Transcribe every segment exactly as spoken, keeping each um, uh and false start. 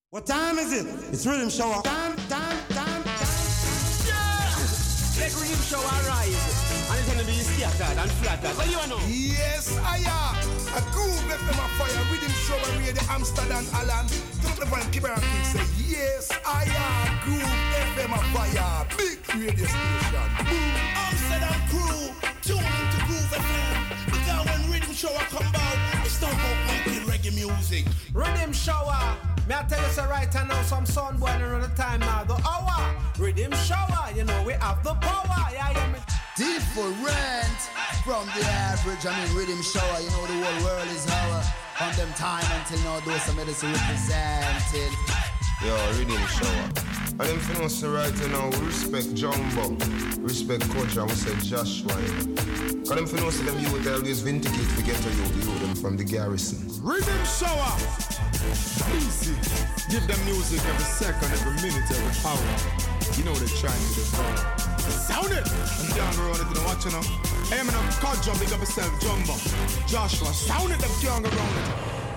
What time is it? It's Rhythm Shower. Time, time, time, time. Yeah! Let Rhythm Shower rise. And it's gonna be scattered and flattered. What do you know? Yes, I am. A groove F M a fire. Rhythm Shower radio Amsterdam Alan. Don't the one keep around and say, yes, I am. Groove F M a fire. Big radio station. Boom. Amsterdam crew. Tune into Groove F M. Because when Rhythm Shower come out, it's not about making reggae music. Rhythm Shower. May I tell you so right now, some sun boiling on the time now. The hour, Rhythm Shower, you know we have the power. Yeah, yeah, me. Different from the average. I mean, Rhythm Shower, you know the whole world is our. From them time until now, those some medicine represented. Yo, Rhythm Shower. And them for us right now, we respect Jumbo, respect Coach, and we say Joshua. Because them for us, them you would always vindicate to get to you, you them from the garrison. Rhythm Shower! Easy. Give them music every second, every minute, every hour. You know they're trying to devour. Sound it! I'm down the road, you know what you know? Hey, man, I'm called Jumbo, big up yourself, Jumbo. Joshua, sound it, them young around it.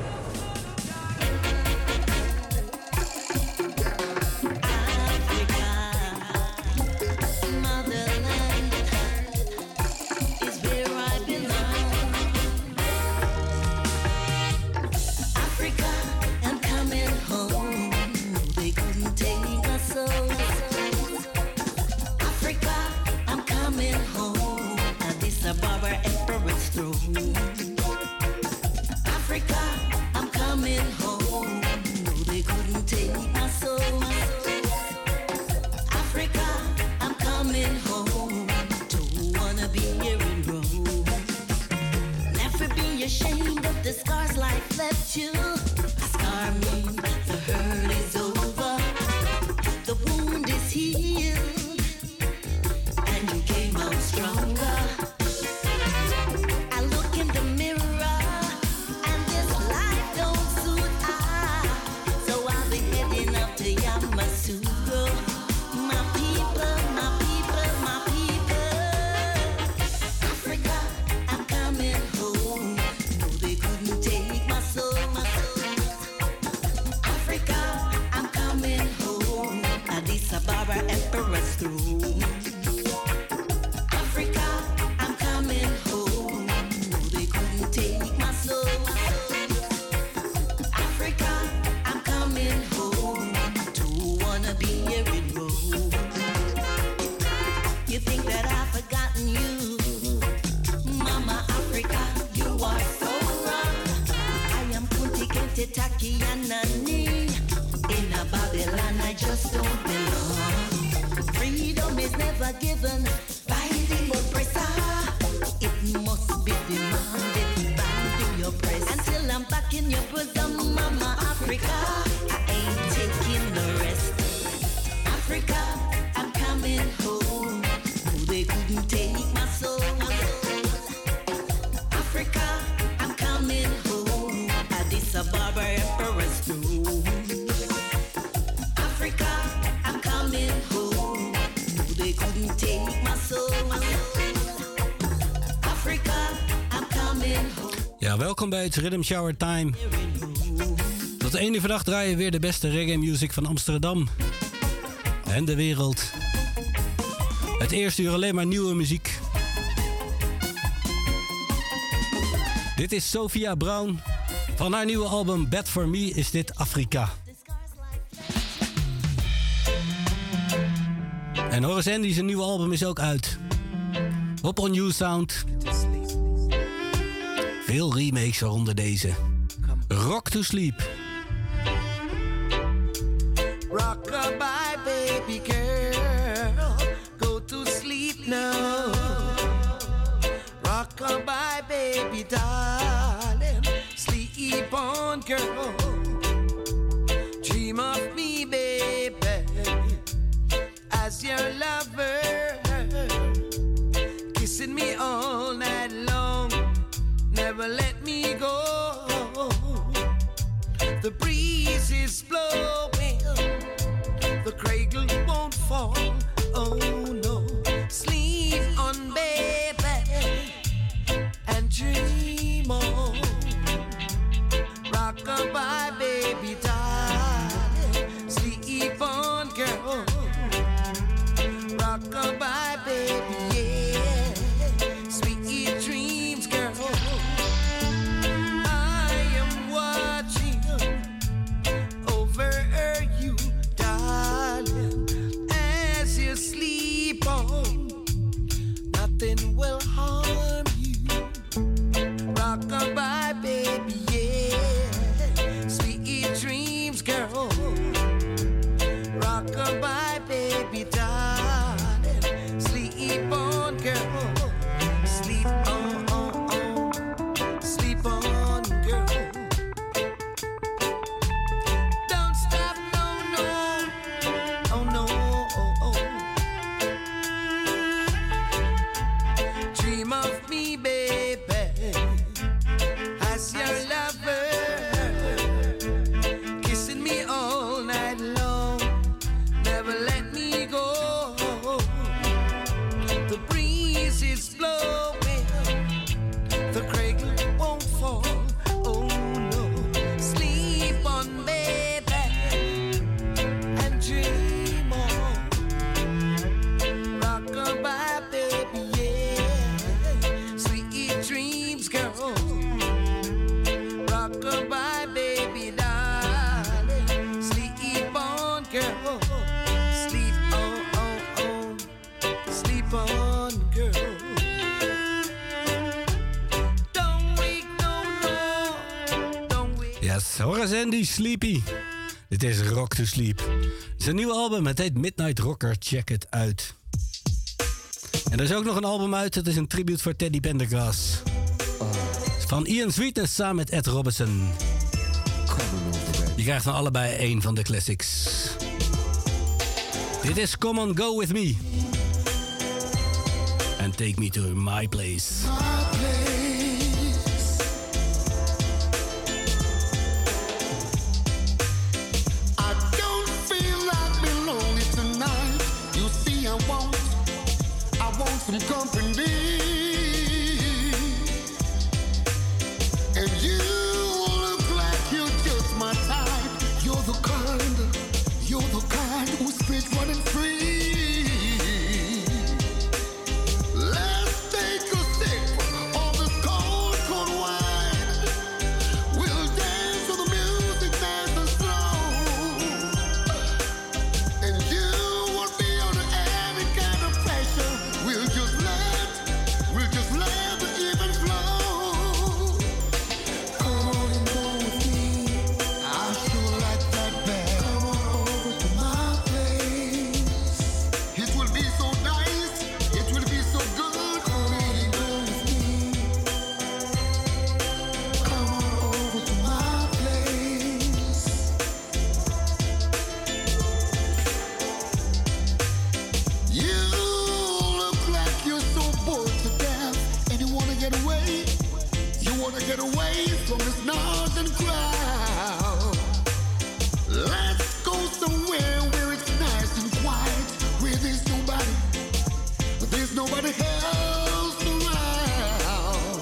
Welkom bij het Rhythm Shower Time. Tot de ene vandaag draaien we weer de beste reggae music van Amsterdam en de wereld. Het eerste uur alleen maar nieuwe muziek. Dit is Sophia Brown. Van haar nieuwe album Bad For Me is dit Afrika. En Horace Andy zijn nieuwe album is ook uit. Op On You Sound. Veel remakes waaronder deze. Rock to Sleep. Rock-a-bye, baby girl. Go to sleep now. Rock-a-bye, baby darling. Sleep on, girl. Dream of me, baby. As your lover. Kissing me all night long. Never let me go. The breeze is blowing. The cradle won't fall. Oh no. Sleep on, baby, and dream on. Rock-a-bye, baby, darling. Rock-a-bye, baby, darling. Sleep on, girl. Sleep on, on, on. Sleep on, girl. Don't stop, no, no. Oh, no, oh, oh. Dream of me, baby, as your lover. Kissing me all night long. Never let me go. The breeze is blowing. The cradle won't fall. Oh no. Sleep on, baby, and dream on. Rock-a-bye, baby, yeah. Sweet dreams, girl. Rock-a-bye, baby, darling. Sleep on, girl. Sleep on, on, on. Sleep on, girl. Don't wake, no, no. Don't wake. Yes, Horace Andy, Sleepy. Dit is Rock to Sleep. Zijn nieuwe album, het heet Midnight Rocker. Check het uit. En er is ook nog een album uit. Het is een tribute voor Teddy Pendergrass. Van Ian Sweetness samen met Ed Robinson. Je krijgt van allebei één van de classics. Dit is Come On Go With Me. And Take Me To My Place. I don't feel like being lonely tonight. You see, I want, I want some company. And you look like you're just my type. You're the kind, you're the kind who's fit running free. Let's take a sip of this cold, cold wine. We'll dance to the music nice and slow. And you won't be under any kind of pressure. We'll just let, we'll just let the evening flow. Come on and go with me. I sure like that bad. Come on over to my place. It will be so nice. It will be so good. Come on and go with me. Come on over to my place. You look like you're so bored to death, and you wanna get away. You wanna get away from this noise and crowd. Let's go somewhere where it's nice and quiet, where there's nobody, there's nobody else around.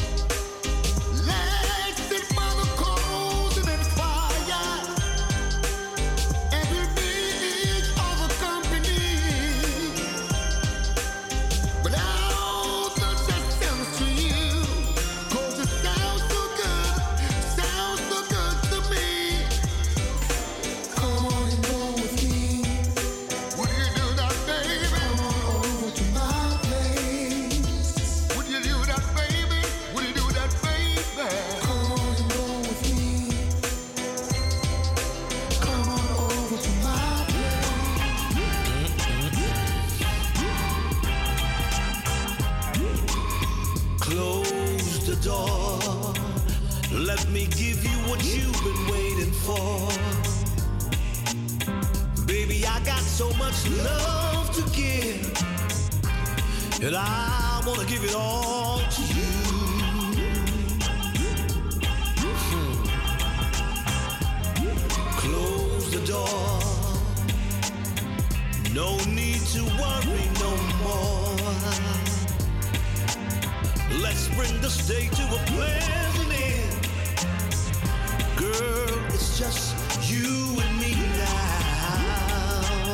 Let's sit by the coals and then fire, and we'll be each other company. But I'll touch that sounds to you, 'cause it sounds so good, sounds so good to me. Come on and go with me. Would you do that, baby? Come on over to my place. Would you do that, baby? Would you do that, baby? Come on and go with me. Come on over to my Close the door. Let me give you what you've been waiting for. Baby, I got so much love to give, and I wanna give it all to you. Hmm. Close the door. No need to worry no more. Let's bring the stay to a pleasant end. Girl, it's just you and me now.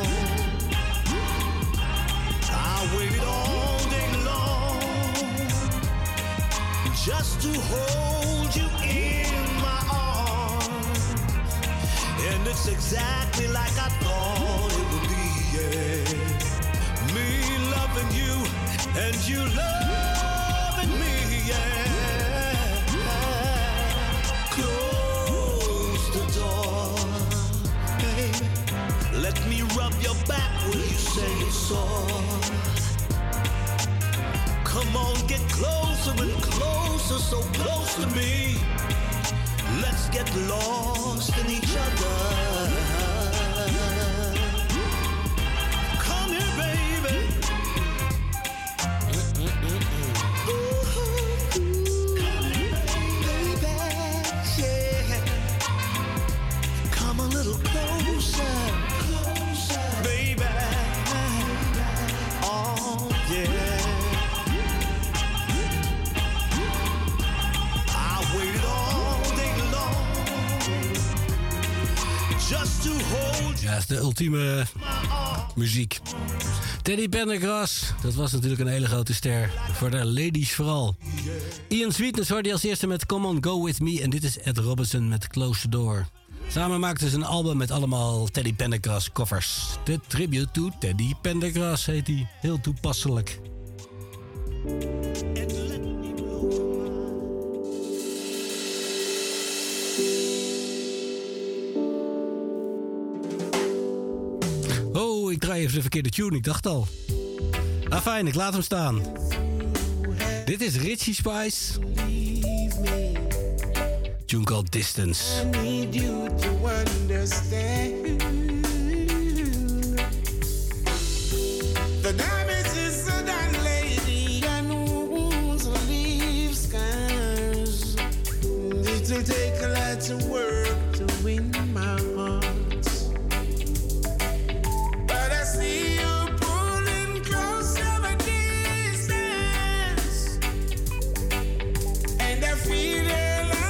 I waited all day long just to hold you in my arms. And it's exactly like I thought it would be, yeah. Me loving you and you loving me, yeah. Close the door, baby. Let me rub get sore. Come on, get closer and closer, so close to me. Let's get lost in each other. Come here, baby. Ooh, come here, baby. Yeah. Come a little closer, closer, baby. Oh, yeah. Ja, dat is de ultieme muziek. Teddy Pendergrass, dat was natuurlijk een hele grote ster. Voor de ladies vooral. Ian Sweetness hoorde je als eerste met Come On Go With Me. En dit is Ed Robinson met Close the Door. Samen maakten ze een album met allemaal Teddy Pendergrass covers. The Tribute to Teddy Pendergrass heet die. Heel toepasselijk. Oh, ik draai even de verkeerde tune, ik dacht al. Ah, fijn, ik laat hem staan. Dit is Richie Spice. Tune called Distance. I need you to understand. The damage is so done, lady. And wounds will leave scars. It will take a lot of work to win my heart. But I see you pulling close from a distance. And I feel it.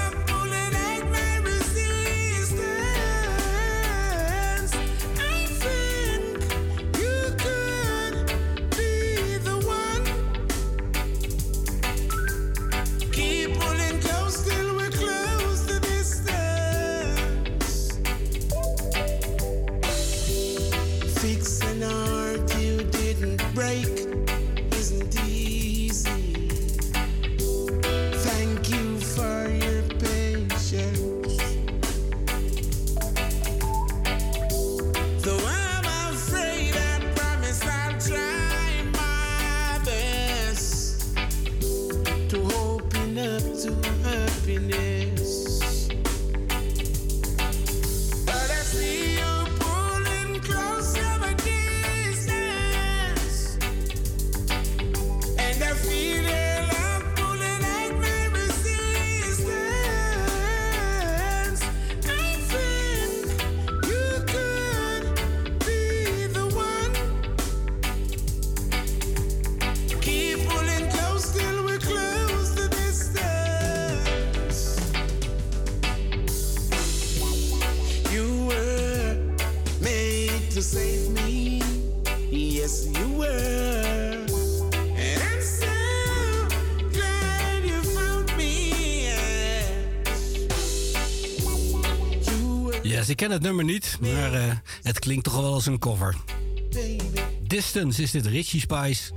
Ik ken het nummer niet, maar uh, het klinkt toch wel als een cover. Distance is dit, Richie Spice.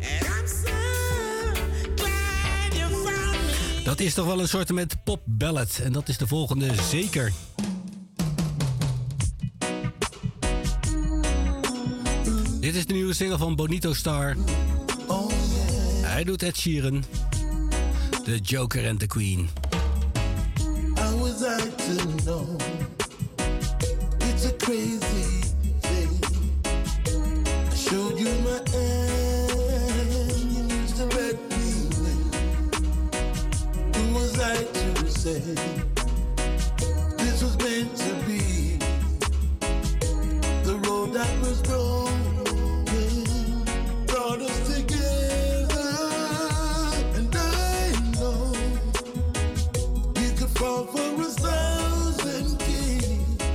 Dat is toch wel een soort met pop ballad. En dat is de volgende zeker. Dit is de nieuwe single van Bonito Star. Hij doet Ed Sheeran. The Joker and the Queen. How was I to know? It's a crazy thing. I showed you my hand, you used to let me win. Who was I to say this was meant to be? The road that was broken brought us together, and I know you could fall for a thousand kings.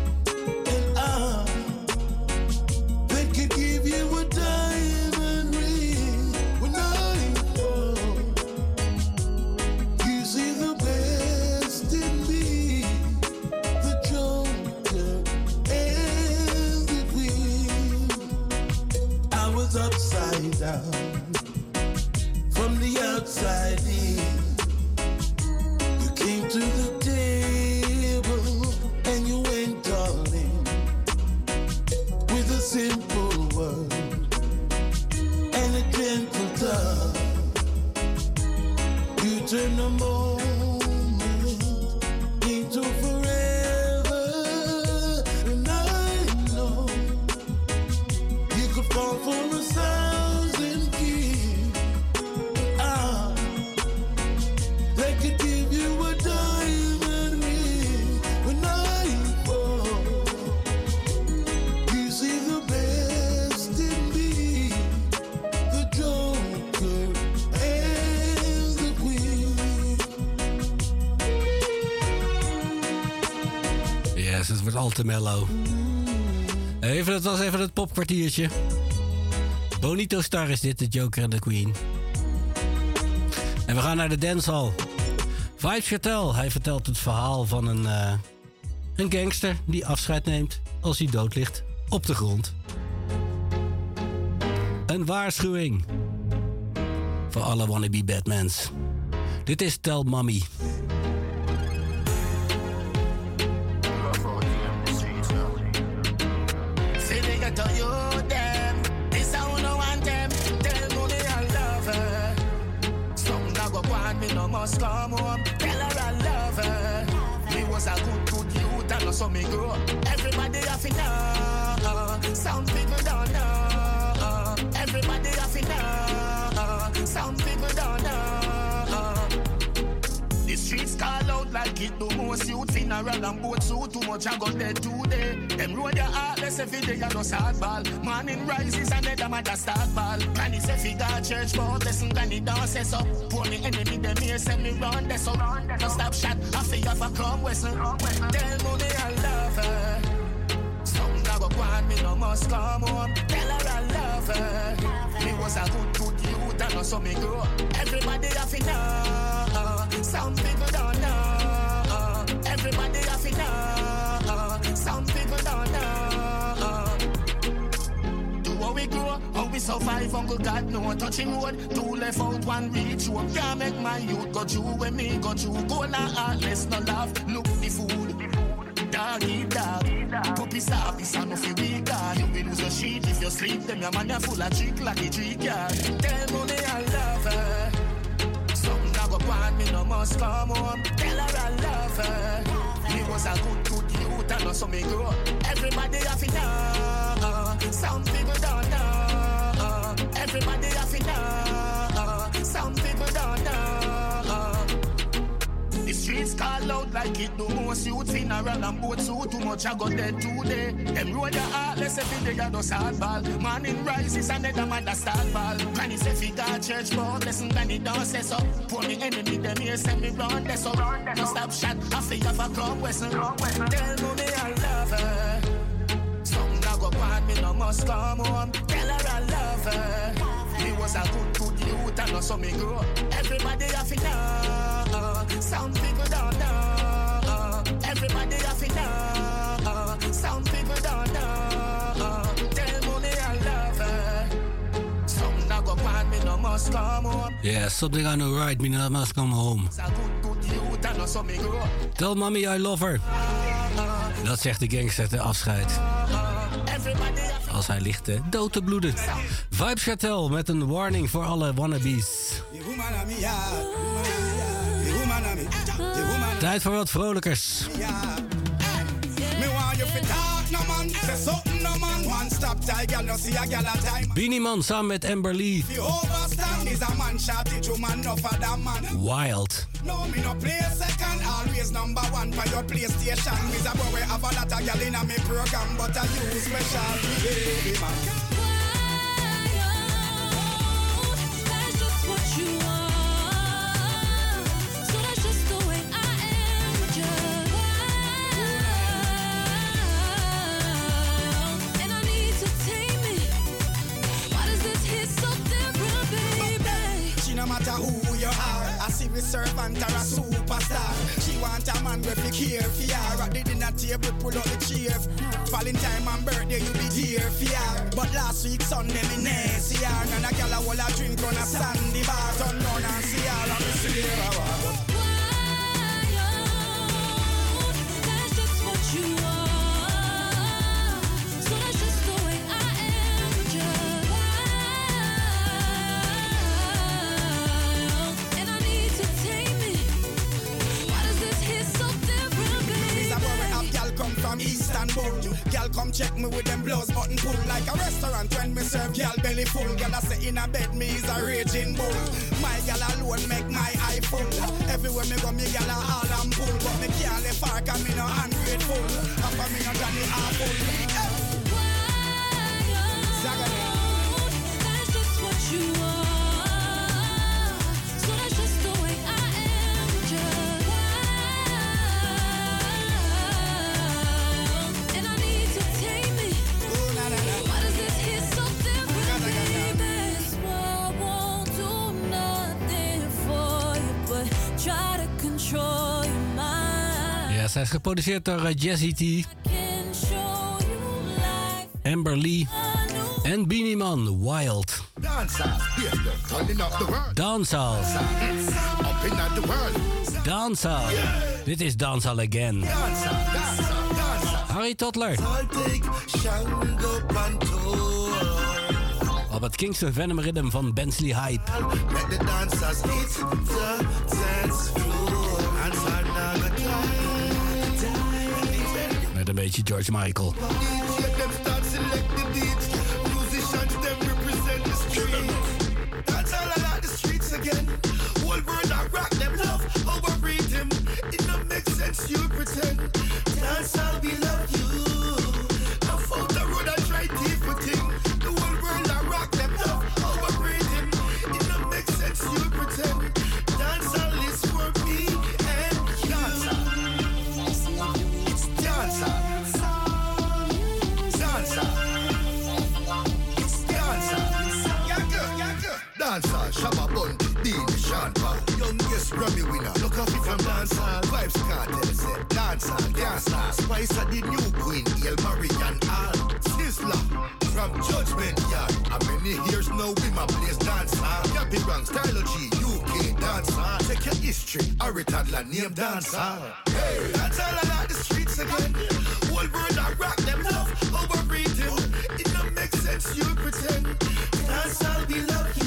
Upside down, from the outside in, you came to the table and you went all in with a simple word. a moment into forever, and I know you could fall for a thousand kings. Ah, they could give you a diamond ring when I fall. You see the best in me, the Joker and the Queen. Yes, het wordt al te mellow. Even, dat was even het popkwartiertje. Bonito Star is dit, de Joker en de Queen. En we gaan naar de dancehall. Vybz Kartel, hij vertelt het verhaal van een, uh, een gangster die afscheid neemt als hij dood ligt op de grond. Een waarschuwing voor alle wannabe Batmans. Dit is Tell Mommy. Say they got to you them. This I wanna want them. Tell mommy I love her. Some now go want me no must come home. Tell her I love her. Me was a good good youth and I saw me grow. Everybody have to know. Some people don't know. Everybody have to know. Some people don't know. The streets call out like it do most youth funeral and boat suit too much I got dead today. Them road your heartless every day you just hardball. Morning rises and then them a start ball. Granny say fi go church for blessing granny don't say so. Poor me enemy them here send me round there so. No stop shot I feel you for come western. Tell mommy I love her. Some now go want me no must come home. Tell her I love her. Me was a good good youth and I saw me grow. Everybody have to know. Some people don't know. Everybody have to know. Some people don't know. Do what we grow, how we survive, Uncle God know. Touching road, two left out, one reach. You can't make my youth go through when me go through. Go now heartless, no love. Look the food. Dog eat dog. Puppy service and if you weak God. You will lose your sheet if you sleep. Them your man are full of trick like a trick yard. Tell mommy I love her. Some now go want me no must come home. Tell her I love her. Me was a good good youth and I saw me grow. Everybody have to know. Some people don't know. Everybody have to know. Some people don't know. The streets call out like it do most youth funeral and boat suit too much I got dead today. Them road your heartless every day you just hardball. Morning rises and then them a start ball. Granny say fi go church for blessing granny don't say so. Poor me enemy them here send me round there so. No stop shot I feel you for come western. Tell mommy I love her. Some now go want me no must come home. Tell her I love her. Me was a good good youth and I saw me grow. Everybody have to know. Some people don't know. Everybody have to know. Some people don't know. Tell mommy I love her. Some now go want me no must come home. Yeah, something I know right, me no must come home. Tell mommy I love her. Dat zegt de gangster te afscheid. Als hij ligt eh, dood te bloeden. Vybz Kartel met een warning voor alle wannabes. Tijd voor wat vrolijkers. Beenie Man samen met Amber Lee. Wild. No, me no play second, always number one for your PlayStation. Me's a boy have a lot of gal in me program, but I use special baby man. That's just what you are. So that's just the way I am with you. And I need to tame it. Why does this hit so different, baby? She no matter who you are, a civil servant or a superstar. She want a man with care for her. At the dinner table, pull up the chair. Valentine and birthday, you be here for her. But last week Sunday, me nay see her. And a gal a wall a drink on a sandy bar. Turn round and see her and me see her. That's just what you are. So that's just the way I am with you. And I need to tame it. Girl come check me with them blows button pull like a restaurant when me serve girl belly full. Girl I say in a bed me is a raging bull. My girl alone make my eye full. Everywhere me go me girl a all and pull, but me can't let far 'cause me no ungrateful. After me no Johnny Apple. That's just what you are. So that's just the way I am. Just and I need to tame it. Why does this hit so differently? This world won't do nothing for you, but try to control your mind. Ja, zij is geproduceerd door uh, Jazzy T, Amber Lee en Beanie Man, Wild. Dancehall. Dancehall. Dit is Dancehall Again. Harry Toddler. Op het Kingston Venom Rhythm van Bensley Hype. Let the dancers hit the dance floor. Met een beetje George Michael. You pretend that's how we love you. I found the road I tried different thing. The whole world I rock them love overbreed him. It don't make sense you pretend dance all is for me and dance. It's dance. Dance. It's dance. Yaga, yaga. Dancer, Shabba Bun, Dean, Sean Paul, youngest Grammy winner. Look up from dancehall, vibes cartel set. Dancehall, dancehall, Spice are the new queen. El Marian Al, Sizzla from Judgment Yard. How many years now we my place dancehall? Yappy Rang, Stylogy, U K dancehall. Check your history, Harry Toddler name dancehall. Hey, dancehall I like the streets again. Whole world I rock them love overbreed him. It don't make sense you pretend. Dancehall we love you.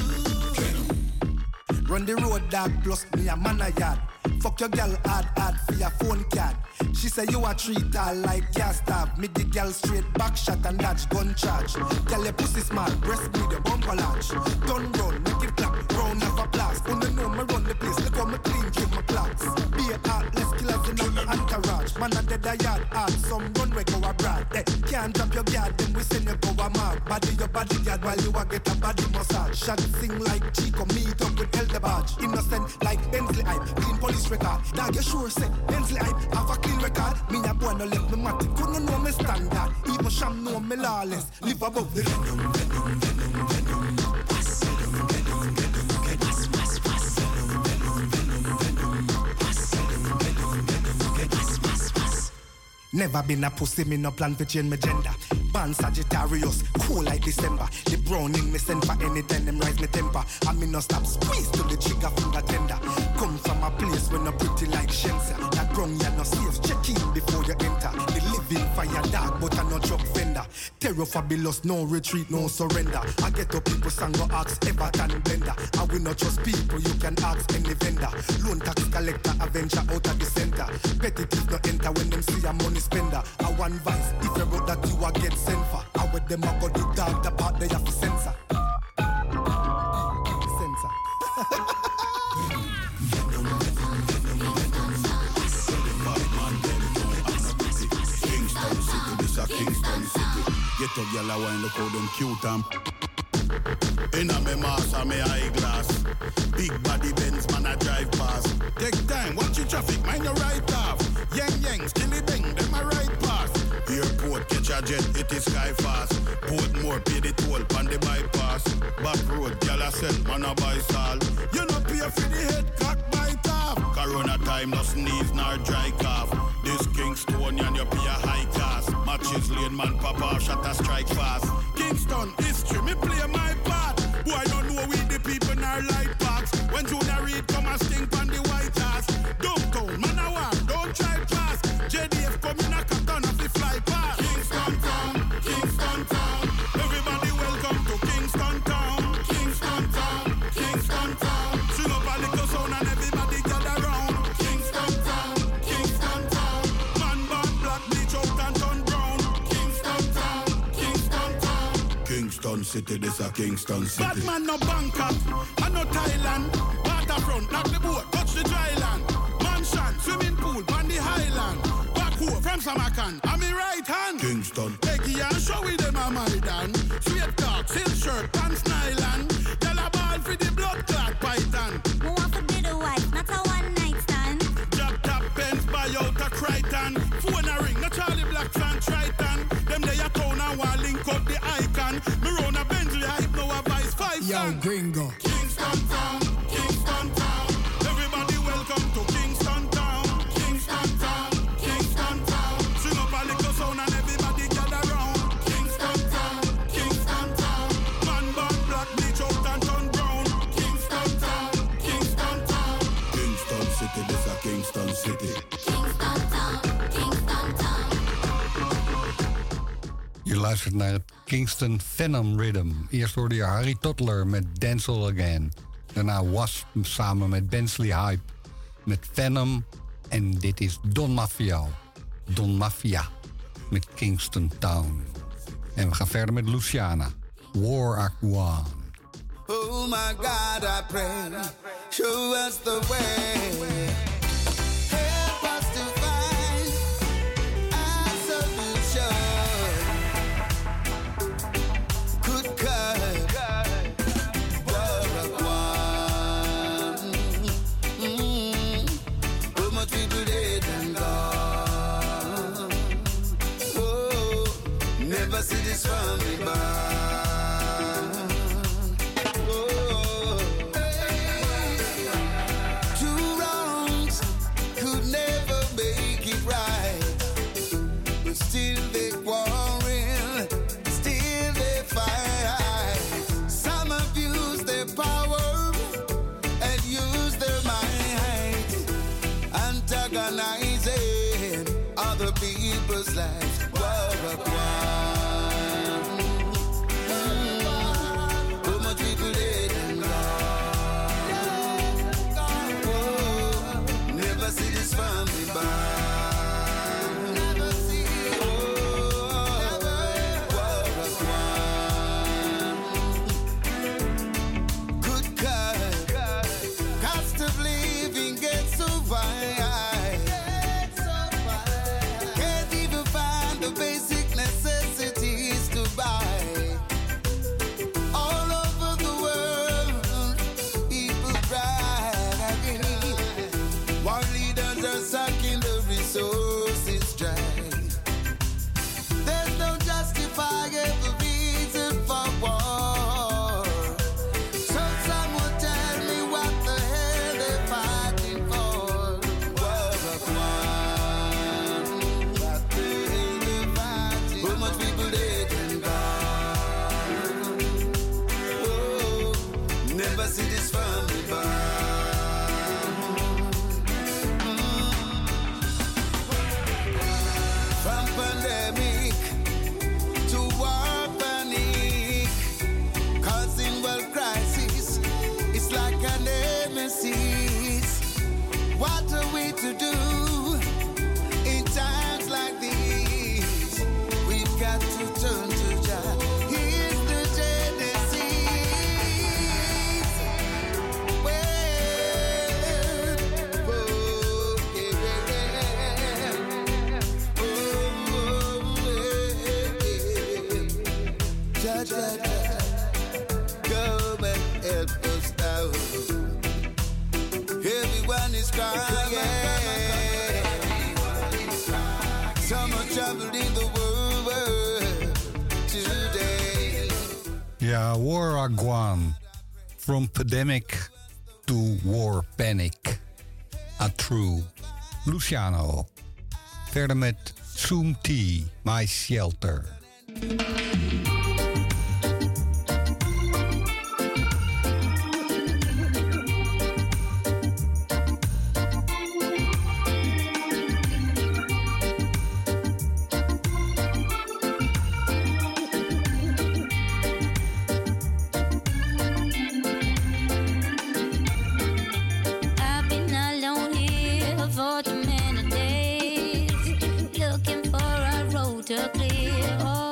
Run the road, dog, plus me a man a yard. Fuck your girl hard, hard for your phone card. She say you a treat her like gas stab. Me the girl straight back shot and dodge gun charge. Girl your pussy small, breast me the bumper large. Turn round, make it clap, round of applause. When you know me run the place, look how me clean, keep my clocks. Be a heartless killers in the entourage. Man a dead a yard hard, some runway go abroad. Hey, can't drop your guard, then we send you go a mark. Body your bodyguard while you a get a body massage. Shot sing like Chico, meet up with Elder Badge. Innocent like Bensley Hype, clean police record. Dog you sure say Bensley Hype have a clean record. Me a boy no left me matic, couldn't know me standard. Even Sham know me lawless, live above the venom, venom, venom, venom. Pass, venom, venom, venom, okay. Pass, pass, pass, venom, venom, venom, venom. Pass, venom, venom, venom, okay. Pass, pass, pass. Never been a pussy, me no plan to change my gender. Born Sagittarius, cool like December. The brown in me send for anytime them rise me temper. And me no stop squeeze to the trigger finger tender. Come from a place where no pretty like Shensia. That brown ya no safe, check in before you enter. The living fire dark, but I no drug vendor. Terror fabulous, no retreat, no surrender. I get up people sang go ask Everton blender. I will not trust people, you can ask any vendor. Loan tax collector, avenger out of the center. Petty thief no enter when them see a money spender. I one vice, if you wrote that you a get sent for. I with them I got the dog, the part they have to censor. Censor. Kingston City, this a Kingston City. Get up, y'all, I look how them cute am. Inna me mask and me eyeglass. Big body Benz, man I drive past. Take time, watch your traffic, mind your right off. Yang yang, skilly bang, them a right pass. Airport, catch a jet, it is sky fast. Portmore, pay the toll, pan the bypass. Back road, y'all a sell, man a buy salt. You no pay for the head, cock bite off. Corona time, no sneeze, nor dry cough. This Kingston, and you pay a high class. Matches lane, man pop off, shot a strike fast. Kingston, history, me play my part. Boy, don't know we the people in our light parks. When Junior Reid come and stink on the White House. Downtown, man a war, don't try pass. J D F come in a carton of the fly past. Kingston town, Kingston town. Everybody welcome to Kingston town. Kingston town, Kingston town. Swing up a little sound and everybody gather round. Kingston town, Kingston town. Man born black, bleach out and turn brown. Kingston Kingston City, this a Kingston City. Bad man no Bangkok, and no Thailand. Waterfront, knock the boat, touch the dry land. Mansion, swimming pool, on the highland. Backhoe from Samarkand, I'm in right hand. Kingston. Peggy and showy them a Maidan. Sweet talk, silk shirt, pants nylon. Tell a ball for the blood clot python. Who want to be the wife, not a one night stand. Drop top pens, buy out a Crichton. Phone a ring, no Charlie Black fan Triton. Them they a town and want link up the icon. Me run a Bentley hype, no a vice five. Yo, gringo. Kingston town, Kingston town. Everybody welcome to Kingston town. Kingston town, Kingston town. Sing up a little sound and everybody gather round. Kingston town, Kingston town. Man born black, bleach out and turn brown. Kingston town, Kingston town. Kingston City, this a Kingston City. Kingston town, Kingston town. Je luistert naar het Kingston Phenom Rhythm. Eerst hoorde je Harry Toddler met Dancehall Again. Daarna Wasp samen met Bensley Hype met Phenom. En dit is Don Mafia. Don Mafia met Kingston Town. En we gaan verder met Luciana. War Act One. Oh my God, I pray, show us the way. Help us to find a solution. Good God, War Act One. Mm. So much people dead and gone. Oh, never see this from me back. Other people's lives, war of one. Mm. So much people dead and gone. Oh, never see this from me back. Never see it. Oh, war of one. Good God, cost of living gets so high. Basic necessities to buy. All over the world, people cry. While leaders are sucking the resources dry. There's no justifiable reason for war. So some will tell me what the hell they're fighting for. War of one. See this from me back. Mm. From pandemic to war panic, causing world crisis. It's like a nemesis. What are we to do in times like these? We've got to turn to Jah. Here's the Genesis. Come and help us now. Everyone is crying. Some are traveling in the world today. Ja, War Act One. From pandemic to war panic. A true. Luciano. Verder met Zoom T, My Shelter. To clear all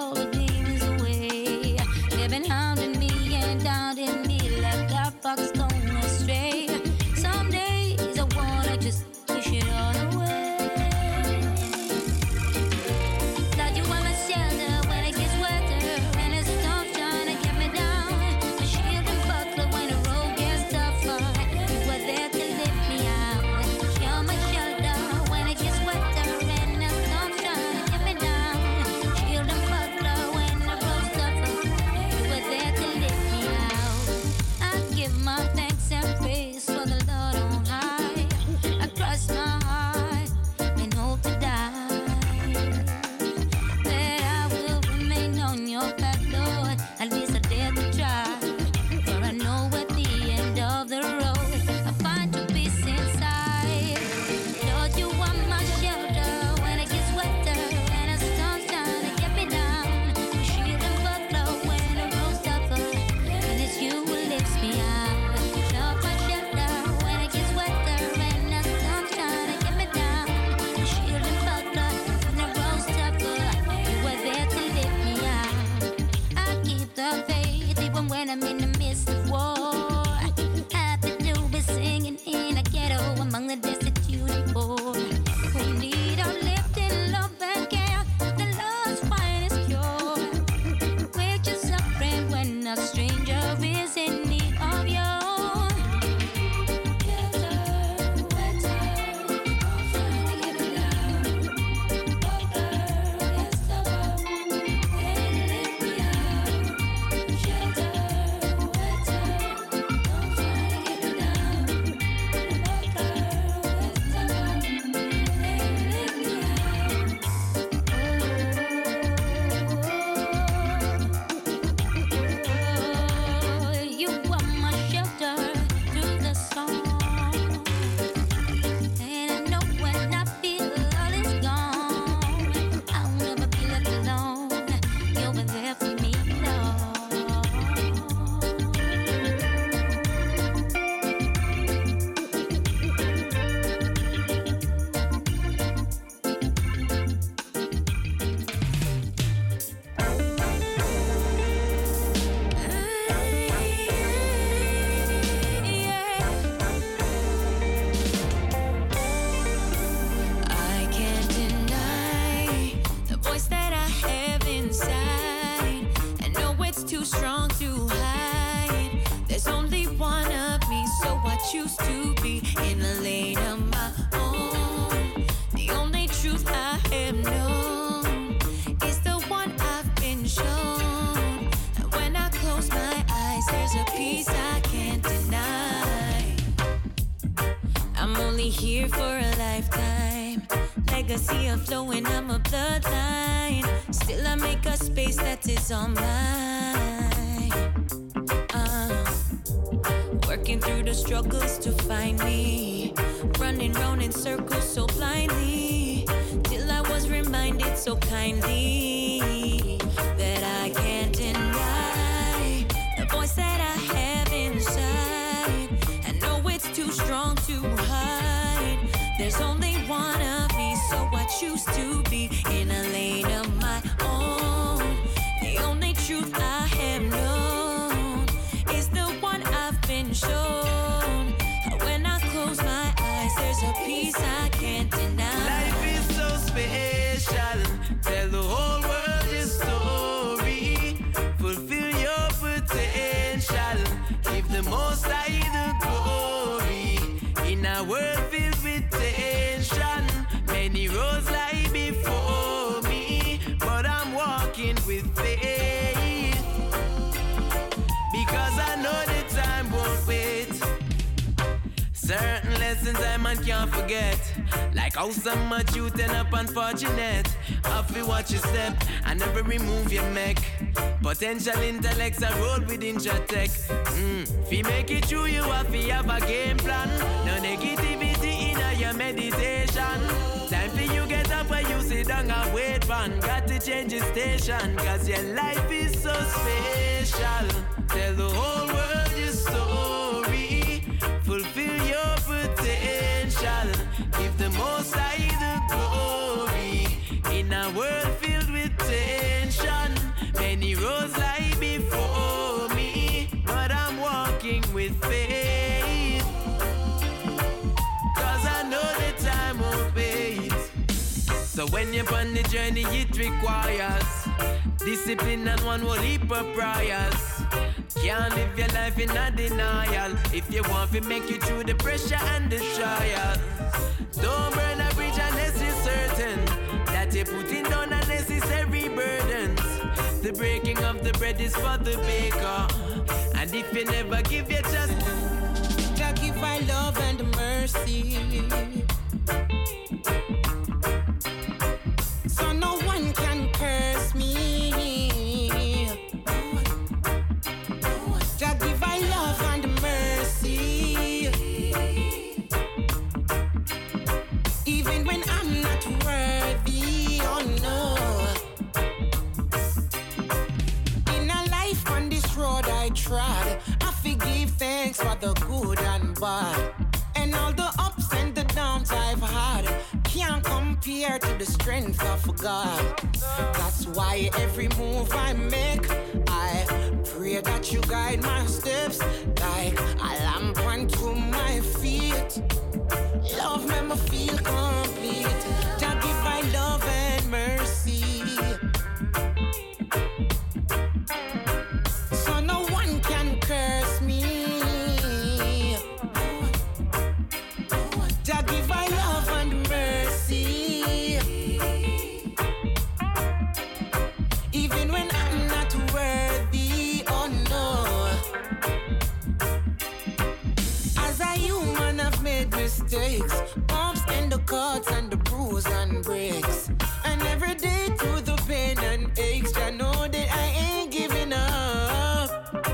of faith, even when I'm in the midst of war. Happy to be singing in a ghetto among the destitute and poor who need uplifting love and care. The Lord's finest cure. We're just suffering when a stranger is in need of you. Choose to be in a lane of my own. The only truth I have known is the one I've been shown. And when I close my eyes, there's a peace I can't deny. I'm only here for a lifetime. Legacy of flowing, I'm a bloodline. Still I make a space that is all mine. Uh, Working through the struggles to find me. Running round in circles so blindly. Till I was reminded so kindly that I can't deny the voice that I have inside. I know it's too strong to hide. There's only one of me, so I choose to be in a lane of my own. The only truth I have known is the one I've been shown. When I close my eyes, there's a peace I can't deny. Life is so special. Tell the whole world your story. Fulfill your potential. Give the most high the glory. In a world filled with tension, many roads lie before me, but I'm walking with faith. Because I know the time won't wait. Certain lessons I man can't forget. Like how so much you turn up unfortunate. Have to watch your step and never remove your neck. Potential intellects are roll with Intratech. Mm. If you make it true, you have to have a game plan. No negativity in your meditation. Time for you get up when you sit down and wait man. Got to change your station, cause your life is so special. Tell the whole world your story. Fulfill your potential. Give the most high the glory. In a world filled with tension, many roads lie before me, but I'm walking with faith. Cause I know the time won't wait. So when you're on the journey, it requires discipline and one whole heap of prayers. Can't live your life in a denial if you want to make it through the pressure and the trial. Don't burn a bridge unless you're certain that you're putting down unnecessary burdens. The breaking of the bread is for the baker, and if you never give your just God give I love and mercy, so no one can curse me. God give I love and mercy, even when I'm not worthy. Oh no. In a life on this road I trod, I forgive thanks for the good and bad, and all the ups and the downs I've had can't compare to the strength of God. That's why every move I make, I Let you guide my steps like a lamp unto my feet. Love me, me feel complete. Jah give my love and mercy. So no one can curse me. Jah give my love and mercy. Even when I'm not worthy, oh no. As a human I've made mistakes, bumps and the cuts and the bruise and breaks. And every day through the pain and aches, I know that I ain't giving up.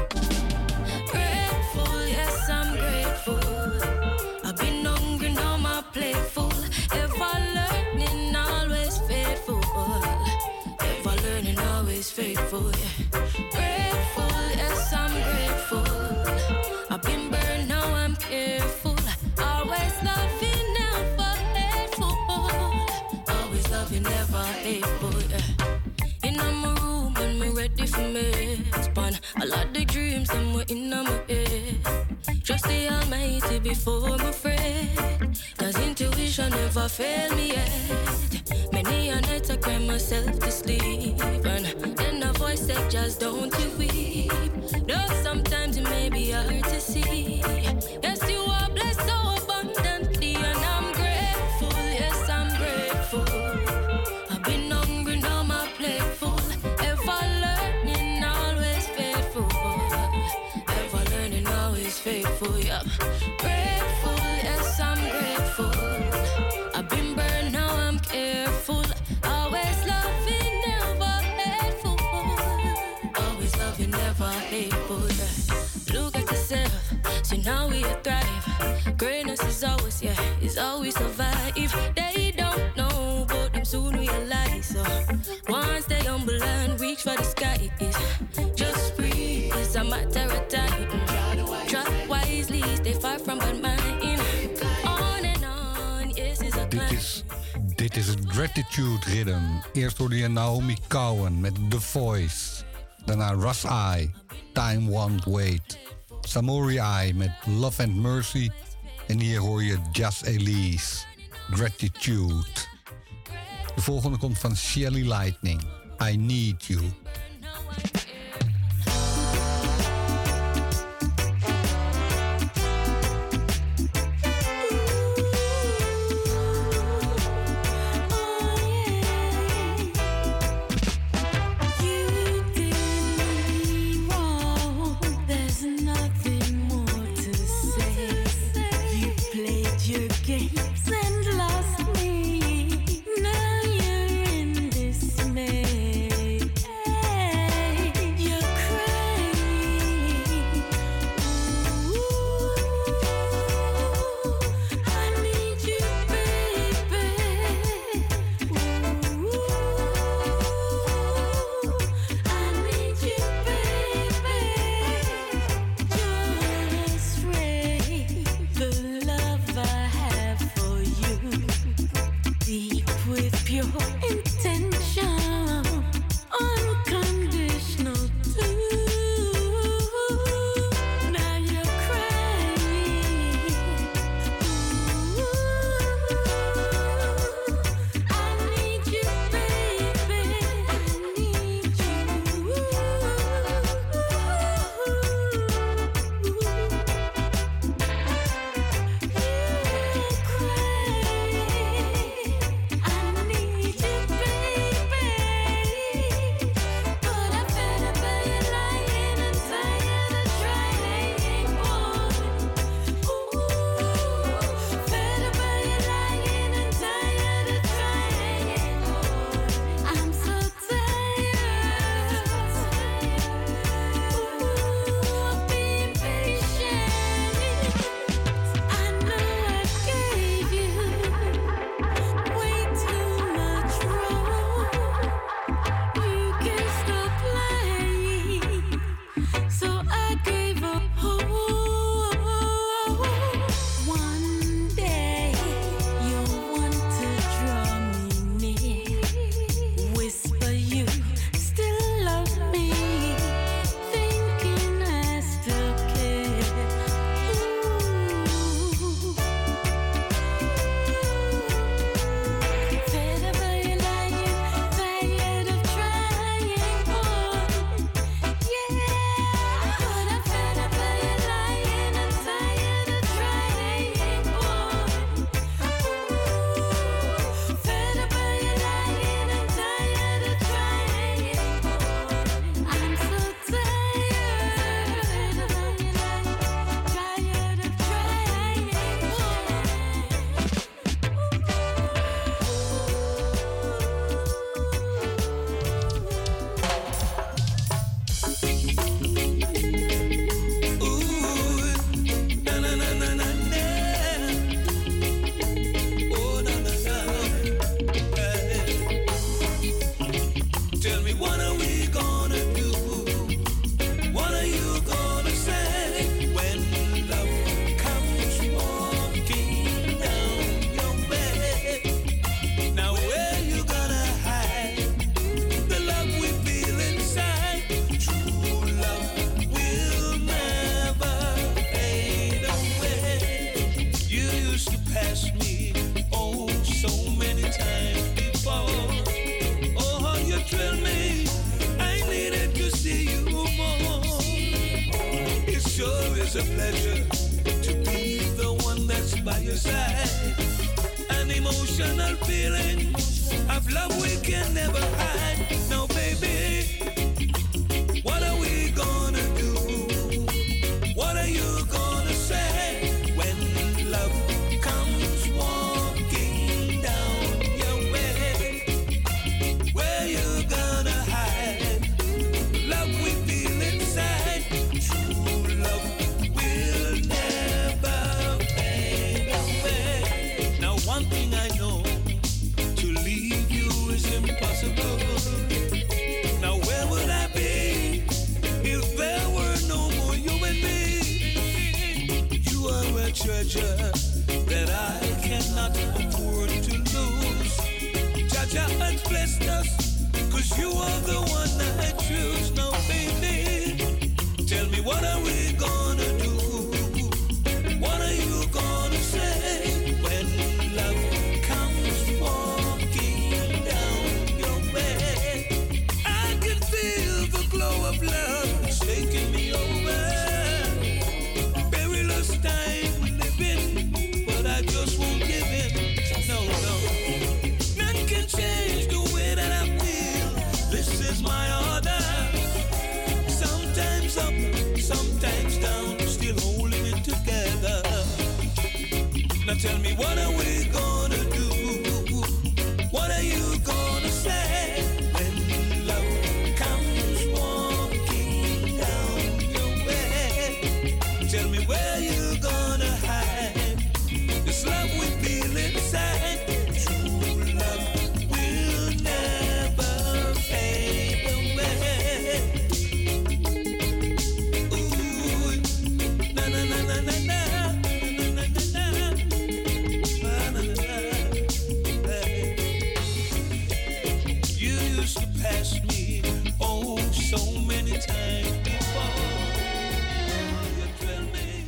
Grateful, yes, I'm grateful. I've been hungry, now my plate full. Ever learning, always faithful. Ever learning, always faithful. Yeah. Grateful, yes, I'm grateful. I've been burned, now I'm careful. Always loving, never hateful. Always loving, never hateful. Yeah. In my room and me ready for me. Span a lot of dreams and we're in my head. Trust the Almighty before I'm afraid. Cause intuition never failed me yet. Many a night I cry myself to sleep. And then a voice said, just don't you weep. Though sometimes it may be hard to see. Yes, you are blessed so abundantly. And I'm grateful, yes, I'm grateful. I've been hungry, now my plate full. Ever learning, always faithful. Ever learning, always faithful, yeah. Grateful, yes, I'm grateful. I've been burned, now I'm careful. Always loving, never hateful. Always loving, never hateful, yeah. Look at yourself, so now we thrive. Greatness is always, yeah, is always survive. They don't know, but them soon realize. So once they humble and reach for the sky, is just breathe. It's a matter of time. Try wisely, stay far from bad mind. On and on, yes, it's a Dit is, dit is het Gratitude Rhythm. Eerst hoorde je Naomi Cowan met The Voice. Daarna Russ I, Time Won't Wait. Samori I met Love and Mercy. En hier hoor je Just Elise, Gratitude. De volgende komt van Shelly Lightning, I Need You. There's nothing more to say. You played your games and lost me. Now you're in dismay. It's a pleasure to be the one that's by your side. An emotional feeling of love we can never hide. Now, baby, what are we gonna do? What are you gonna say when love comes walking down your way? Where you gonna hide? Love we feel inside. True love will never fade away. Now, one thing I know, to leave you is impossible. Now, where would I be if there were no more you and me? You are a treasure that I cannot afford to lose. Jaja has blessed us, cause you are the one I choose. Now, baby, tell me, what are we gonna do? What are you gonna say when love comes walking down your way? I can feel the glow of love taking me over. Perilous time we live in, but I just won't give in. No, no. None can change the way that I feel. This is my order. Sometimes up, sometimes down, still holding it together. Now tell me, what are we gonna do? What are you gonna say when love comes walking down your way? Tell me, where you gonna hide? This love we feel inside. True love will never fade away. Ooh, na na na na na na. You used to pass me, oh, so many times before. You tell me.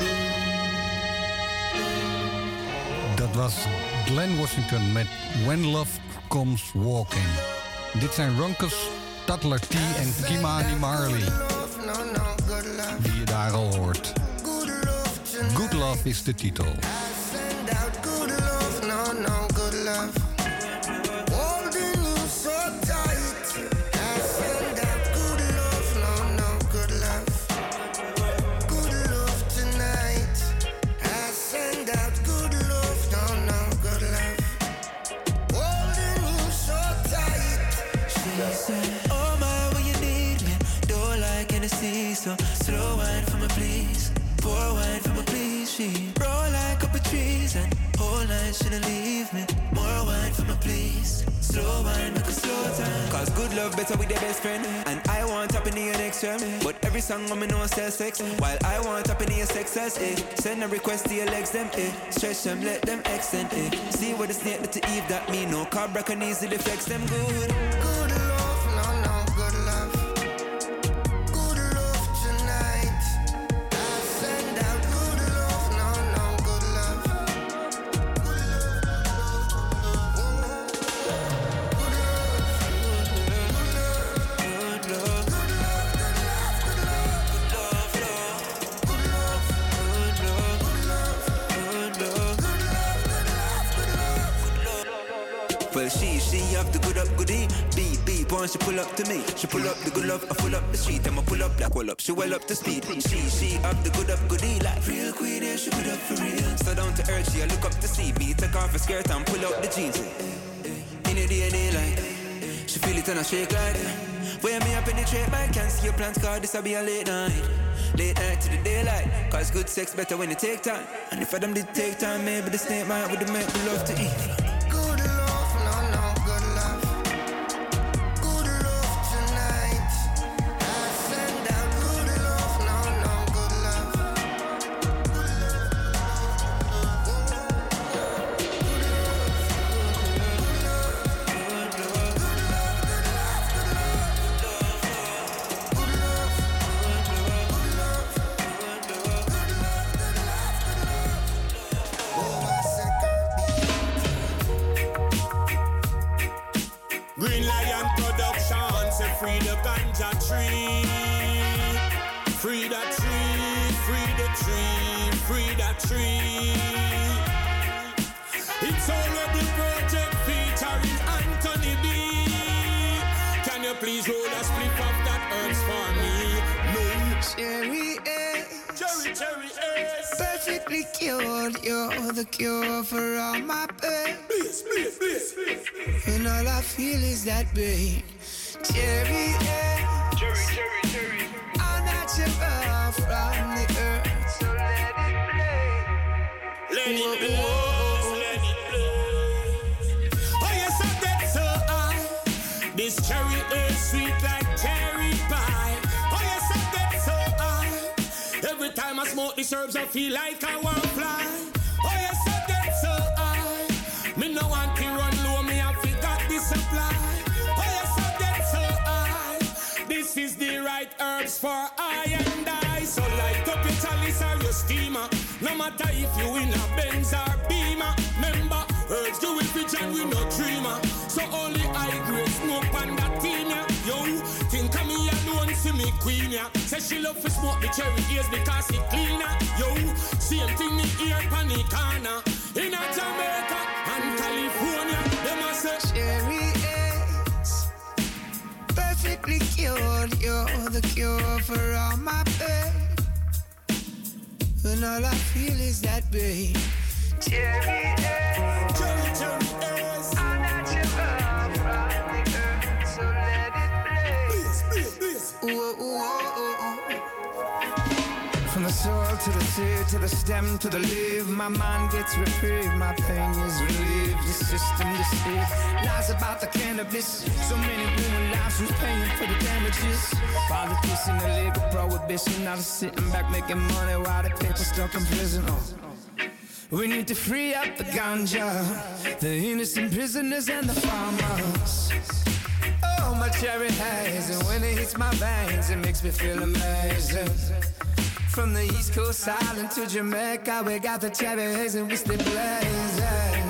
Dat was Glenn Washington met When Love Comes Walking. Dit zijn Runcus, Tatler T en Kimani Marley. Die je daar al hoort. Good Love is de titel. Send out good love, no, no, good love. Holding you so tight. I send out good love, no, no, good love. Good love tonight. I send out good love, no, no, good love. Holding you so tight. She said, oh my, when you need me, don't like Hennessy, so slow wine for me, please. Pour wine for me, please. She roll like up a trees and whole night she don't leave me. More wine for me, please. Slow wine, make a slow time. Cause good love better with your best friend. And I want up in the next term. But every song I'm know says sex. While I want up in the success, eh. Send a request to your legs, them, eh. Stretch them, let them extend, eh. See what the snake let to Eve that me no. Cobra can easily flex them good. Good love, no, no, good love. Good love tonight. I send out good love, no, no, good love. Good love, good love, good love, good love, good Well, she, she have the good up goodie. Beat, beat, once she pull up to me. She pull up the good love, I pull up the street. I'ma pull up like well up, she well up to speed. She, she have the good up goodie. Like real queen, yeah, she good up for real. So down to earth, she I look up to see me. Take off her skirt and pull up the jeans. In the D N A like she feel it and I shake like Where me I penetrate my can't see your plans, cause this'll be a late night. Late night to the daylight, cause good sex better when you take time. And if I them did take time, maybe the snake might would make me love to eat. Good love, no, no, good love. Good love tonight. I send out good love, no, no, good love. Good Green Lion Production, say free the ganja tree. Free the tree, free the tree, free the tree. It's already project featuring Anthony B. Can you please roll a split of that herbs for me? No. Cherry A. Cherry, cherry A. Perfectly cured, you're the cure for all my pain. Please, please, please, please. And all I feel is that pain. Cherry A. Cherry, cherry, cherry. All natural from the earth. So let it play. Let it blow, let it blow. Oh yes, I get so high. This cherry is sweet like cherry pie. Oh yes, I get so high. Every time I smoke these herbs, I feel like I want to fly. Oh yes, I get so high. Me no want to run low, me I forgot the supply. Oh yes, I get so high. This is the right herbs for I and I. So light up your chalice or your steamer. No matter if you in a Benz or Beamer. Remember, herbs do it rich and we no dreamer. So only high grade smoke on that team, yeah. Yo, think of me alone, see me queen, yeah. Say she love to smoke the cherry ears because it cleaner. Yo, same thing me ear pan the corner. In a Jamaica and California, them a say Cherry A's perfectly cured, you're the cure for all my pain. And all I feel is that pain. Cherry A's, cherry, cherry A's. all natural from the earth, so let it play. Please, please, please. Ooh, ooh, ooh, ooh. From the soil to the seed, to the stem, to the leaf, my mind gets reprieved, my pain is relieved, the system deceived, lies about the cannabis, so many human lives who's paying for the damages, politics and illegal prohibition, now they're sitting back making money while the people stuck in prison. Oh. We need to free up the ganja, the innocent prisoners and the farmers. Oh, my cherry haze, and when it hits my veins, it makes me feel amazing. From the East Coast Island to Jamaica, we got the cherry haze and we stay blazing.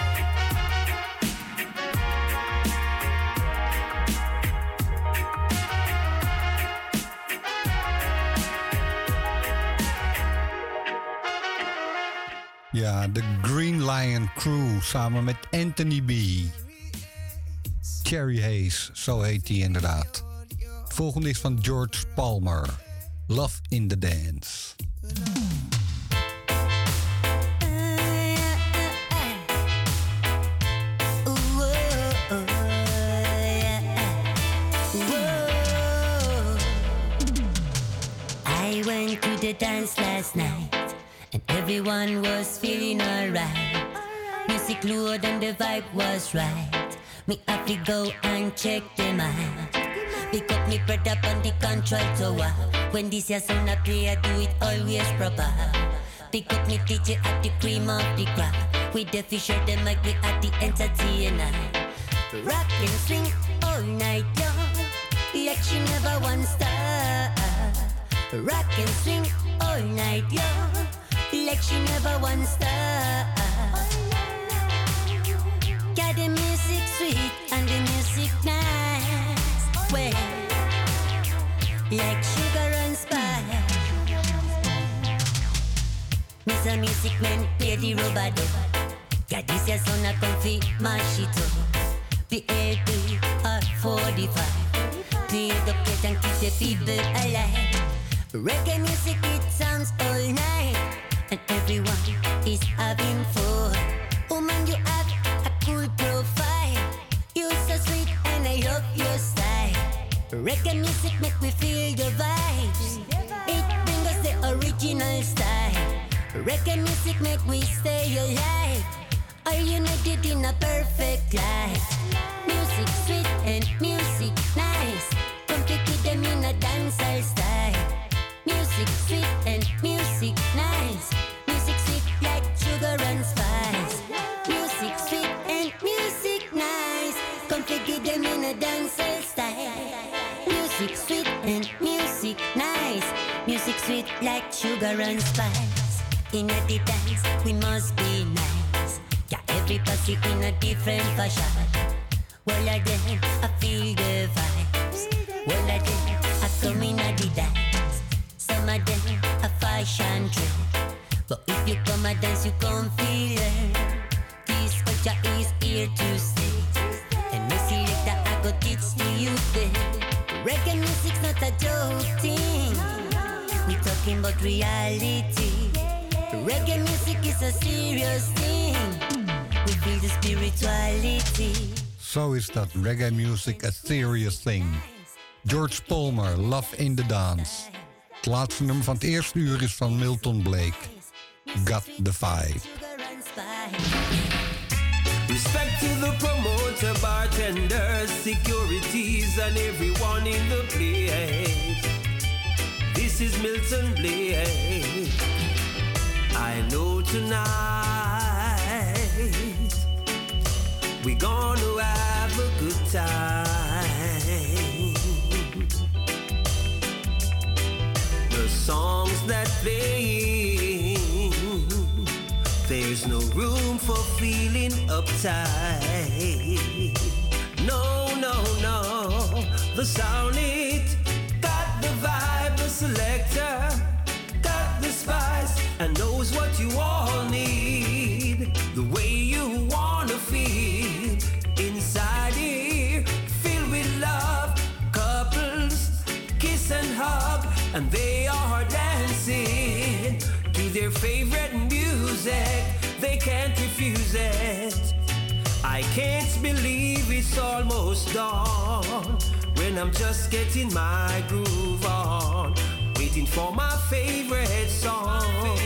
Ja, de Green Lion Crew samen met Anthony B. Cherry Haze, zo heet hij inderdaad. Het volgende is van George Palmer. Love in the Dance. I went to the dance last night and everyone was feeling alright. Music loud and the vibe was right. Me have to go and check them out. Pick up me brother on the control tower. When this here sound a play, I do it always proper. Pick up me teacher at the cream of the crop. With the fisher, them like we at the entertainer. Rock and swing all night long, like she never once stop. Rock and swing all night long, like she never once stop. Got the music sweet and the music nice. Well, like sugar and spice. Mister Music Man, play the rubber dub. Got this here sound a comfy, mash it up. P A P or forty-five. Play the plate and keep the people alive. Reggae music, it sounds all night, and everyone is having fun. Woman, you have a cool profile. You're so sweet and I love your style. Reggae music make we feel the vibes. It brings us the original style. Reggae music make we stay alive. Are united in a perfect life. Music sweet and music nice. Come pick with them in a dancehall style. Music sweet and music nice. Music sweet like sugar and spice. Music sweet and music nice. Come pick with them in a dancehall style. Music sweet and music nice. Music sweet like sugar and spice. In a the dance we must be nice. Yeah, everybody in a different fashion. Well, I then I feel the vibes. Well, I then I come in a the dance. Some of them a fashion trend. But if you come a dance, you come feel it. This culture is here to stay. And me select that I go teach to you then. Reggae music's not a joke thing. We talking about reality. Reggae music is a serious thing. We feel the spirituality. Zo is dat, reggae music, a serious thing. George Palmer, Love in the Dance. Het laatste nummer van het eerste uur is van Milton Blake. Got the Vibe. Respect to the promoter, bartenders, securities, and everyone in the place. This is Milton Blake. I know tonight we're gonna have a good time. The songs that play, there's no room for feeling uptight. No, no, no, the sound it got the vibe, the selector got the spice and knows what you all need. The way you wanna feel inside here, filled with love. Couples kiss and hug, and they are dancing to their favorite music. They can't refuse it. I can't believe it's almost dawn when I'm just getting my groove on, waiting for my favorite song.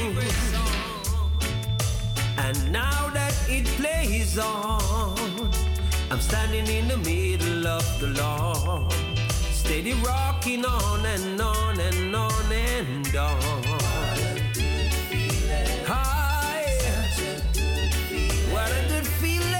And now that it plays on, I'm standing in the middle of the lawn, steady rocking on and on and on and on. Hi, what a good feeling.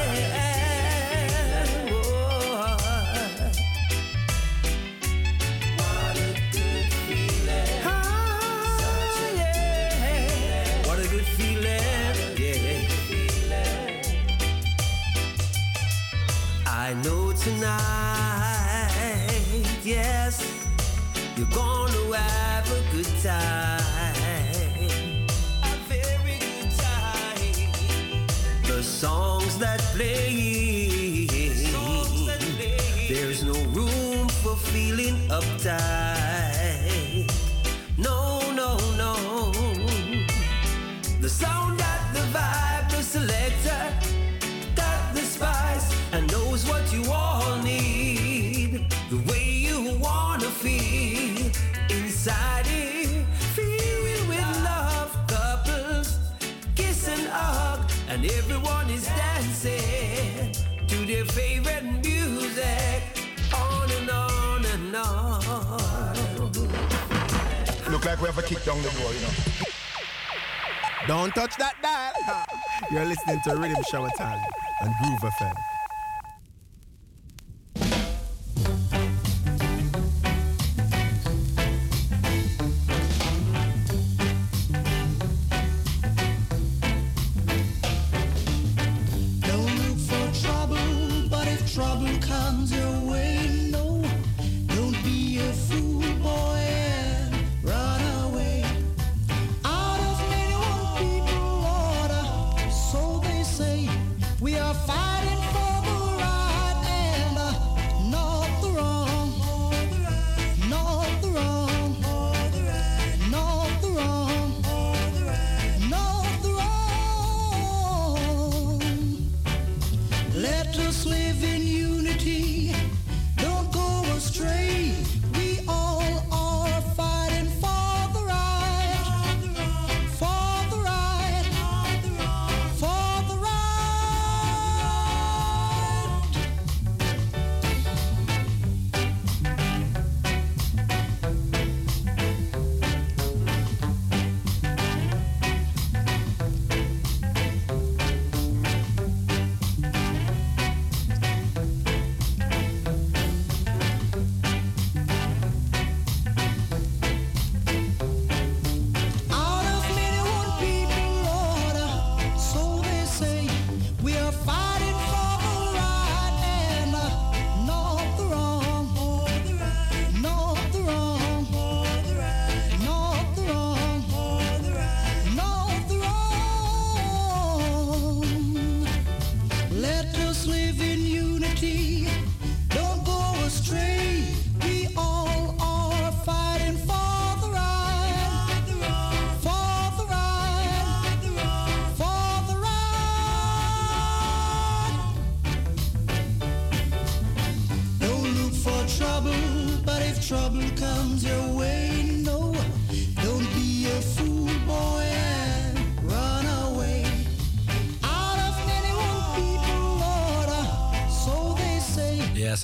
I know tonight, yes, you're gonna have a good time, a very good time. The songs that play, songs that play. There's no room for feeling uptight. No, no, no. The sound got the vibe, the selector got the spice and knows what you all need. The way you wanna feel inside it, filled with love. Couples kiss and hug, and everyone is dancing to their favorite music. On and on and on. Look like we have a kick down the door, you know. Don't touch that dial. You're listening to Rhythm Shower Time on Groove F M. Don't look for trouble, but if trouble comes your way, no, don't be a fool, boy, and run away. Out of many one people order, so they say, we are fighting for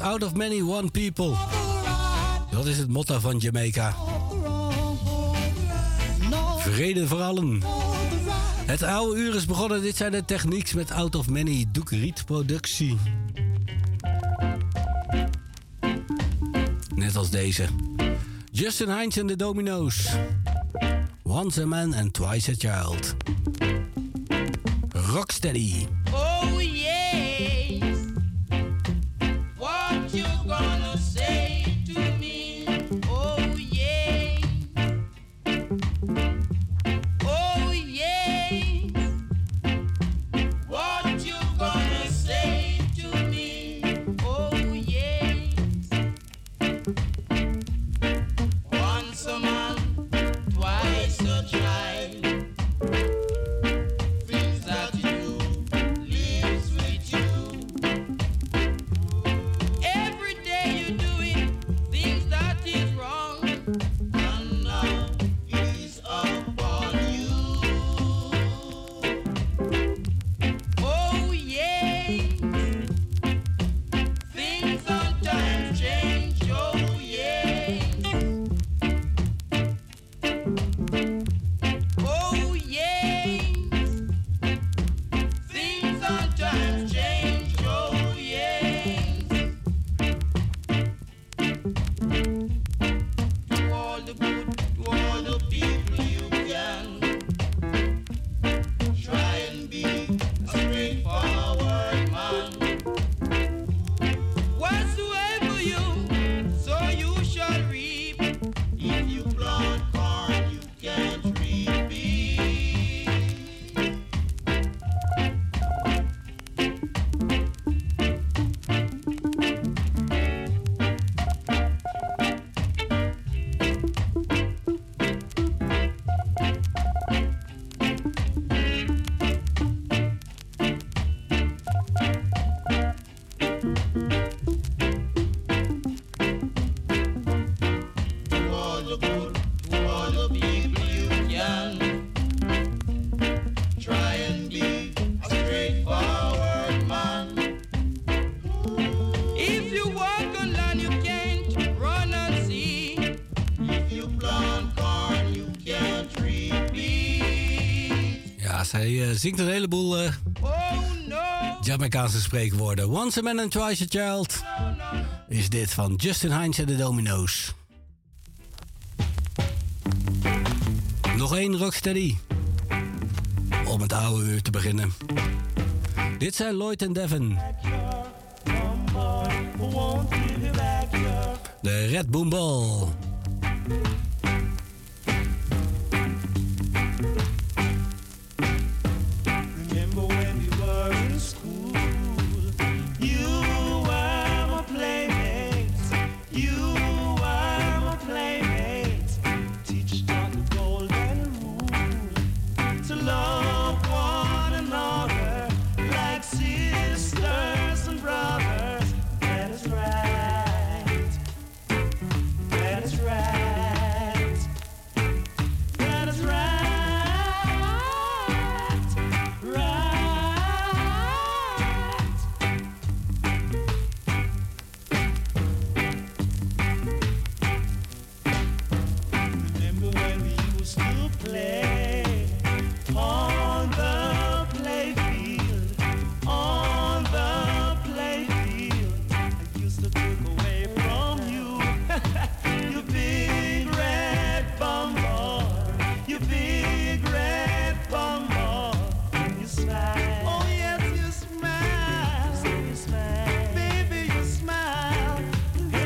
Out of many, one people. Dat is het motto van Jamaica. Vrede voor allen. Het oude uur is begonnen. Dit zijn de technieks met Out of Many. Duke Reed productie. Net als deze. Justin Hines en de Domino's. Once a man and twice a child. Rocksteady. Oh yes, what you gonna say to me? Oh yeah, oh yes, what you gonna say to me? Oh yes, once a man, twice a child. Hij uh, zingt een heleboel uh, Jamaicaanse spreekwoorden. Once a man and twice a child is dit van Justin Hines en de Domino's. Nog één Rocksteady om het oude uur te beginnen. Dit zijn Lloyd en Devin. De Red Boom Ball.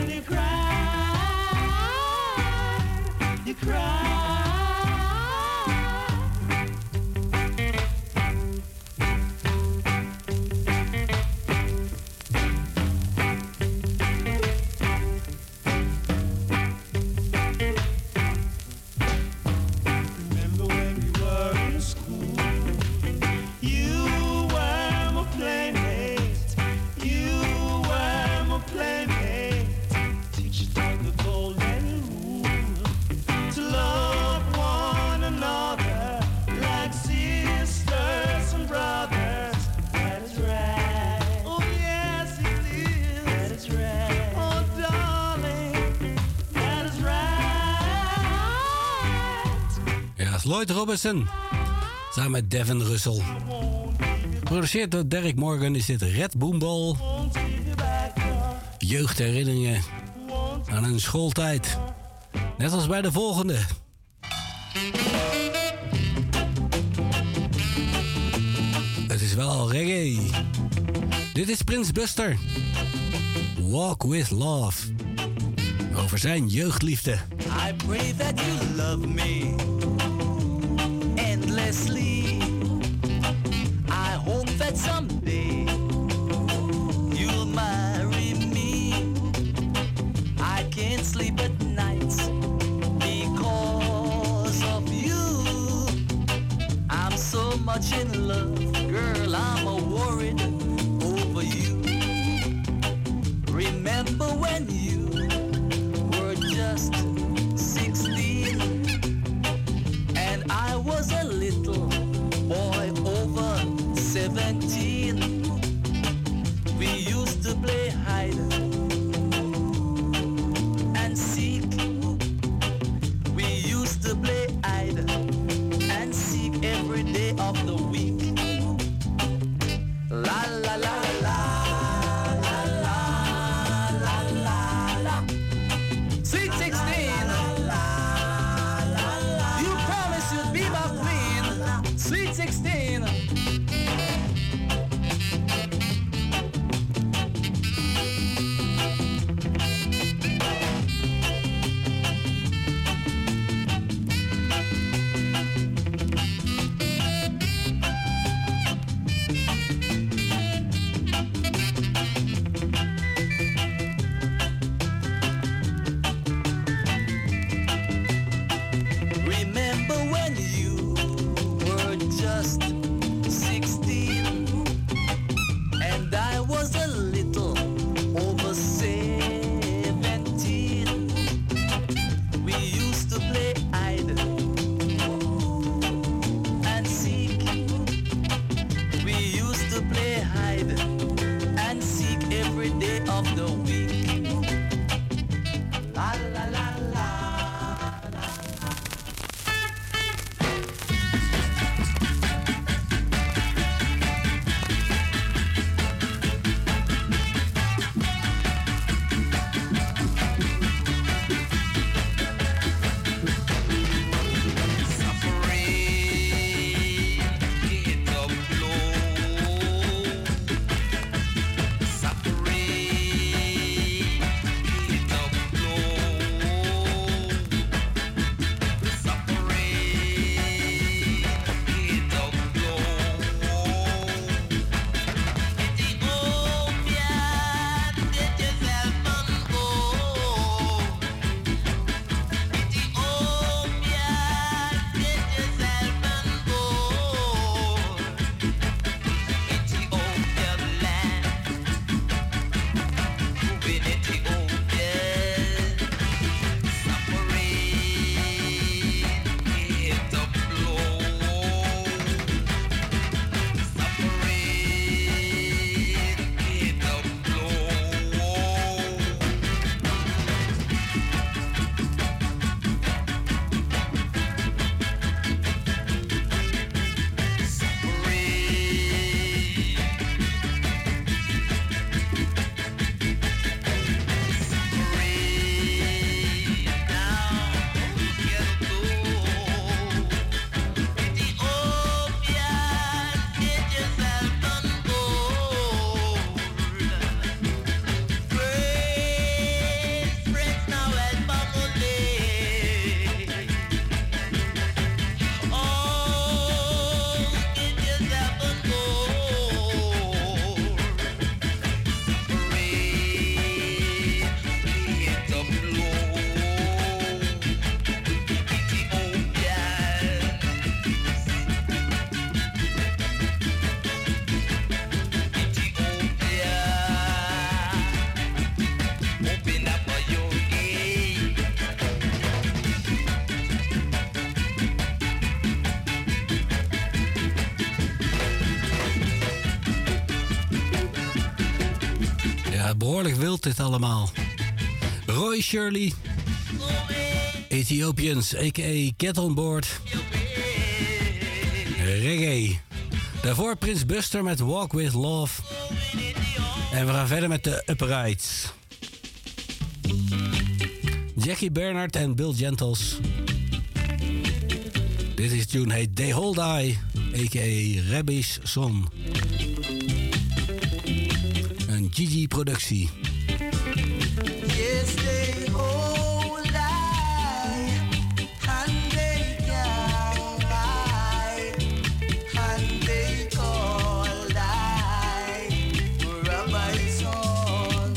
Cry. Lloyd Robinson. Samen met Devin Russell. Geproduceerd door Derek Morgan is dit Red Boomball. Jeugdherinneringen aan een schooltijd. Net als bij de volgende. Het is wel reggae. Dit is Prins Buster. Walk with Love. Over zijn jeugdliefde. I pray that you love me endlessly. I hope that someday you'll marry me. I can't sleep at night because of you. I'm so much in love, girl, I'm a worried over you. Remember when you were just sixteen and I was a little boy over seventeen. We used to play hide and seek. We used to play hide and seek every day of the week. La la la la la la la la la. Sweet sixteen. You promised you'd be my queen. Sweet sixteen. Remember when you were just sixteen and I was a little over seventeen. We used to play hide and seek. We used to play hide and seek every day of the week. La la la la. Behoorlijk wild dit allemaal. Roy Shirley, Ethiopians, a k a. Get On Board. reggae. Daarvoor Prins Buster met Walk With Love. En we gaan verder met de Uprights. Jackie Bernard en Bill Gentles. Dit is tune heet They Hold I, a k a. Rabbi's Son. Een Gigi-productie. Yes, they hold I, and they can I, and they call I, Rabbi's Son.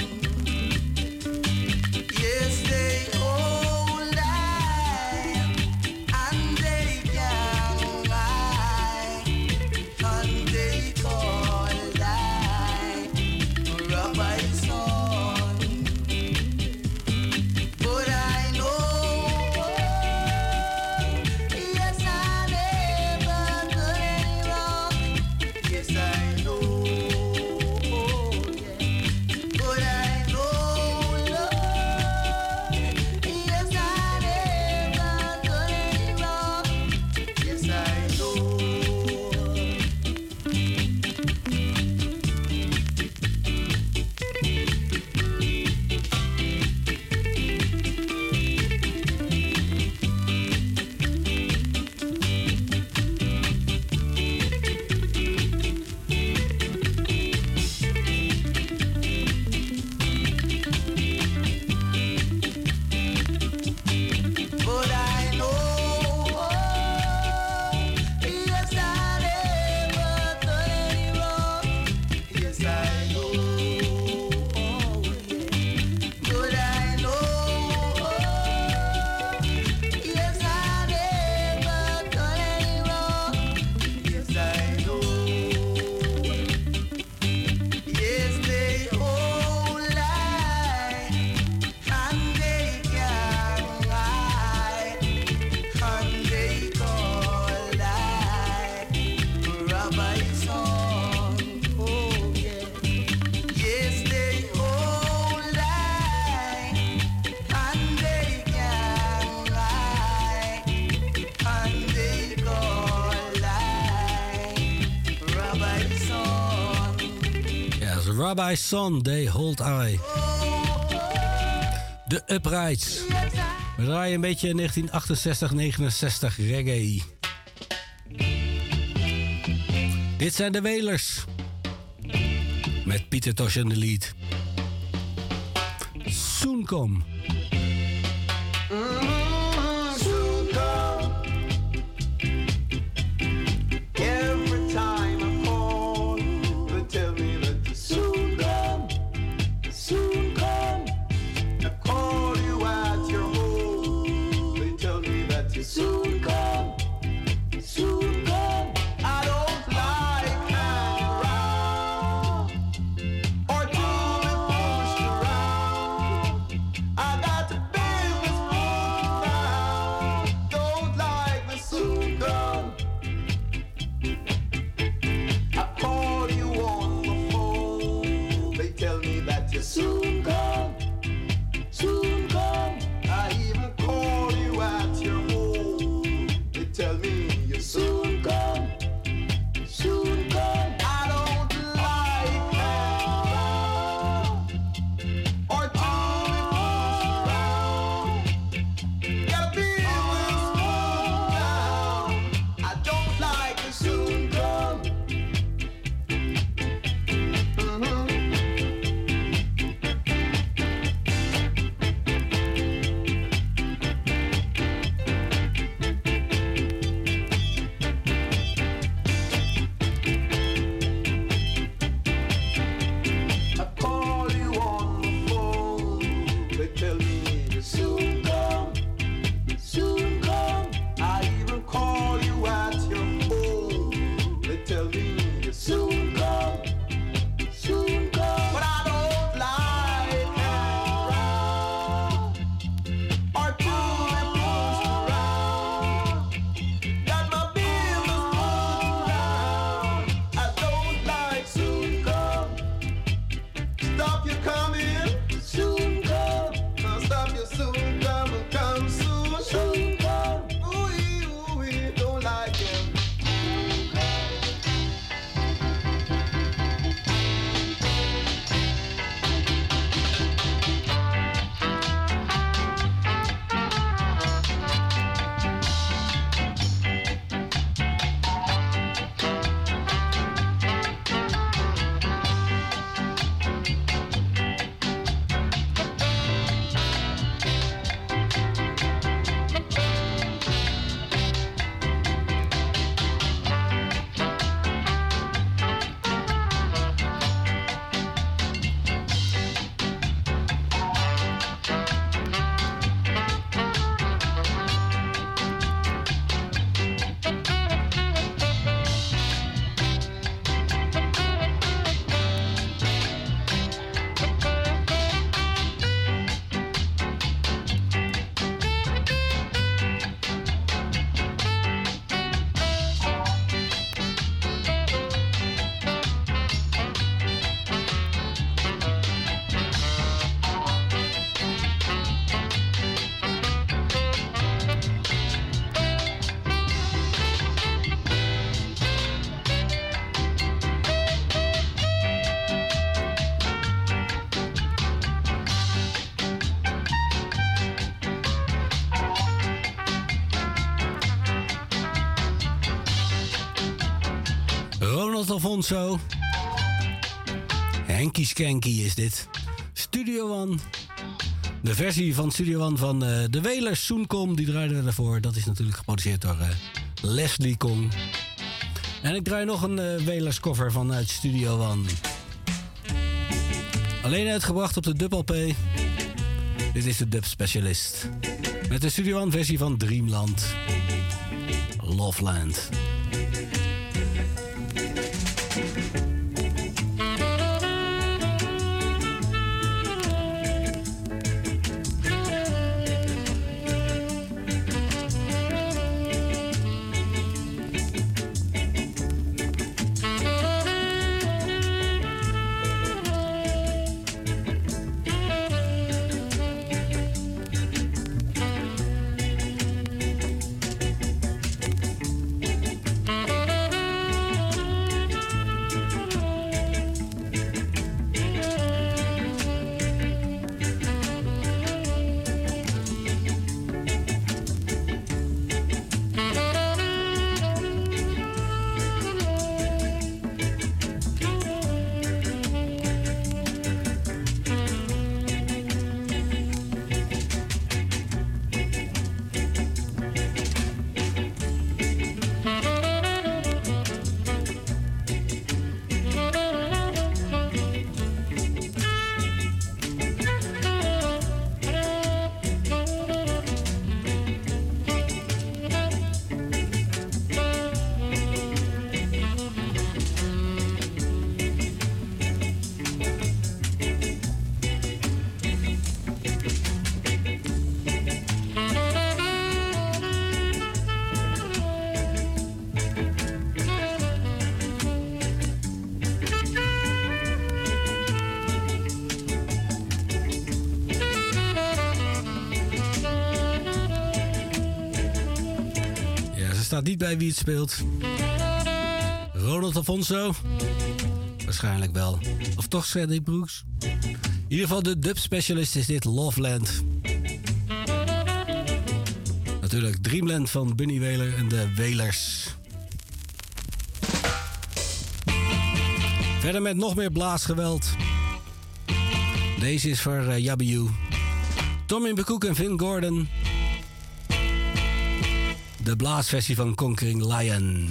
Yes, they hold I, and they can I, and they call I, Rabbi's Son. But I know, yes, I never done any wrong. Yes, I know, yeah. But I know, Lord, yes, I never done any wrong. Yes, I know. But I know, yes, I never done any wrong. Yes, I know, but I know, yes, I never done any wrong. Yes, I know. Yes, they hold I, and they can I, and they call I, Rabbi's Son. Oh, yeah. Yes, they hold I, and they can I, and they call I, Rabbi's Son. Ja, dat is Rabbi's Son, They Hold I. De Uprights. We draaien een beetje negentien achtenzestig negenenzestig reggae. Dit zijn de Wailers. Met Pieter Tosh in de lead. Soon Come. Soon come. Every time I call, they tell me that you soon come, soon come. I call you at your home, they tell me that you soon come, soon come. I don't like hanging around or to be pushed around. I got to business for Ronald Alfonso. Henky Skanky is dit. Studio One. De versie van Studio One van uh, de Wailers, Soenkom, die draaiden we daarvoor. Dat is natuurlijk geproduceerd door uh, Leslie Kong. En ik draai nog een uh, Wailers cover vanuit Studio One. Alleen uitgebracht op de Dub L P. Dit is de Dub Specialist. Met de Studio One versie van Dreamland. Loveland. Staat niet bij wie het speelt. Ronald Alfonso? Waarschijnlijk wel. Of toch Cedric Brooks? In ieder geval de Dub Specialist is dit Loveland. Natuurlijk Dreamland van Bunny Wailer en de Wailers. Verder met nog meer blaasgeweld. Deze is voor uh, Yabiu. Tommy Bekoek en Vin Gordon. De blaasversie van Conquering Lion.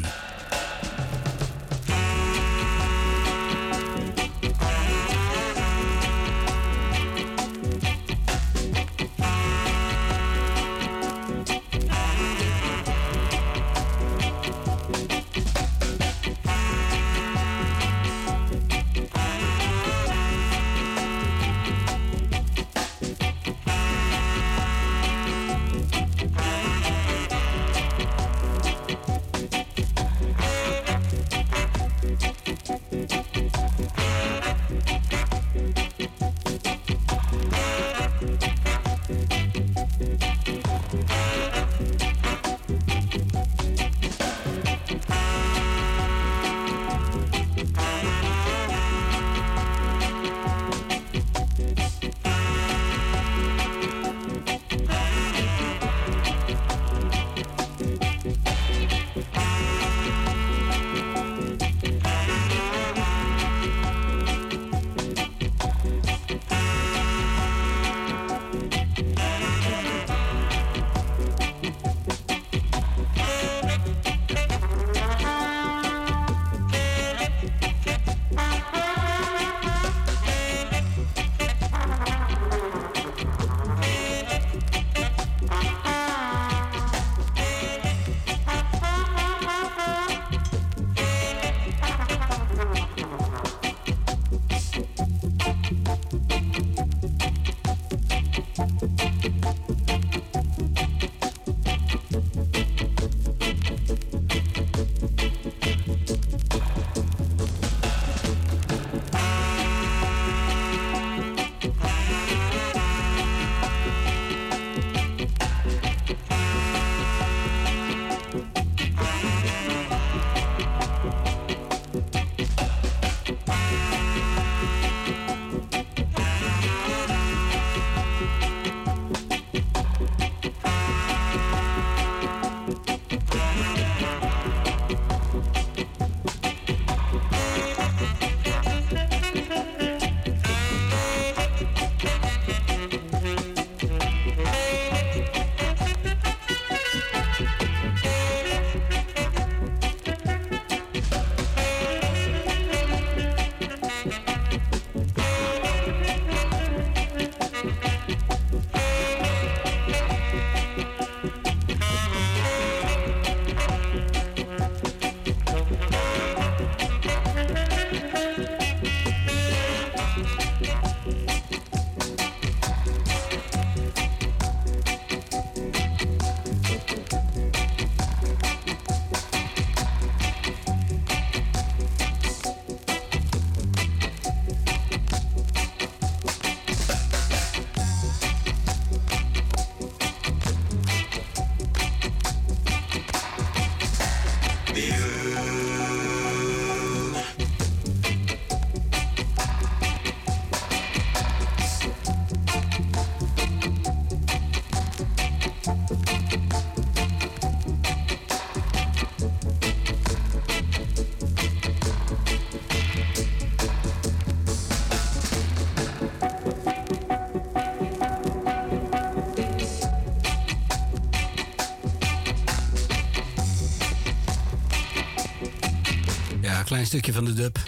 klein stukje van de dub.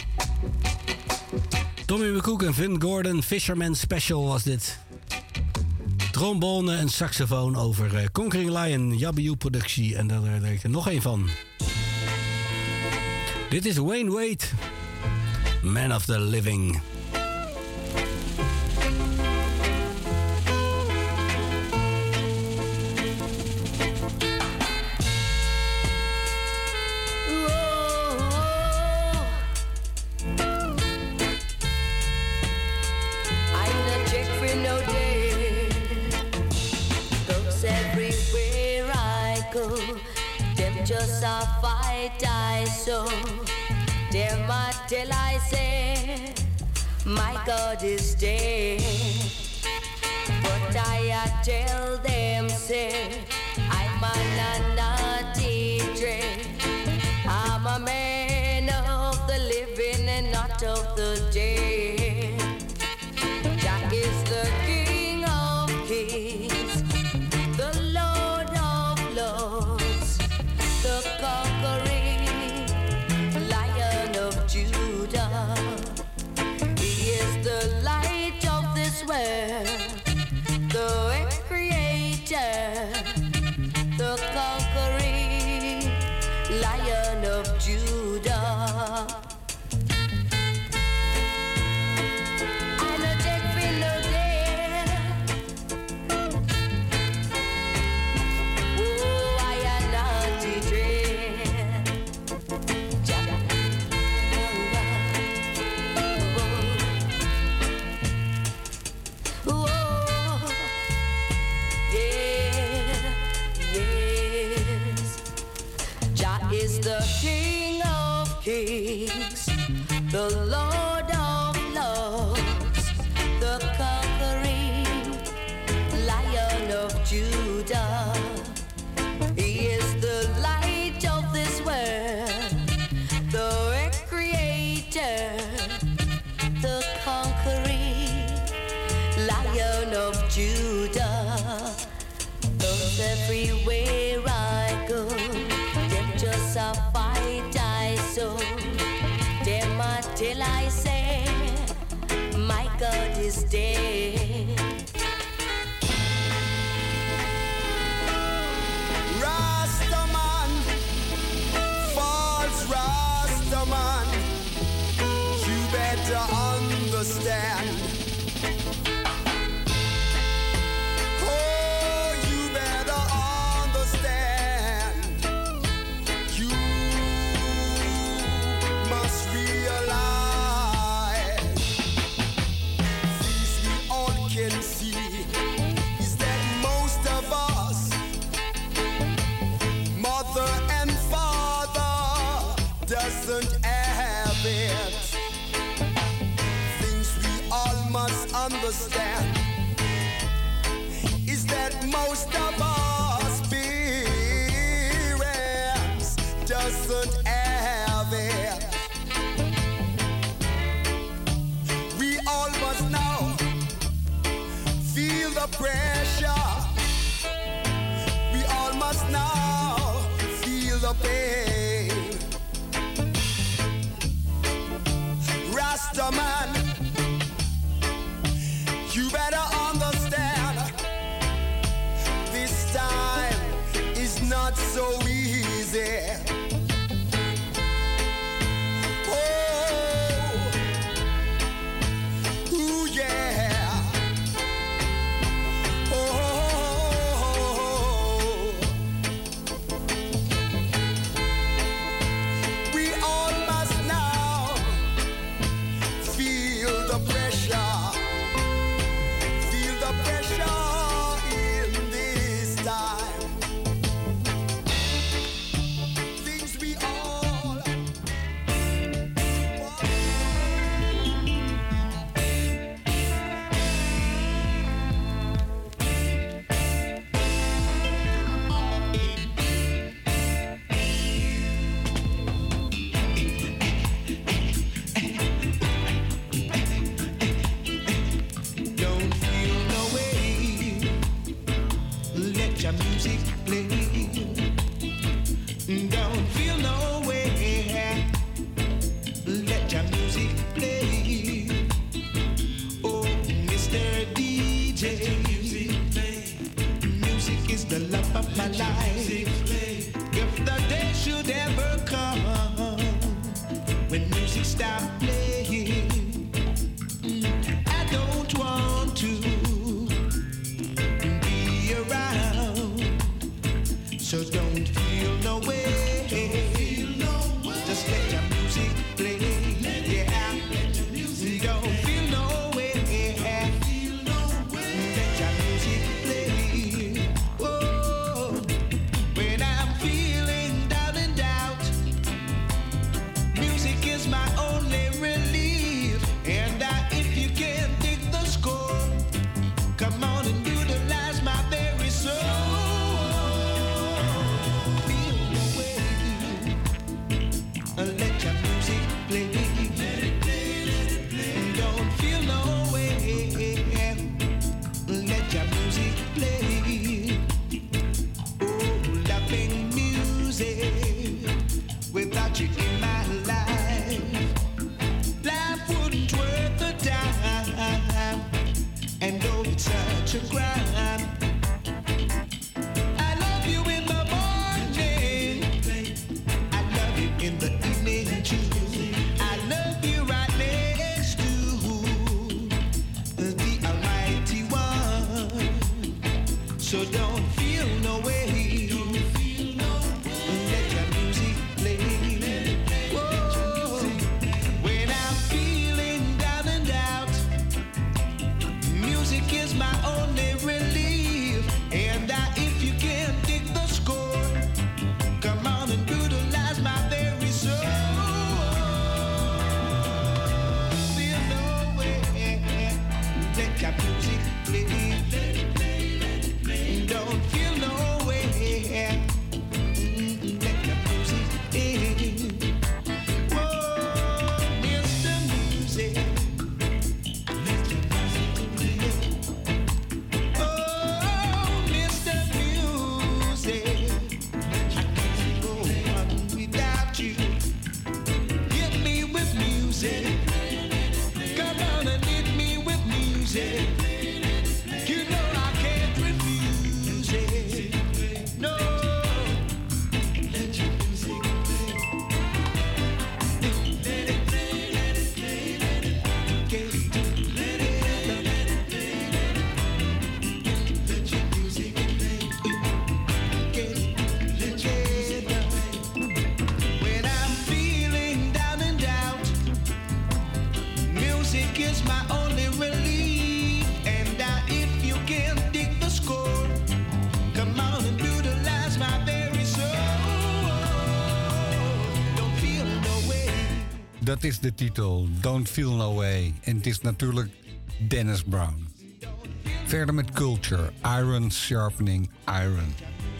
Tommy McCook en Vin Gordon, Fisherman Special was dit. Trombone en saxofoon over uh, Conquering Lion, Yabu productie. En daar er er nog één van. Dit is Wayne Wade, Man of the Living. Just a fight I saw. Them I tell I say, my God is dead. But I a tell them say, I'm a naughty dread. I'm a man of the living and not of the dead. Jack is the King of Kings, the Lord of Lords, the conquering Lion of Judah. He is the light of this world, the creator, the conquering Lion of Judah. I know Jack will know there. Oh, I am not the dread. Jack. Oh, oh, yeah, yes. Jah is the King of Kings, the Lord of Lords, the conquering Lion of Judah. He is the light of this world, the creator, the conquering Lion of Judah. Those everywhere I go, them just a fight I saw. Them until I say, my God is dead. Rastaman, false Rastaman, you better understand. Oh, you better understand. You must realize this we all can see is that most of us, mother and father, doesn't have it. Things we all must understand is that most of us parents doesn't have it. We all must now feel the pressure. We all must now feel the pain. Rastaman, you better understand, this time is not so easy. Oh, ooh, yeah. Oh, we all must now feel the pressure, feel the pressure in this time. The Don't feel no way. Just let your music play. Yeah. Don't feel no way. Let your music play. Oh, when I'm feeling down and doubt, music is my only relief. And I, if you can't dig the score, come on and utilize my very soul. Feel the way. Let your music play. Let it play, let it play. Don't feel no way. Let your music play. Oh, loving music. Without you in my life, life wouldn't worth the time. And though it's such a crime, I love you in the morning, I love you in the evening too. I love you right next to the Almighty One. So don't feel no way. Let your music play. Whoa. When I'm feeling down and out, music is my only relief. And I, if you can't dig the score, come on and utilize my very soul. Feel no way. Let your music play. Let it play, let it play. Don't feel no way. Let your music play. Whoa, Mister Music. Let your music play. Oh, Mister Music. I can't go on without you. Hit me with music. Come on and hit me with music. You know I can't refuse it. No. Let your music play. Let it play, let it play, let it play. Let it, let it play, let it. Let your music play. Let your music play. When I'm feeling down and out, music is my only relief. And I, if you can't dig the score, come on and utilize my very soul. Don't feel no way. Dat is de titel, Don't Feel No Way. En het is natuurlijk Dennis Brown. Verder met Culture, Iron Sharpening Iron.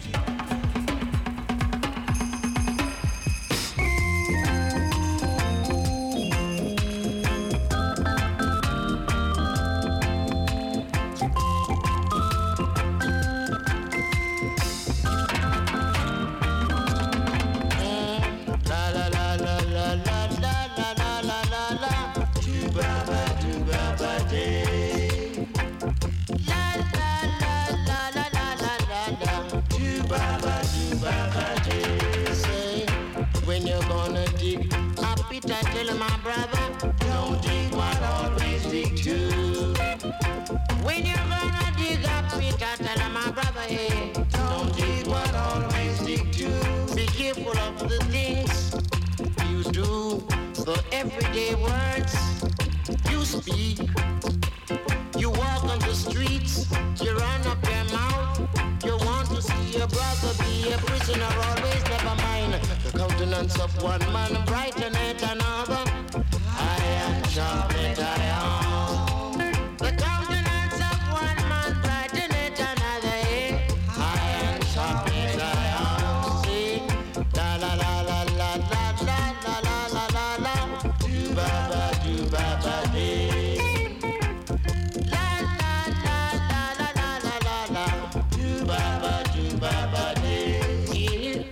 La la la la la la la la la la la la. Do ba ba do ba ba day. La la la la la la la la la. Do ba ba do ba ba day. Say when you're gonna dig a pit, I tell my brother, don't dig what always dig two. When you're gonna dig a pit, I tell my brother, hey, don't dig what always dig two. Be careful of the things you do, the everyday words you speak. You walk on the streets, you run up your mouth. You want to see your brother be a prisoner, always never mind. The countenance of one man brighteneth another. Iron sharpeneth iron. The countenance of one man brighteneth another. eh? Iron sharpeneth iron. See, la la la la la la la la la la la la. Do ba ba do ba ba dee. La la la la la la la la la. Do ba ba do ba ba dee.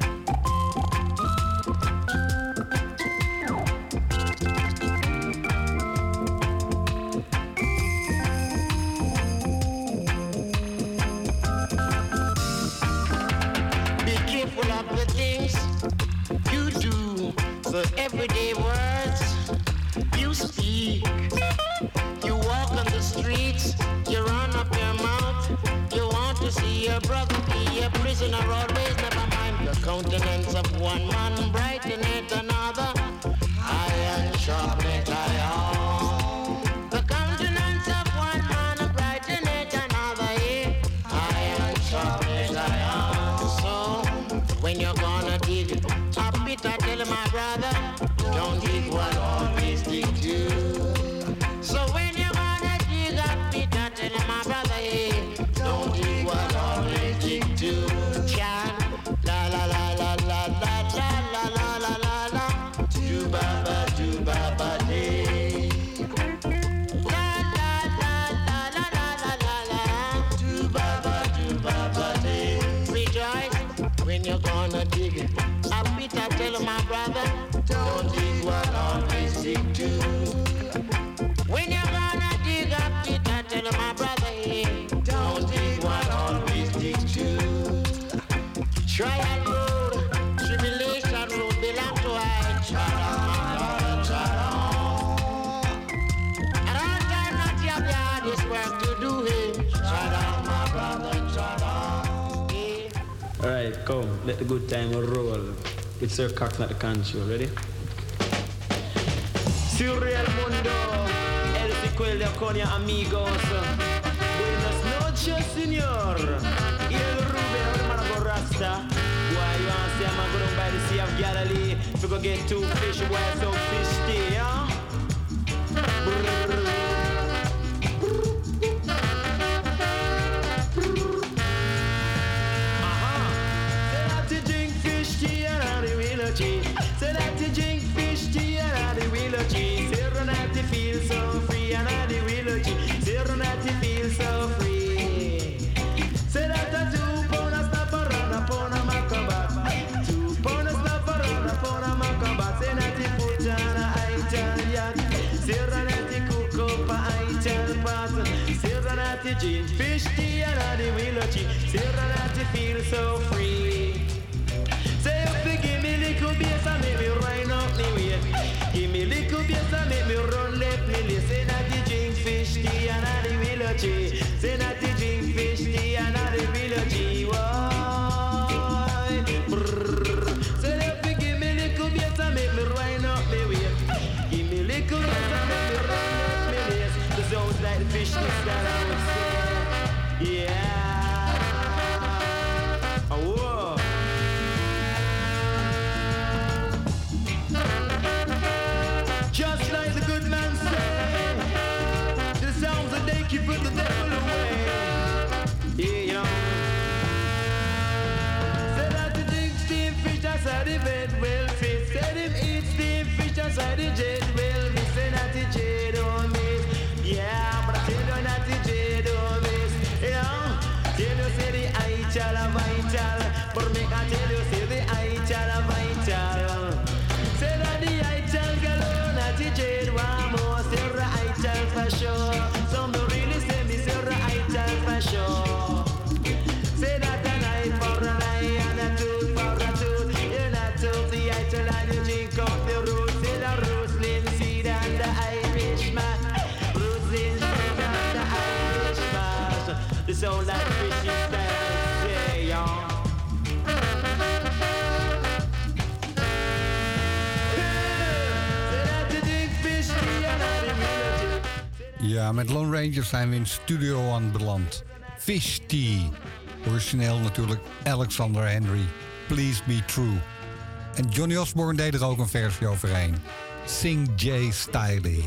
Be careful of the things you do, the everyday words you speak. You walk on the streets, you run up your mouth. You want to see your brother be a prisoner, always never mind. countenance of one man brighten it another. Iron sharpened iron. The countenance of one man brighten it another. Yeah. Iron sharpened iron. So when you're gonna dig a bit, I tell my brother, don't dig what always dig you. So when you're gonna dig a bit, I tell my brother, yeah, don't dig what always dig you. Can la la la la la la la la la la la la. Do baba do baba day. La la la la la la la la la. Do baba do baba day. Rejoice when you're gonna dig it. A bit I tell my brother, don't dig what always dig too. When you're gonna dig up it, I tell my brother, yeah, don't dig what always dig too. Trial road, tribulation road, belong to I. Shalom, my brother, shalom. And all time not your hardest work to do it. Shalom, my brother, shalom. Yeah. Alright, come, let the good time roll. With Sir Cox at the control, ready? Surreal Mundo, El Sequel de Aconia Amigos. Buenas noches, señor. Y el Ruben, hermano Rasta. Why you want to say I'm going by the Sea of Galilee? If you go get two fish, why so fish stay, huh? Say that you drink fish tea and I the wheel of cheese. Say that you feel so free and I the wheel of cheese. Say that you feel so free. Say that I two pound a snap around upon a macabat. Two pound a snap around upon a macabat. Say that you put on a Ital yacht. Say that you cook up a Ital pot. Say that you drink fish tea and I the wheel of cheese. Say that you feel so free. Say if you give me little bass and make me run up me way. Give me little bass and make me run left me lay. Say that you drink fish tea and I the willow tree. Say that you drink fish tea and I the willow tree. Why? Say if you give me little bass and make me run up me way. Give me little bass and make me run up me lay. The sounds like the fish sticks that I would say. Yeah. Oh. Just like the good man said, the sounds that they keep put the devil away. Yeah, you know. Said that the drink steam fish outside the bed will fit. Said him eat steam fish outside the jet will miss. Say that the jet don't miss. Yeah, but I tell you that the jet don't miss. You know, tell you say the Ital a vital. But make I tell you say the Ital a vital. Say that the Ital galore. Jade one more, Sarah Ital for sure. Some don't really say me Sarah Ital for sure. Say that an eye for an eye and a tooth for a tooth. You're not tooth the Ital and you drink up the roots. Say the Roslyn seed and the Irishman. Roslyn seed and the Irishman. The sound like fishy style, say y'all. Ja, met Lone Rangers zijn we in Studio One beland. Fish Tea. Origineel natuurlijk Alexander Henry. Please Be True. En Johnny Osborne deed er ook een versie overheen. Sing J Stiley.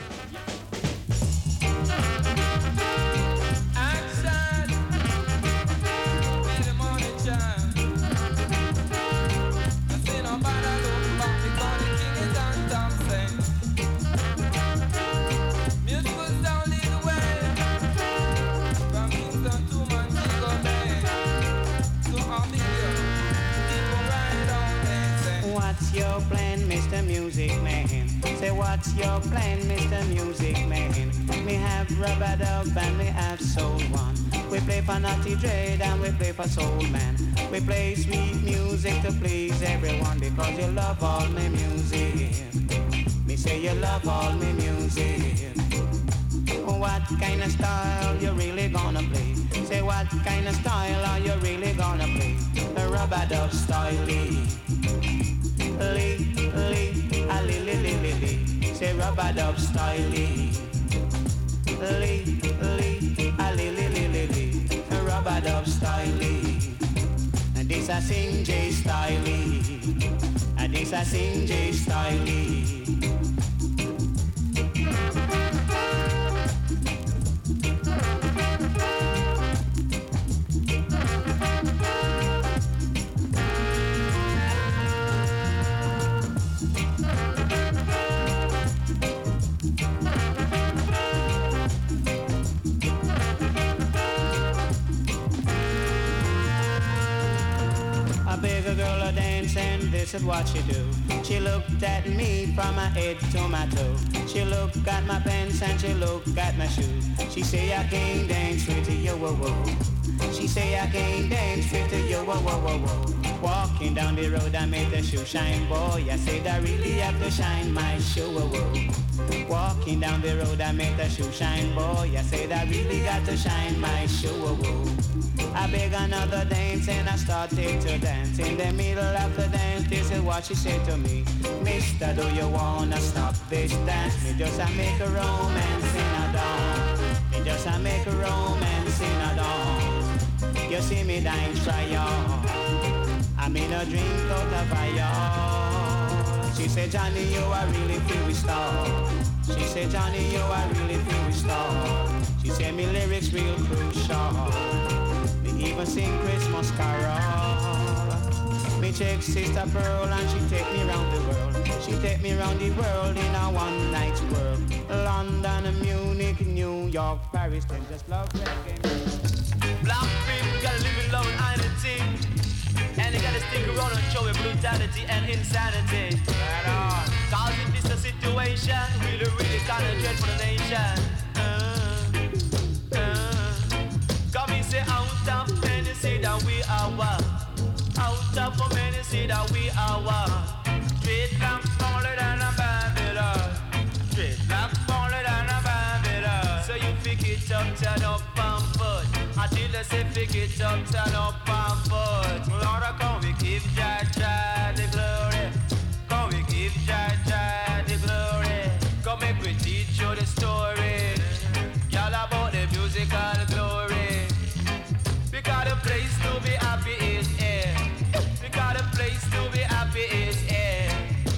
Mister Music Man, say what's your plan, Mister Music Man? Me have Rubber Dub and me have Soul One. We play for Naughty Dread and we play for Soul Man. We play sweet music to please everyone because you love all my music. Me say you love all my music. what kind of style you really gonna play. Say what kind of style are you really gonna play? The rub-a-dub style. Lee, lee, lee, a lee, lee, lee, lee, lee. Say rub-a-dub style. Lee, lee, lee, a lee, lee, lee, lee, lee. Rub-a-dub style. Lee. And this a sing J style. Lee. And this a sing J style. Lee. This is what she do. She looked at me from my head to my toe. She looked at my pants and she looked at my shoes. She say I can't dance with you, whoa, whoa. She say I can't dance with you, whoa, whoa, whoa, whoa. Walking down the road I made the shoe shine, boy. I said I really have to shine my shoe, whoa, whoa. Walking down the road I made the shoe shine, boy. I said I really got to shine my shoe, whoa, whoa. I beg another dance and I started to dance. In the middle of the dance, this is what she said to me. Mister, do you wanna stop this dance? Me just a make a romance in a dawn. Me just a make a romance in a dawn. You see me dance, try on. I made a drink out of fire. She said, Johnny, you are really feel star. She said, Johnny, you are really feel star. She said, me lyrics real crucial. Even sing Christmas carol. Me check Sister Pearl and she take me round the world. She take me round the world in a one night world. London, Munich, New York, Paris, them just love reggae. Black people gotta live in love and identity, and they gotta stick around and show with brutality and insanity. Right on. Cause if this a situation, really, really kinda dread for the nation. Uh, uh. Come and say out of many say that we are one. Out of many say that we are one. Dreadlock smaller than a Babylon. Dreadlock smaller than a Babylon. So you pick it up, turn up and foot. Until they say pick it up, turn up and foot. Lord, come we give Jah Jah the glory. Come we give Jah Jah the glory. Come make we teach you the story. Y'all about the musical glory. Because the place to be happy is here. Because the place to be happy is here.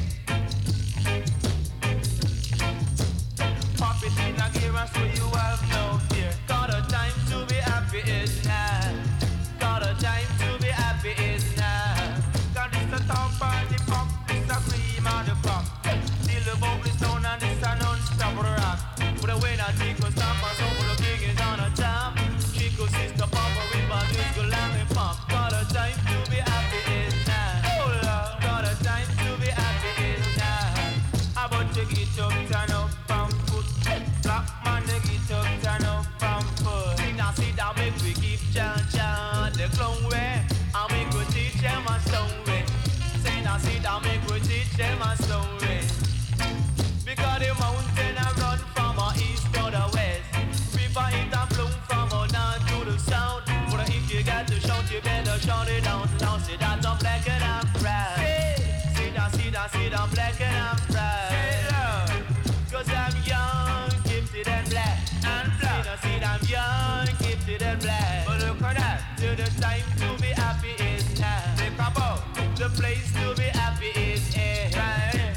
Pop it in a gear so you have no fear. Got a time to be happy is now. Got a time to be happy is now. Got this a top and the pop, this a cream and the pop. Till the bubble stone and this a non-stop rock. But the way I take a stop and some of the king is on a top. Chico sister papa with my disco lamb and pop. Got a time to be happy is now. Oh Lord, got a time to be happy is now. How about you get up, turn up and foot. Black man, they get up, turn up and foot. Sing and sit down, make we give Jah Jah the clown way. And we could teach them a story. Sing and sit down, make we teach them a story. Because the mountain a run from our east to the west. River it a flow from our north to the south. But if you got to shout, you better shout it down. Down, sit down, don't black and I'm proud. Sit down, sit down, sit down, black and I'm proud. Cause I'm young, gifted and black. And black. Sit down, sit down, young, gifted and black. But look at that, till the time to be happy is now. Think about the place to be happy is here. Right.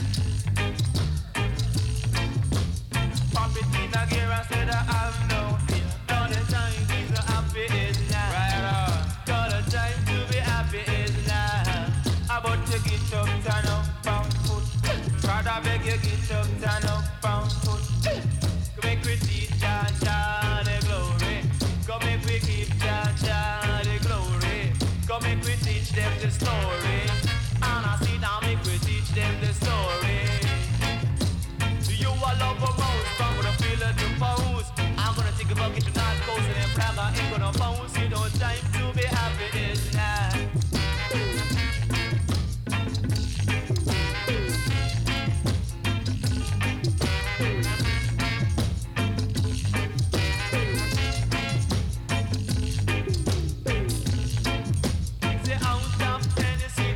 Pop it in a gear and said I have no fear. Got a time to be happy is now. Right on. Got a time to be happy is now. About to get up, turn up and foot. Rather beg you get up, turn up and foot. Come make we teach Jah Jah the glory. Come make we give Jah Jah the glory. Come make we teach them the story. And I sit down, make we teach them the story. You all love a mouse, from gonna feel it to pose. I'm gonna take a bucket to North Coast and then Praga ain't gonna bounce. You know time to be happy is now.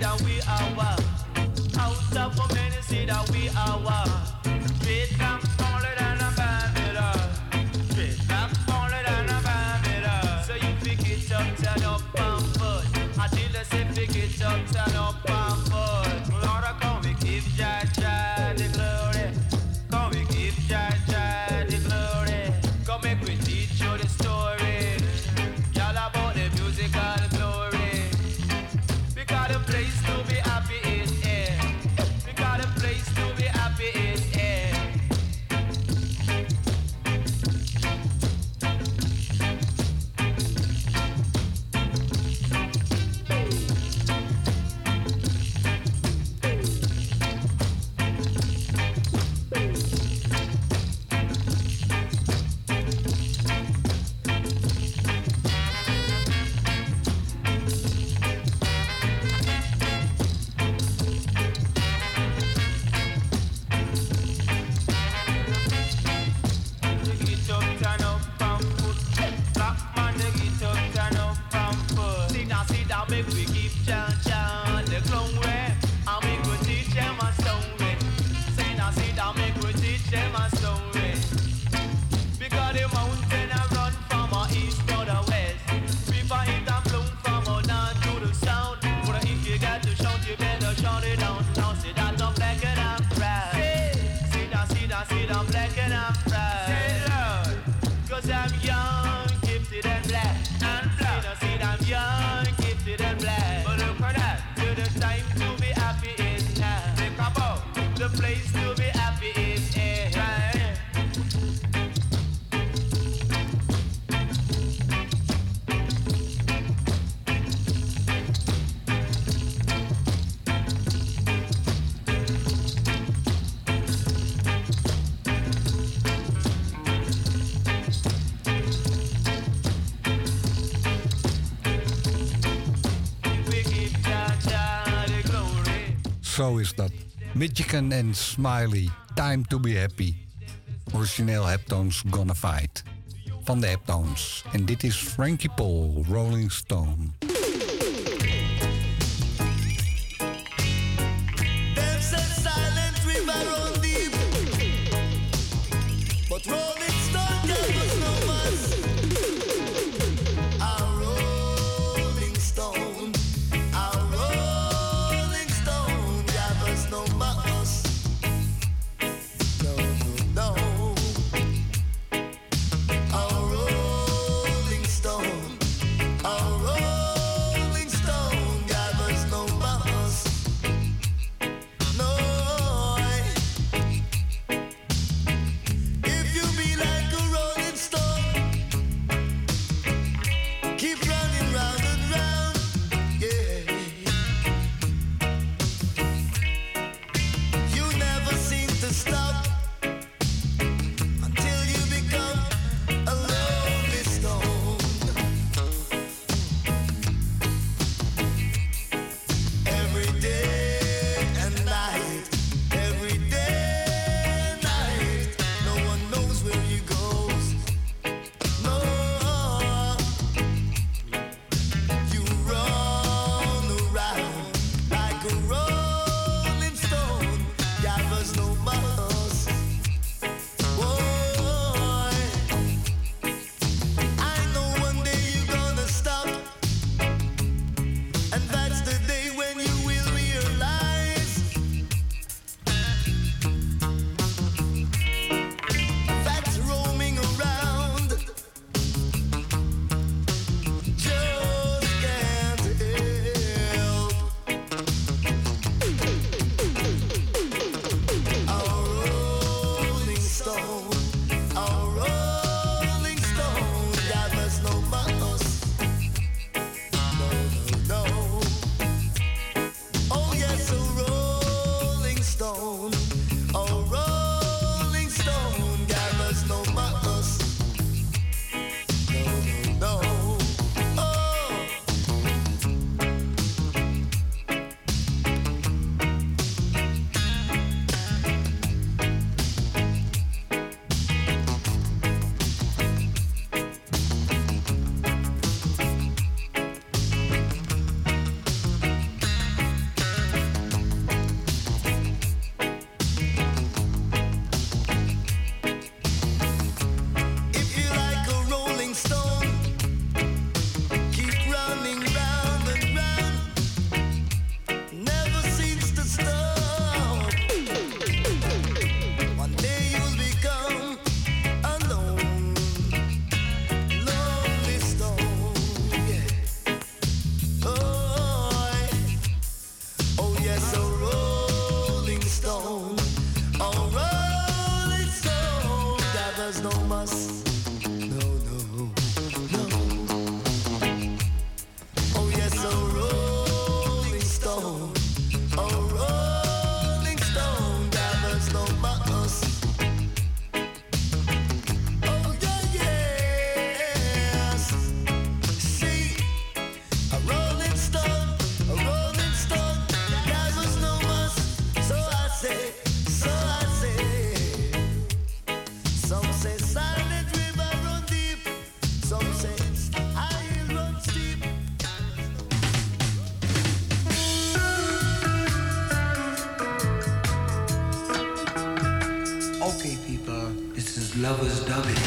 that we are one. Out of a many say that we are one. Vietnam smaller than a Babylon. Vietnam smaller than a Babylon. So you pick it up, turn up and foot. Until they say pick it up, turn up and foot. Lord, come we give Jah Jah the glory. Come we give Jah Jah the glory. Come make we teach you the story. Y'all about the musical glory. Because the place to be happy is here. Because the place to be happy is here. Zo is dat. Michigan en Smiley, Time to be Happy. Origineel Heptones Gonna Fight. Van de Heptones. En dit is Frankie Paul, Rolling Stone. There's a silent river run deep, but Rolling Stone gave us no us. A Rolling Stone, a Rolling Stone gave us no us. No, no, no. A Rolling Stone, a Rolling no muss. No, no, no. Oh yes, a rolling stone. A rolling stone gathers no muss. Oh yeah, yes. See, a rolling stone, a rolling stone gathers no muss. So I say, so I say. Some say silent river run deep. Some say I run steep. Okay, people, this is Lovers Dubbing.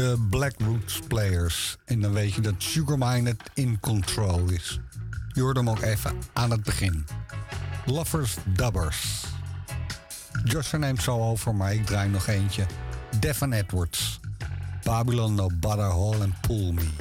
de Black Roots Players. En dan weet je dat Sugarmined in control is. Je hoort hem ook even aan het begin. Lovers Dubbers. Joshua neemt zo over, maar ik draai nog eentje. Devon Edwards. Babylon No Butter Hole and Pull Me.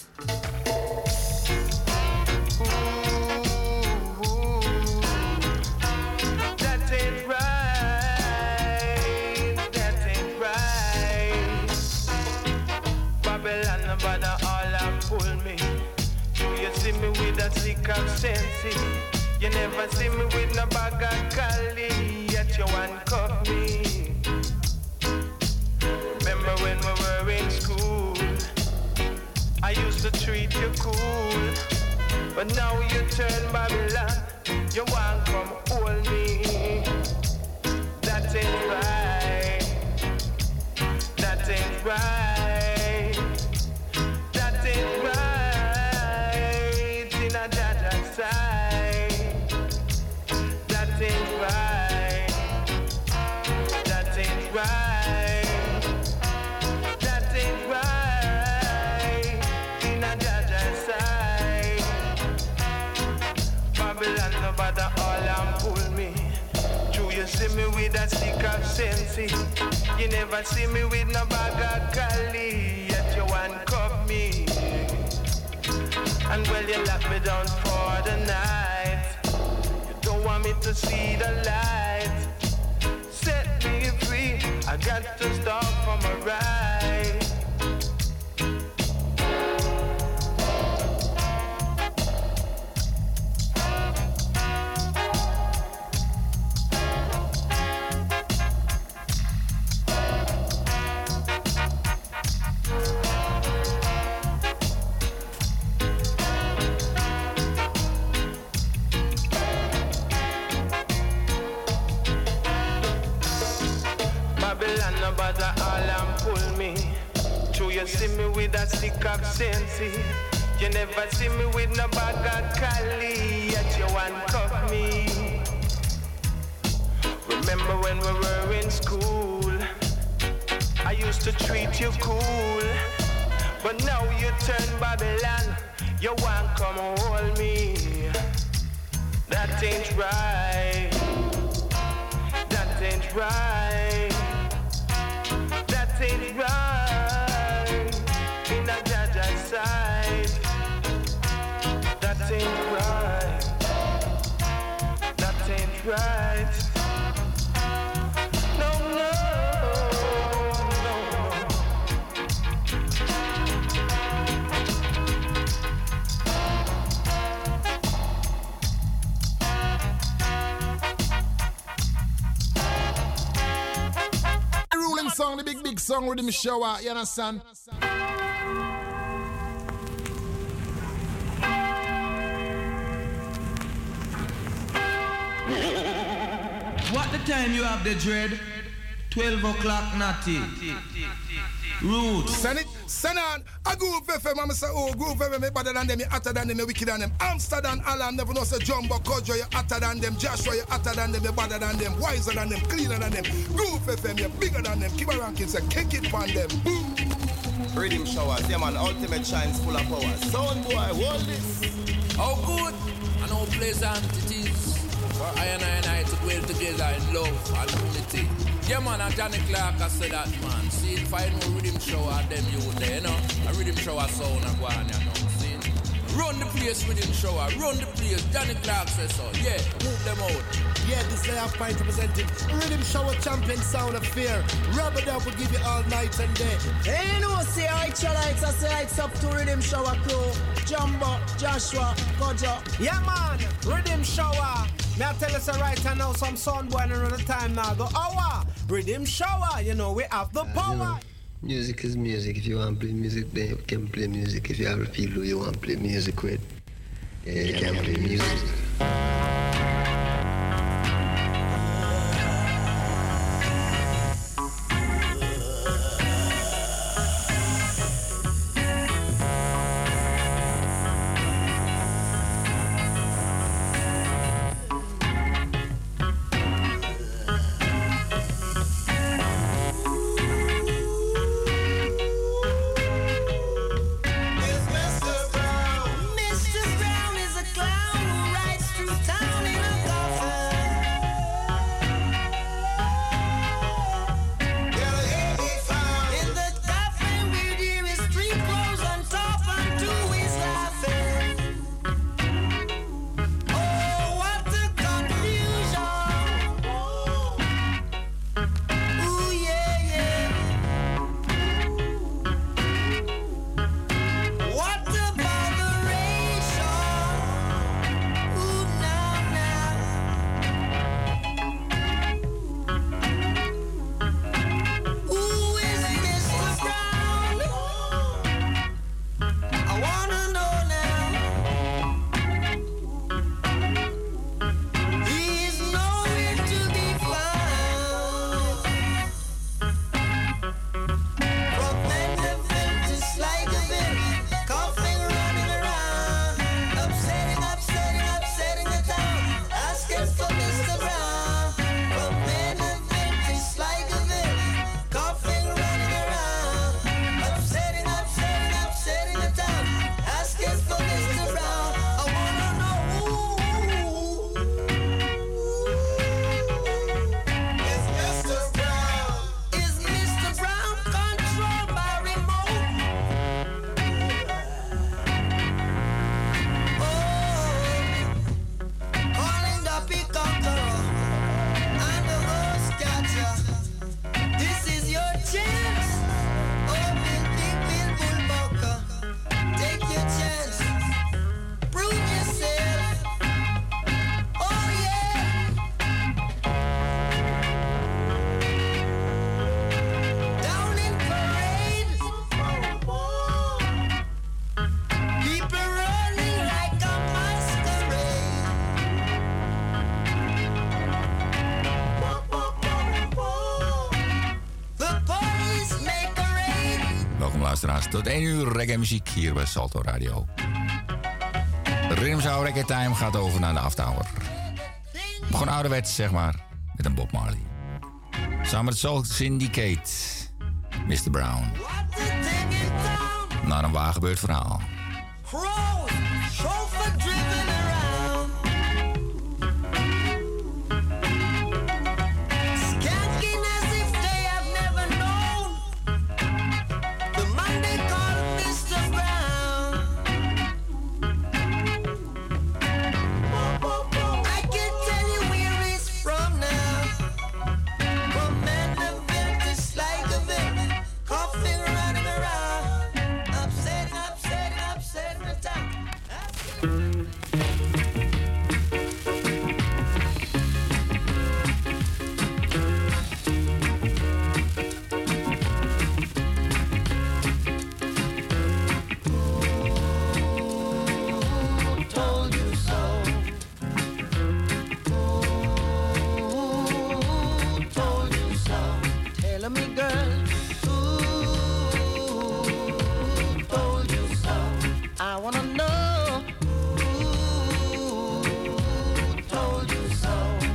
Stick of sense. You never see me with no bag of cali, yet you handcuff me. Remember when we were in school, I used to treat you cool, but now you turn Babylon, you want come hold me. That ain't right, that ain't right, that ain't right. That ain't right. That ain't right. That ain't right. In a Jaja side. Babylon no bother all and pull me. True, you see me with a stick of sense. You never see me with no bag of cali, yet you handcuff me. And well, you lock me down for the night. You don't want me to see the light. Set me free, I got to stop from a ride. Bother all and pull me. True, you see me with a stick of sense. You never see me with no bag of cali, yet you handcuff me. Remember when we were in school, I used to treat you cool, but now you turn Babylon, you want come hold me. That ain't right. That ain't right. That ain't right. In a Jaja side. That ain't right. That ain't right. No, no, no. The ruling song, the big, big song with the shower, you understand? What the time you have the dread? twelve o'clock natty. Roots. Send it, send on. A Groove F M, I'm say, oh, Groove F M, me better than them, you hotter than them, you wicked than them. Amsterdam, Alan, never know say Jumbo, Kojo, you hotter than them. Joshua, you hotter than them, you better than them. Wiser than them, cleaner than them. Groove F M, you bigger than them. Keep a ranking, say, kick it on them. Boom. Rhythm showers, yeah man, ultimate shines full of power. Sound boy, hold this. How good and how pleasant it is for I and I and I to dwell together in love and unity. Yeah man, and Johnny Clark I said that man. See, if I know rhythm shower, them you there, you know. A rhythm shower sound and go on, you know. See, run the place rhythm shower, run the place. Johnny Clark says so. Yeah, move them out. Yeah, this day I've point representing Rhythm Shower Champion Sound of Fear. Rubber Dub will give you all night and day. Hey, you know, say I lights, I say it's up to Rhythm Shower crew. Jumbo, Joshua, Kojo. Yeah, man, Rhythm Shower. May I tell us right now, some sound boy another time now. The hour, Rhythm Shower, you know, we have the power. You know, music is music. If you want to play music, then you can play music. If you have a feel who you want to play music with, yeah, you can play music. luisteraars. Tot één uur reggae muziek hier bij Salto Radio. De Rhythm Show Reggae Time gaat over naar de aftower. Begon ouderwets, zeg maar, met een Bob Marley. Samen met Soul Syndicate, mister Brown. Naar een waargebeurd verhaal. Crows, chauffeur driven around. Skanking as if they have never known. The man they call mister Brown. I can tell you where he's from now. From Mandeville to Sligoville, coughing, running around. Upset, upset, upset the town. Who told you so? Who told you so? Tell me, girl. Who told you so? I wanna know. Who told you so?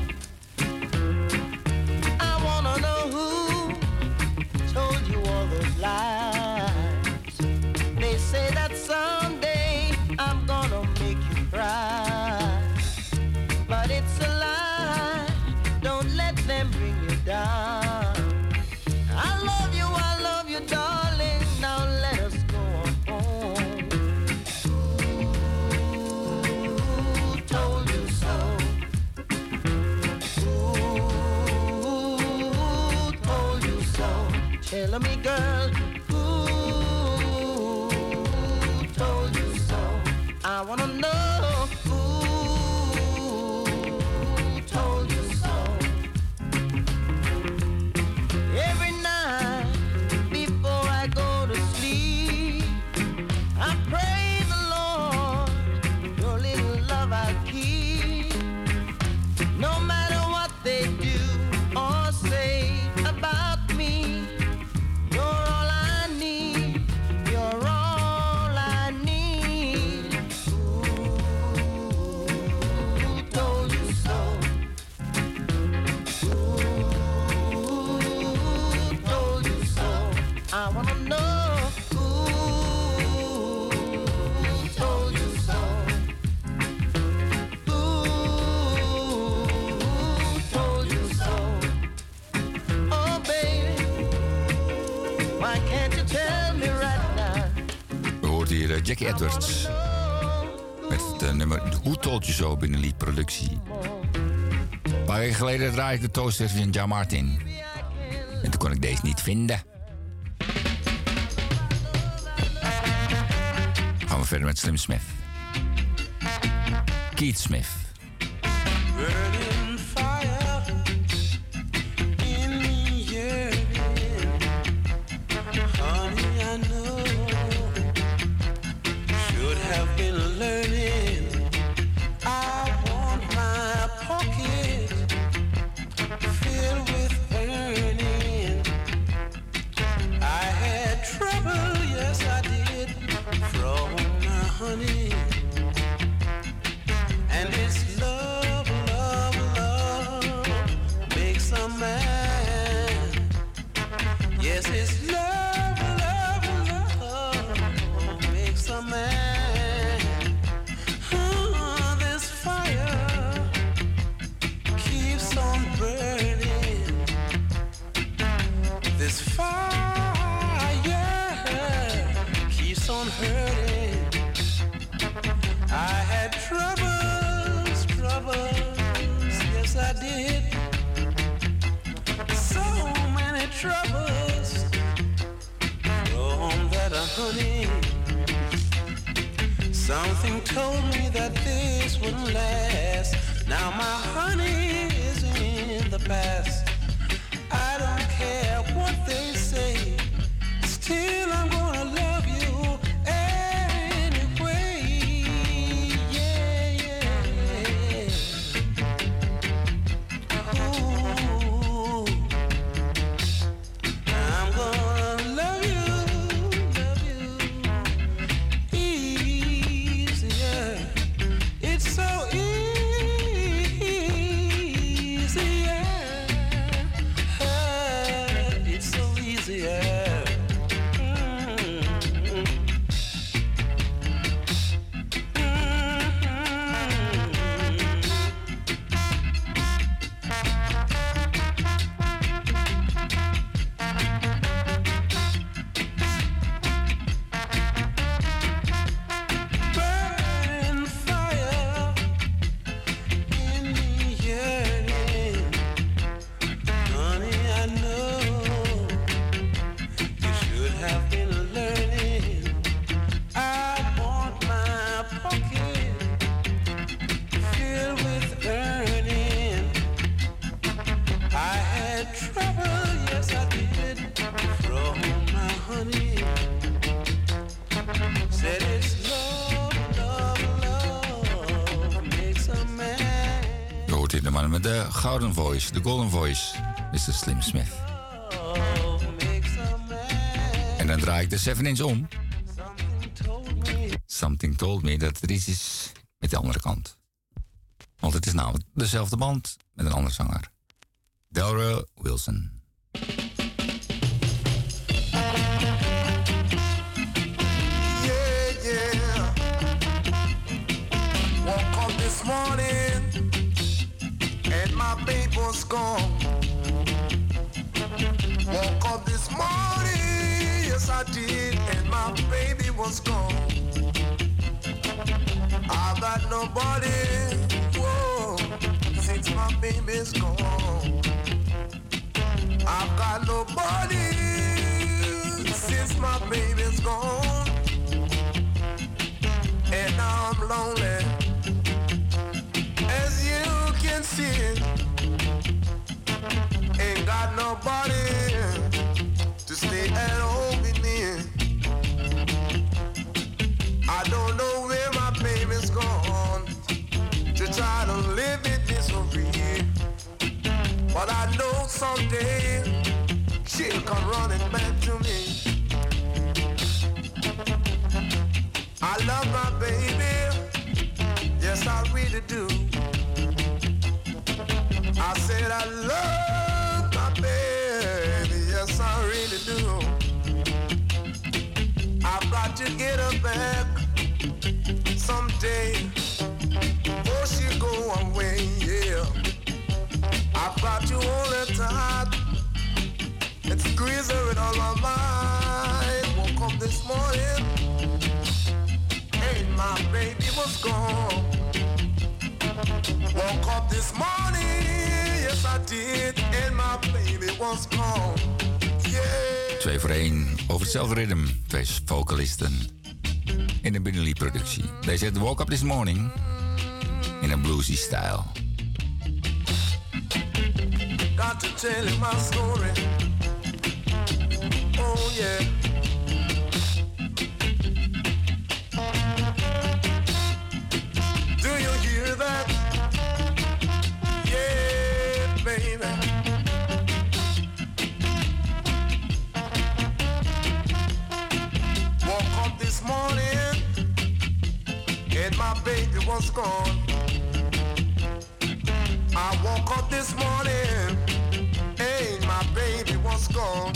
I wanna know who told you all those lies. They say that someday I'm gonna make you cry, but it's a lie. Don't let them bring you down. I love you, I love you, darling. Now let us go on home. Who told you so? Who told you so? Tell me, girl. Who told you so? I wanna know. Who told you so? Every night before I go to sleep, I pray the Lord your little love I keep. No matter what they do or say about me, you're all I need. You're all I need. Who told you so? Who told you so? I wanna know. Who told you so? Who told you so? Oh baby, why can't you tell me right now? We hoort hier eh, Jackie Edwards. Met het eh, nummer Who Told You So binnen Lied Productie. Een paar weken geleden draaide ik de toaster van John Martin. En toen kon ik deze niet vinden. Gaan we verder met Slim Smith. Keith Smith. Burning fire in me yearning. Honey, I know should have been learning. I want my pocket filled with burning. I had trouble, yes I did, from my honey. And it's love, love, love makes a man. Yes, it's love, love, love makes a man. Oh, this fire keeps on burning. This fire keeps on hurting. I had troubles, troubles, yes I did. So many troubles from that honey. Something told me that this wouldn't last. Now my honey is in the past. I don't care what they say, still I'm gonna love you anyway. Yeah, yeah. Ooh, I'm gonna love you, man met de gouden voice, de golden voice, mister Slim Smith. En dan draai ik de seven inch om. Something told me dat er iets is met de andere kant. Want het is namelijk dezelfde band met een andere zanger. Delroy Wilson. Yeah, yeah. Woke up this morning and my baby was gone. Woke up this morning, yes I did, and my baby was gone. I got nobody, whoa, since my baby's gone. I got nobody since my baby's gone. And now I'm lonely, as you can see. Ain't got nobody to stay at home with me. I don't know where my baby's gone to try to live in misery. But I know someday she'll come running back to me. I love my baby, yes I really do. I said I love my baby, yes I really do. I've got to get her back someday, before she go away, yeah. I've got to hold her tight and squeeze her with all my might. Woke up this morning and my baby was gone. Woke up this morning, yes I did, and my baby was gone. Yeah. Twee voor één over hetzelfde ritme. Twee vocalisten in een Benelli productie. Deze heet Woke Up This Morning in een bluesy stijl. Got to tell you my story. Oh yeah. Do you hear that? Yeah, baby. Woke up this morning and my baby was gone. I woke up this morning and my baby was gone.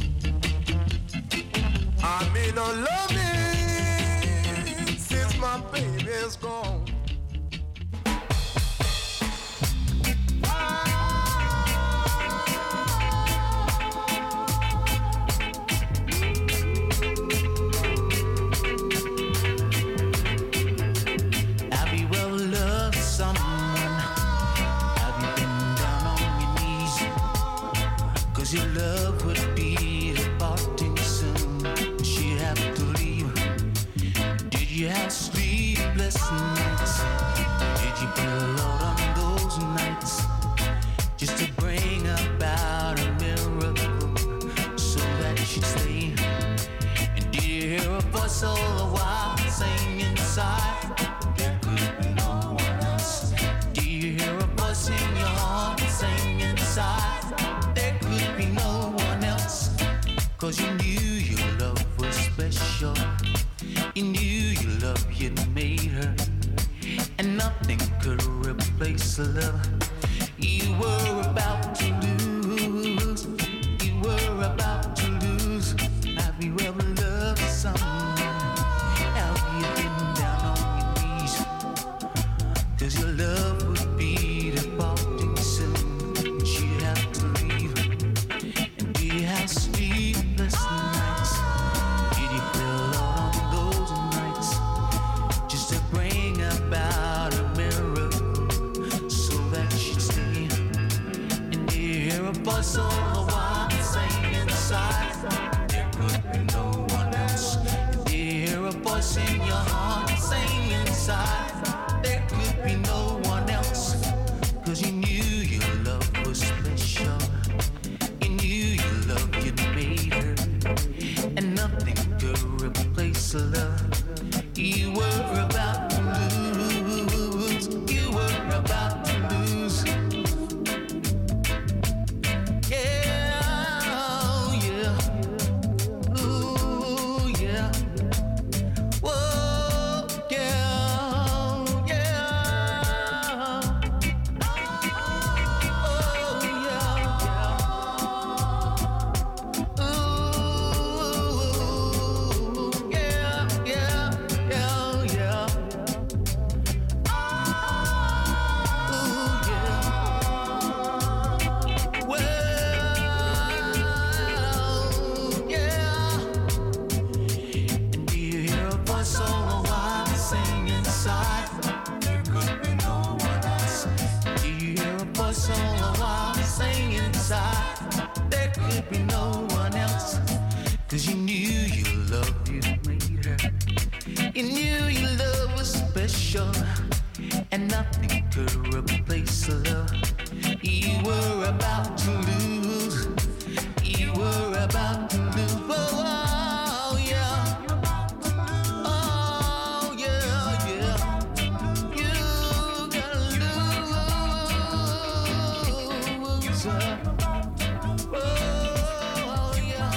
I'm in a loving since my baby's gone. Have you ever loved someone? Have you been down on your knees? 'Cause your love would be departing soon. She'd have to leave. Did you have sleepless nights? Did you put a lot on those nights just to bring about a miracle so that she'd stay? And did you hear a voice all the while saying inside there could be no one else? Do you hear a voice in your heart saying inside there could be no one else? 'Cause you knew your love was special. You knew your love, you'd made her, and nothing could replace no one else. Cause you knew your love you made her. You knew your love was special, and nothing could replace the love you were about to lose. You were about to lose. Oh, oh yeah. Oh yeah, yeah. You gotta lose her. Oh yeah.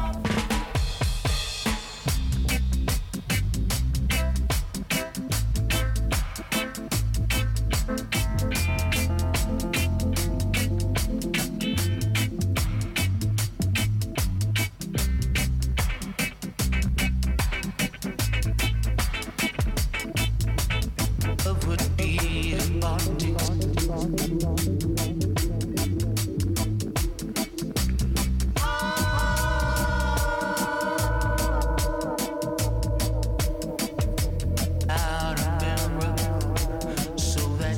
Love would be the body. Out of mirror, so that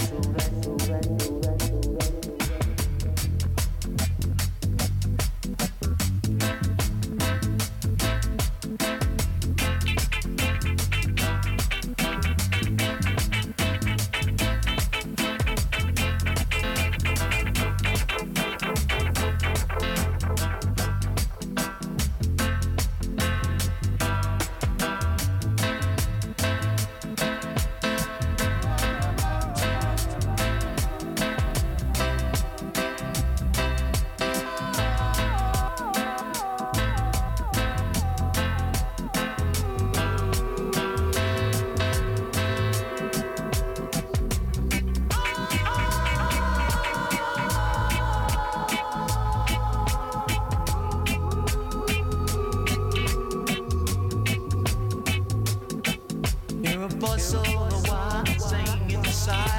you're a voice all the while saying inside.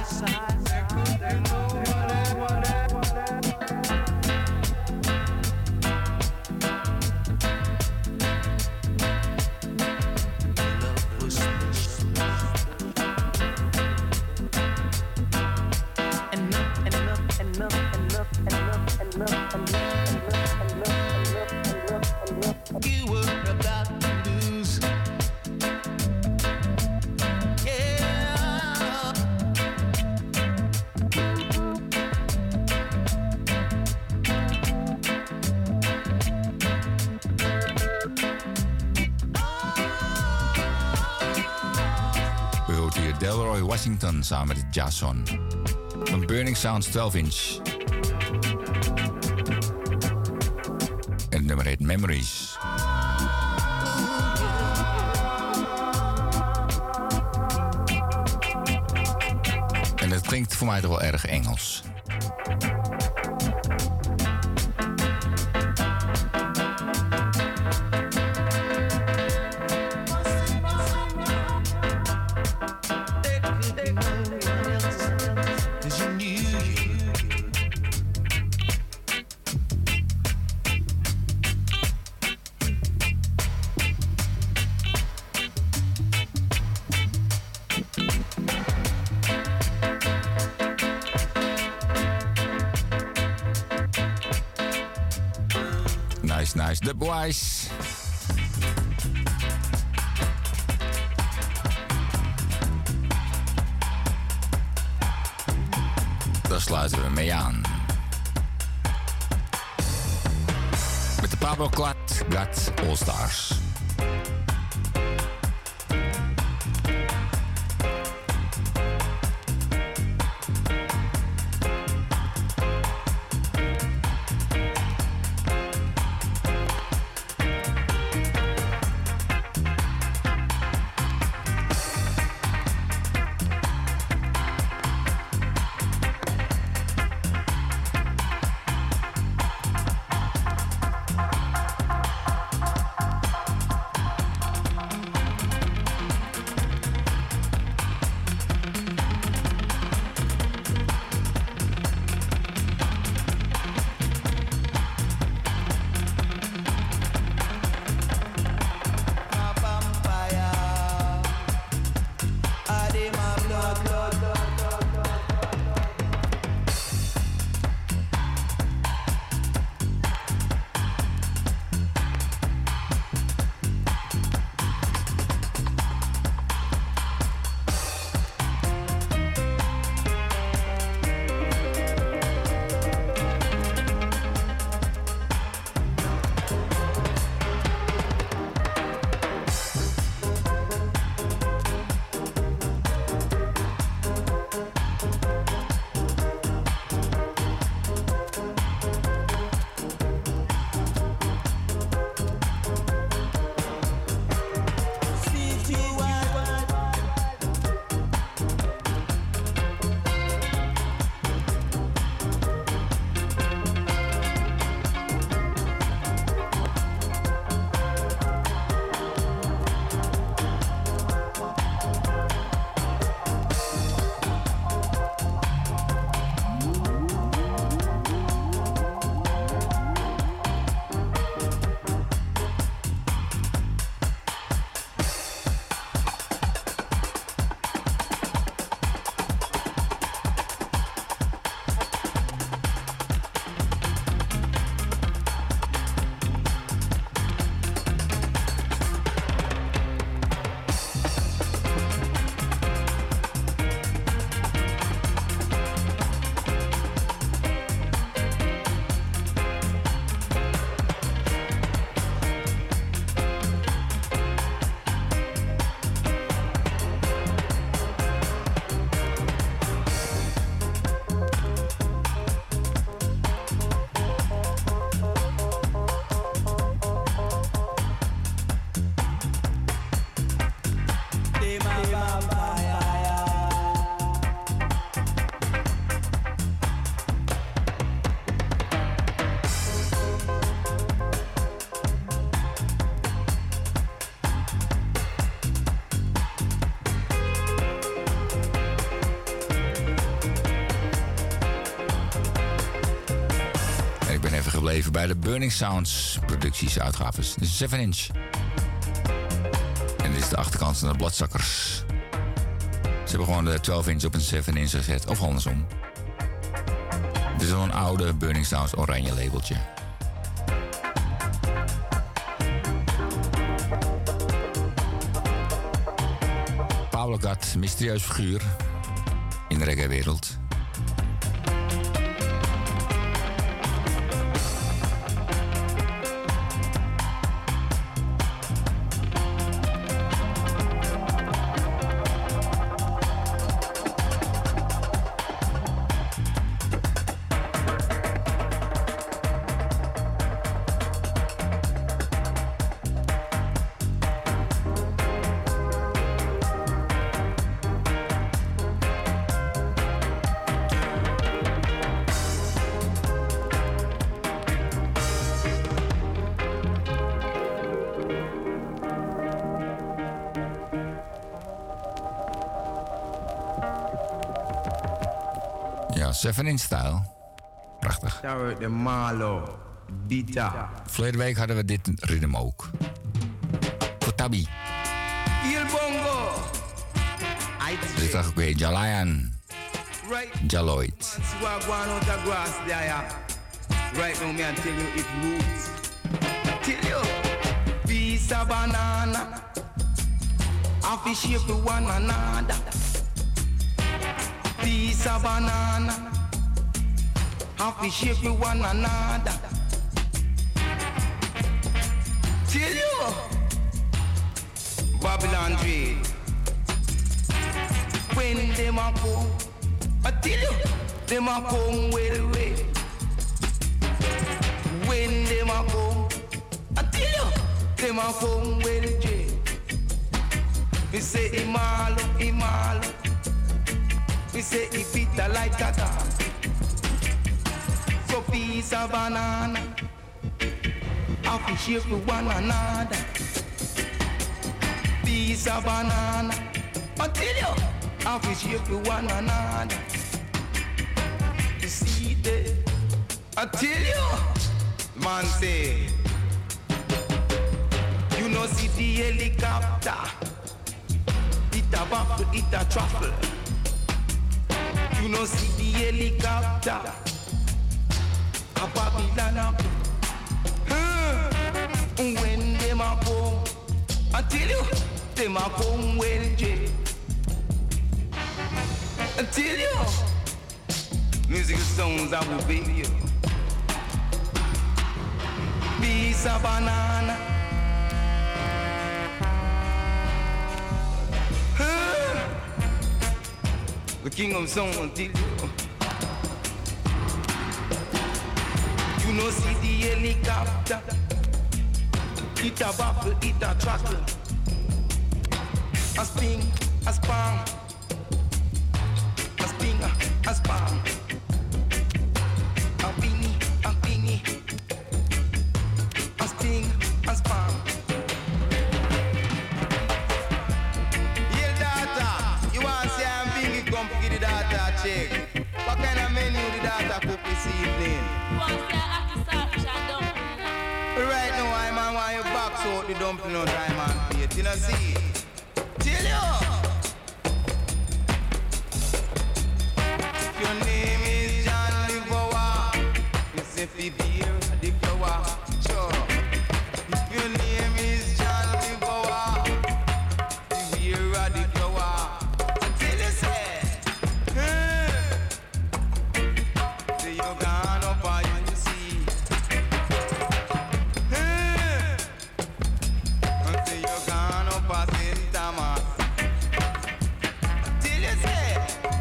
Love was special. Enough, enough, enough, enough, enough, enough, enough, enough, enough, enough. You were about to lose. Yeah. U hoort hier Delroy Washington samen met Jason. Van Burning Sounds twaalf inch. En het nummer heet Memories. En het klinkt voor mij toch wel erg Engels. Cause you knew you. Nice, nice. The Boys. Daar sluiten we mee aan. Met de Pablo Clat Gat All Stars. bij de Burning Sounds producties uitgaves. Dit is zeven inch. En dit is de achterkant van de Bloodsuckers. Ze hebben gewoon de twaalf inch op een zeven inch gezet, of andersom. Dit is al een oude Burning Sounds oranje labeltje. Pablo Gat, mysterieus figuur in de reggae-wereld. seven inch style. Prachtig. De Malo, Bita. Verleden week hadden we dit ritme ook. Kotabi. Il Bongo. Dit is ook weer Jalayan. Jaloid. Right now, me I tell you it roots. Tell you, piece of banana. I fish shape with one another. Piece of banana. I fish shape with one another. Tell you, Babylon trade. When them a come, I tell you, them a come well way. When them a come, I tell you, them a come well way. Me say Imalo, Imalo. Me say it bitter like tata. So piece of banana, I fish shape with one another. Piece of banana, I tell you, I fish shape with one another. You see that? I tell you, man say, you know see the helicopter, it a buckle, it a truffle. You know see the helicopter, a Babylon up. Huh. When them a come, I tell you, them a come well J. I tell you, musical songs I will be you. Piece of banana. Huh. The king of songs tell you. You know see the helicopter. It a buckle, it a truckle. A spin, a span. A spin, a span. A bingy, a bingy. A spin, a span. Yeah, data. You want to say I'm bingy, come get the data check. What kind of menu the data cook this evening? Right now, I'm on why you box out the dumpling on time and plate. You know, see? Tell you. If your name is John Livowa, you say fi beer the flower. Sure. If your name is John Livowa, the beer of the flower. Tell you, say, hey. Say you gone up and you see. Hey. Until you gone up a Saint Thomas. Till you say,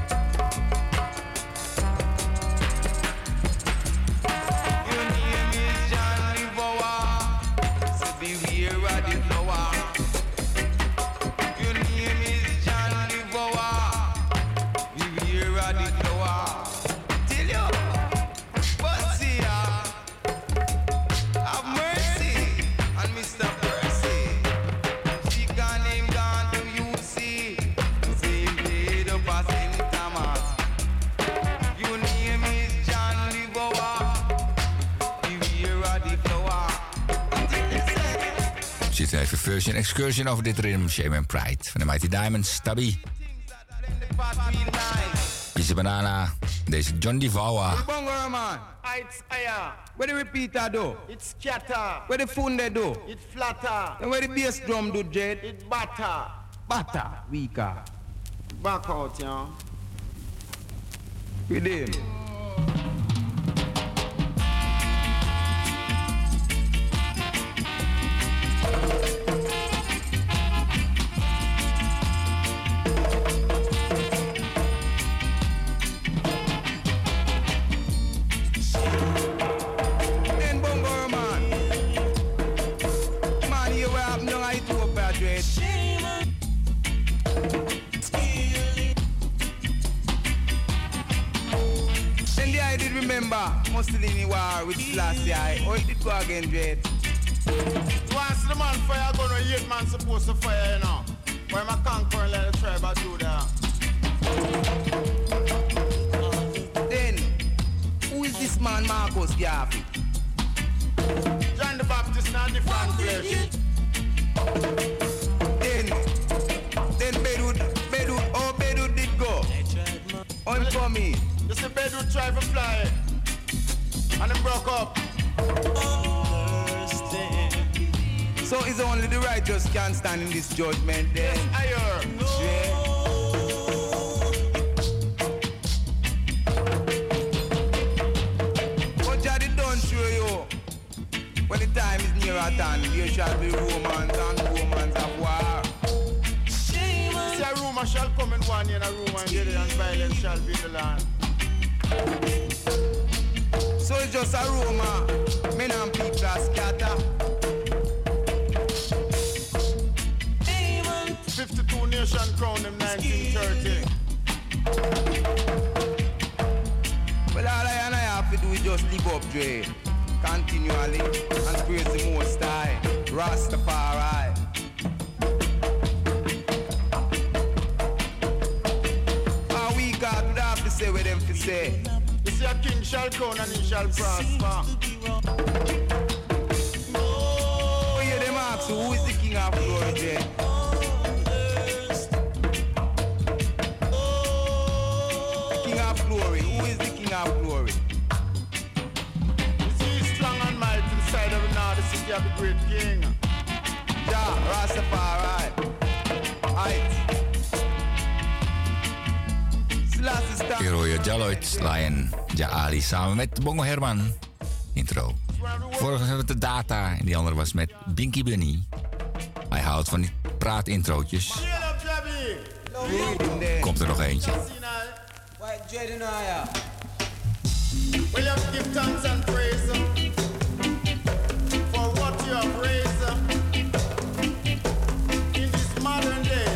your name is John Livowa, so beware of the flower. Your name is John Livowa, beware of the flower. Till you, but see ya, have mercy on Mister Percy. She gone, him gone to you see. Say him played up a Saint Thomas. Your name is John Livowa, beware Zit er even version excursion over dit ritme. Shame and Pride van de Mighty Diamonds. Tabi. Pizza Banana. Deze John Divawa. Bongo man. It's higher. Where the repeater do? It's scatter. Where the funde do? It flatter. And where the bass drum do, Jet? It batter. Batter. Weaker. Back out, yeah. With him. Remember, Mussolini war with Selassie. How it did go again, Dread? Once the man fire gun, a eight man supposed to fire, you know. Why my conquer let the tribe I do that? Then, who is this man, Marcus Garvey? John the Baptist, not different flesh. Then, then Bedwood, Bedwood, oh Bedwood did go. I'm coming. You see Bedwood try to fly and it broke up. So it's only the righteous can stand in this judgment then. Yes, I heard. Yeah. What Jaddy done show you? When the time is near at hand, there shall be romance and romance of war. See, a rumor shall come in one year, and a rumor in the other, and violence shall be the land. So it's just a rumor. Men and people are scatter. fifty-two nation crown in nineteen thirty. Well, all I and I have to do is just live up, Dre. Continually and praise the Most High. Rastafari. A week out, we have to say what them to say. You see a king shall crown and he shall prosper. Oh, yeah, them ask who is the king of glory, Dre? King of glory. Who is the king of glory? You see he's strong and mighty inside of the north, the city of the great king. Ja, Rastafari. Aight. Hier hoor je Jaloid, Lion, Ja Ali samen met Bongo Herman. Intro. Vorige hadden we de Data en die andere was met Binky Bunny. Hij houdt van die praatintrootjes. Komt er nog eentje. Well, you have to give thanks and praise for what you have raised in these modern days.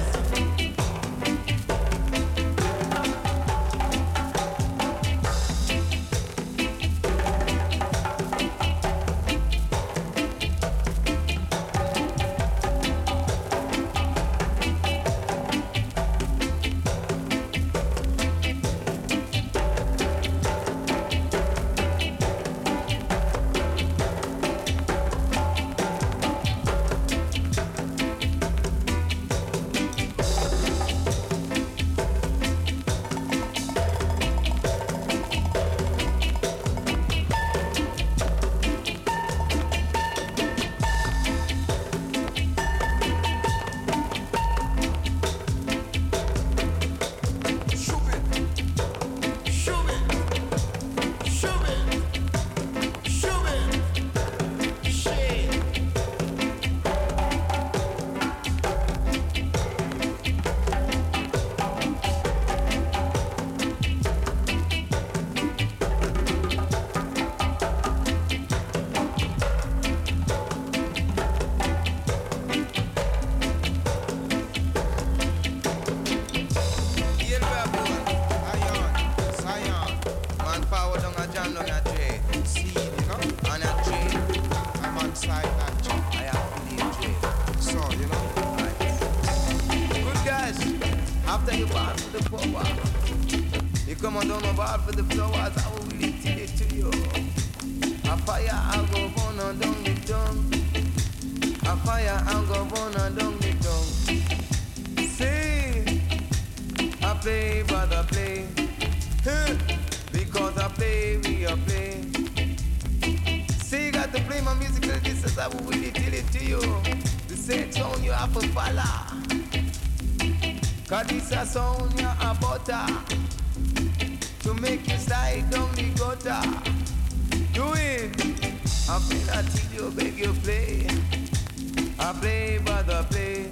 a fire and go burn and down the tongue. See, I play, brother, play. Huh. Because I play, we are play. See, you got to play my music like this as I will really tell it to you. The same tone you have to follow. Cause this a sound you a butter to make you slide down the gutter. Do it. I play that till you beg you play. I play, brother, play.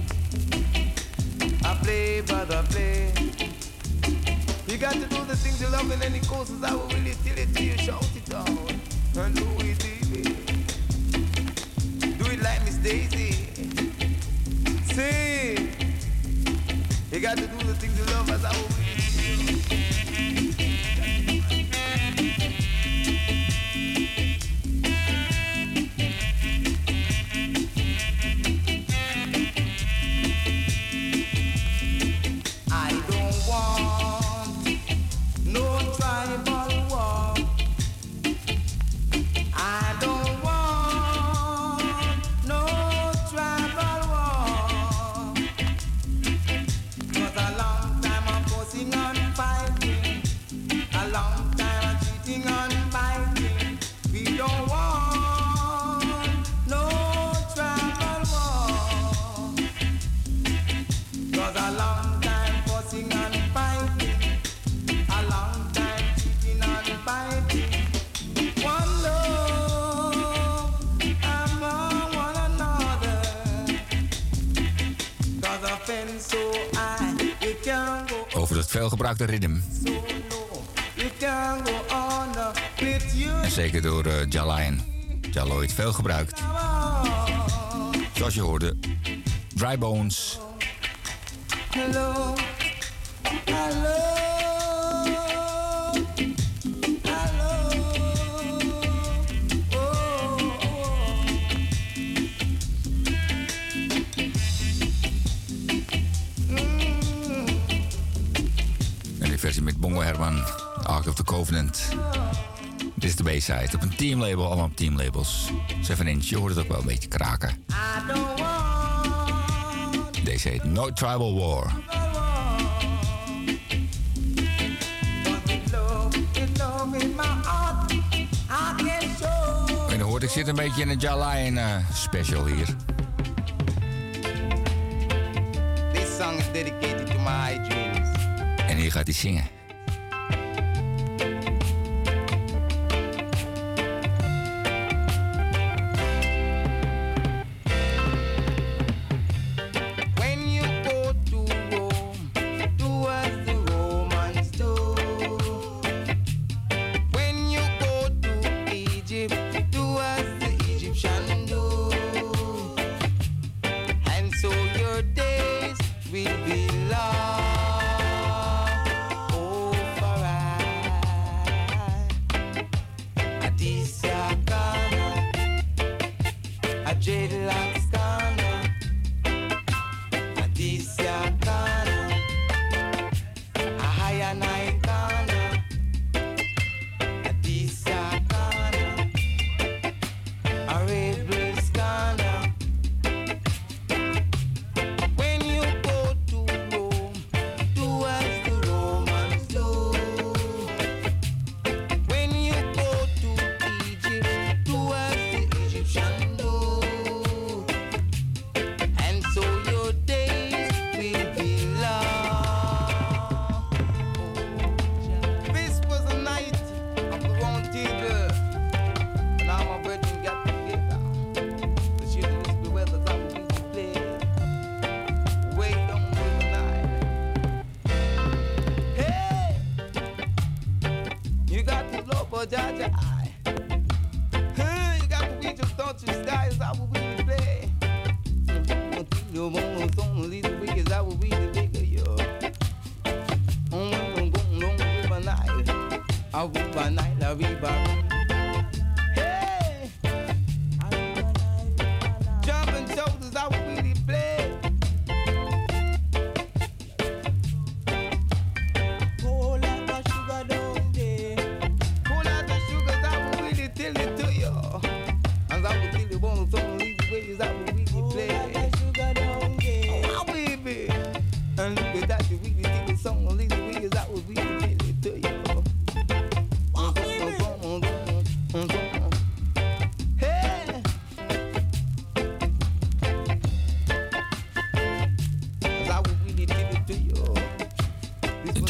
I play, brother, play. You got to do the things you love in any courses. I will really tell it to you, shout it out. And do it, baby. Do it like Miss Daisy. Say, you got to do the things you love as I will really tell you. Over het veelgebruikte ritme. En zeker door uh, Jalion. Jaloid, veel gebruikt. Zoals je hoorde, Dry Bones. Hello, hello. Versie met Bongo Herman, Ark of the Covenant. Dit is de B-side op een teamlabel, allemaal op teamlabels. zeven inch, je hoort het ook wel een beetje kraken. Deze heet No Tribal War. En dan hoort ik zit een beetje in een Jalion uh, special hier. This song is dedicated to my dreams. En hier gaat hij zingen. When you go to Rome, do as the Romans do. When you go to Egypt, do as the Egyptians do. And so your days will be long. Jaja, hey, you got to reach just don't you sky is how we play. You won't only the week is how we the bigger you. I'm going long river night. I will by night, I will by hey, jumping shoulders, how we really play. Tell it to you, and I will tell you one of those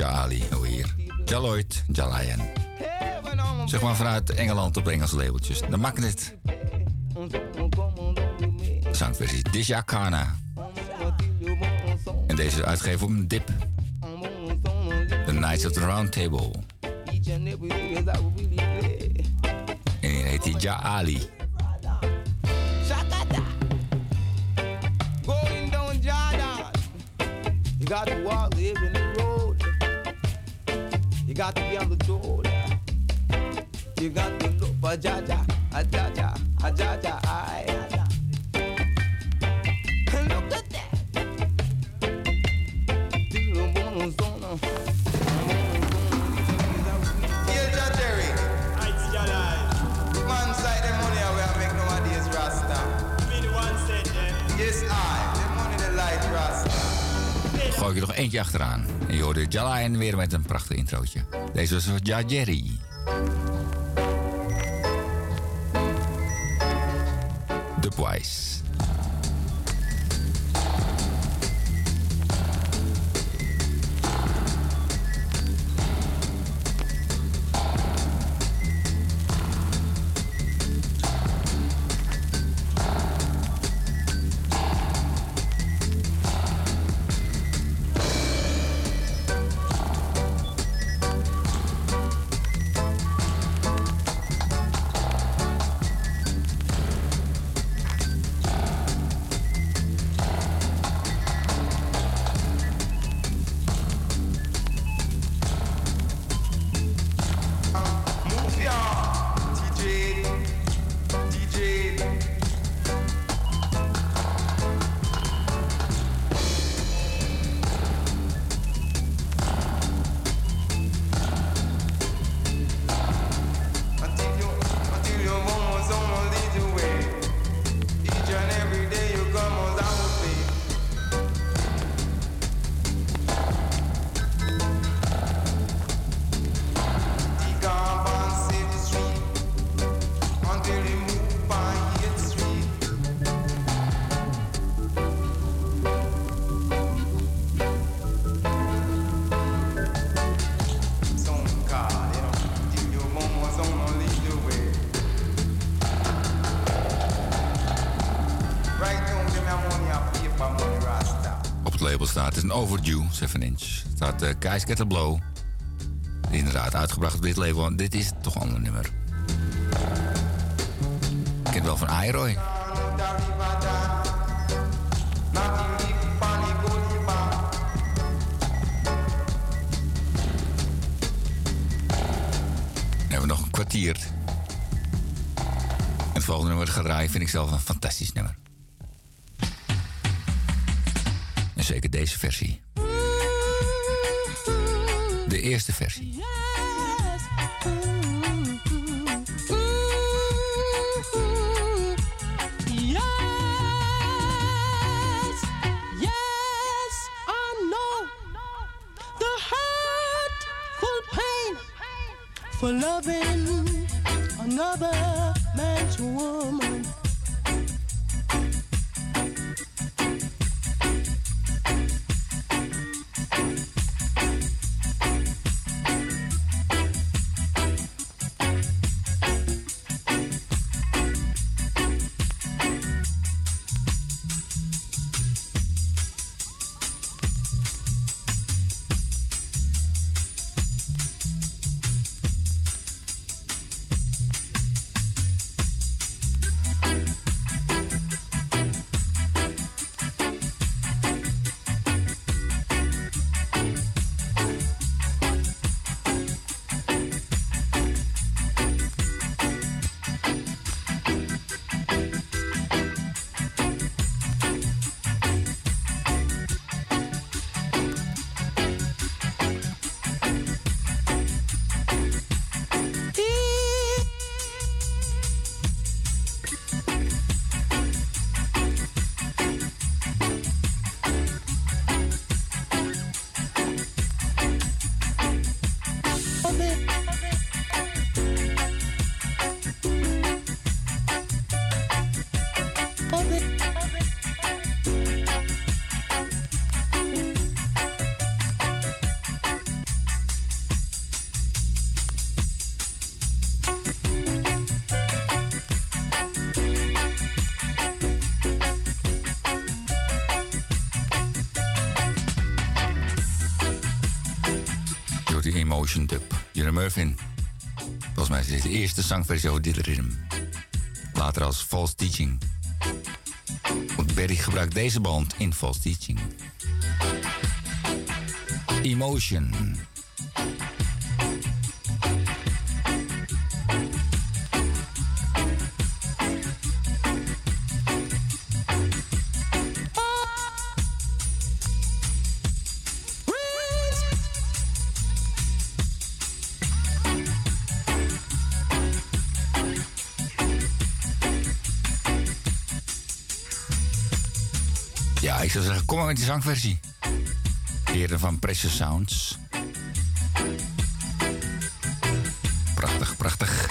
Ja Ali, hoor hier. Ja Lloyd, Ja Lion. Zeg maar vanuit Engeland op Engelse labeltjes. De Magnet. Zangversie Disha Kana. En deze is uitgegeven op een dip. The Knights of the Round Table. En hier heet hij Ja Ali. Going down Jordan, you got to walk, live in the road. You got to be on the road. You got to look for Jaja, a Jaja, a Jaja, I. Look at that. Here, Jerry. Man side the money we are make nowadays Rasta. Yes, I. The money the light Rasta. Gooi ik er nog eentje achteraan. En je hoorde Ja Lion weer met een prachtig introotje. Deze was van Ja Jerry. Dubwise. Overdue, zeven inch. Het staat uh, Guys Get a Blow. Inderdaad, uitgebracht op dit label. Want dit is toch een ander nummer. Ik ken het wel van Iroy. Dan hebben we nog een kwartier. En het volgende nummer gaat draaien vind ik zelf een fantastisch nummer. Zeker deze versie. De eerste versie. For loving another man's woman. Emotion Dub. Jure Murphin. Volgens mij is dit de eerste zangversie over dit ritme. Later als False Teaching. Want Berry gebruikt deze band in False Teaching. Emotion. Ja, ik zou zeggen, kom maar met die zangversie. Heren van Precious Sounds. Prachtig, prachtig.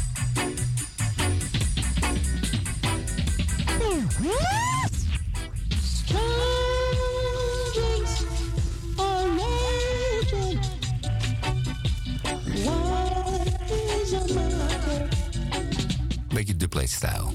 Beetje dubplate-stijl.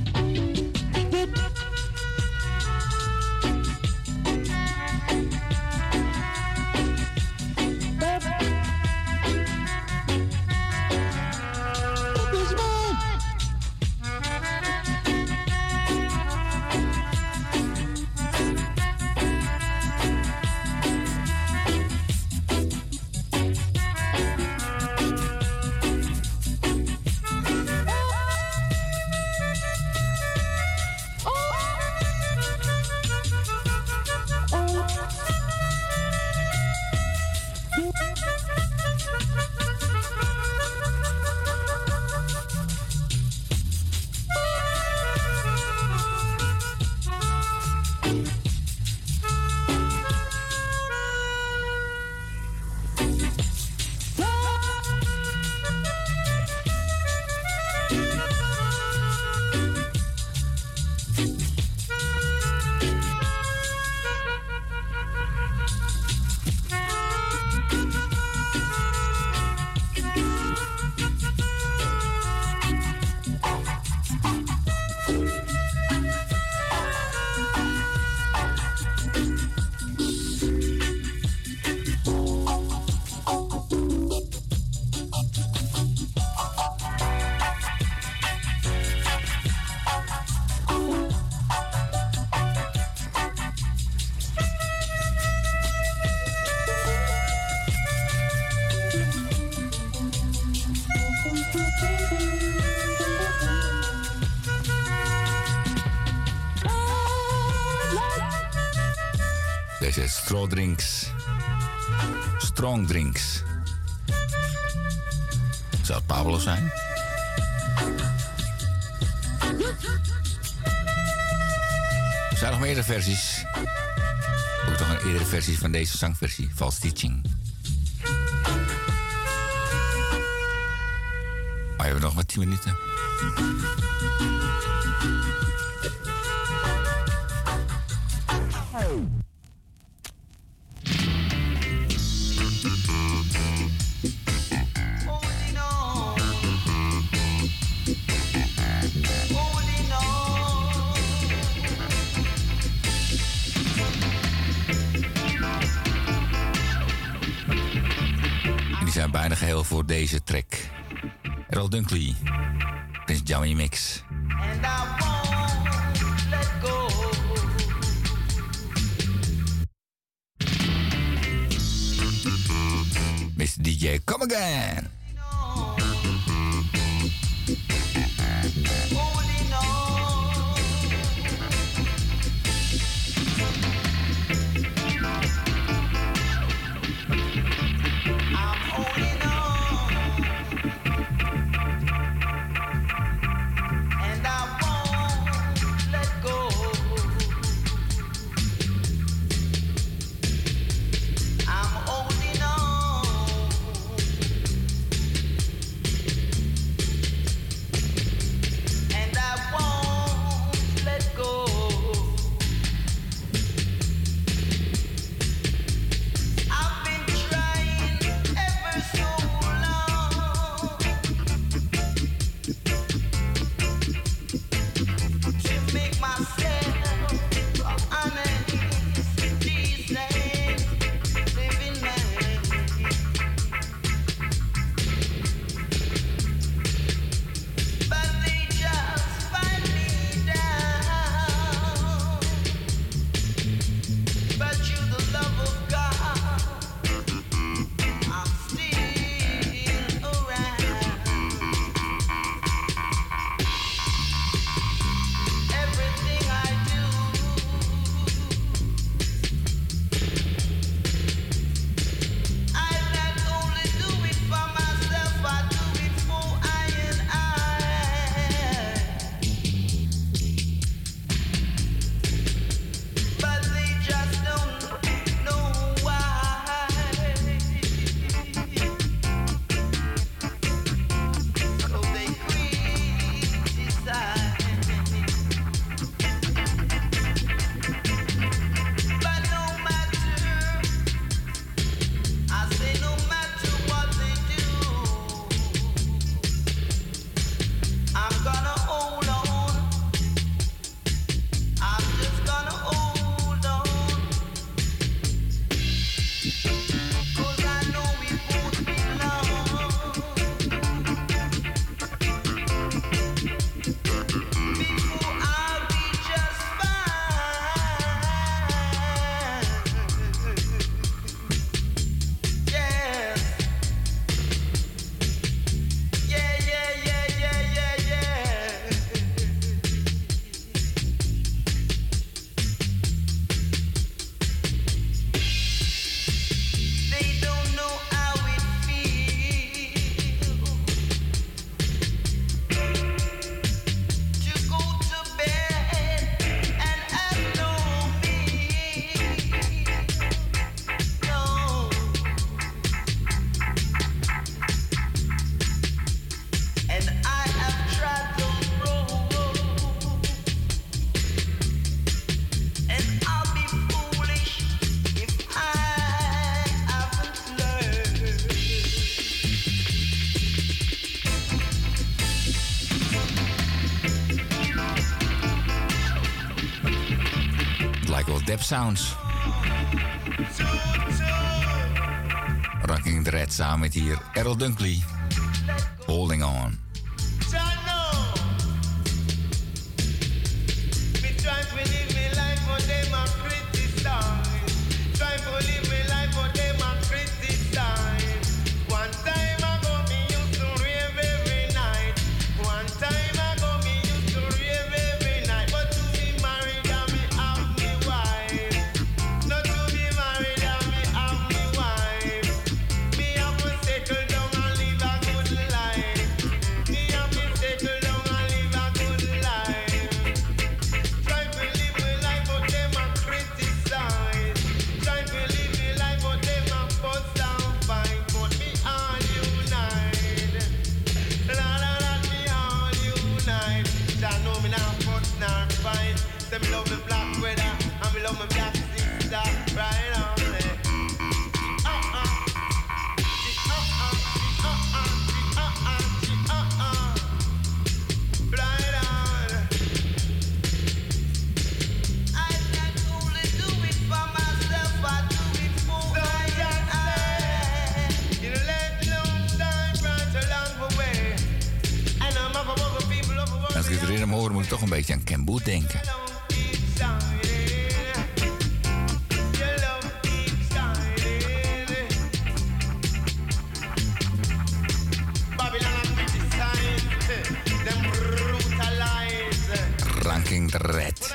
Deze straw drinks. Strong drinks. Zou het Pablo zijn? Er zijn nog meerdere versies. Ook nog een eerdere versie van deze zangversie. False Teaching. Maar we hebben nog maar tien minuten. Bijna geheel voor deze track. Errol Dunkley, Prince Jammy Mix. And I won't let go. mister D J, come again. Veel Dep Sounds. Ranking Dread samen met hier Errol Dunkley. Holding On. Als ik het ritme hoor, moet ik toch een beetje aan Ken Boothe denken. Ranking Dread.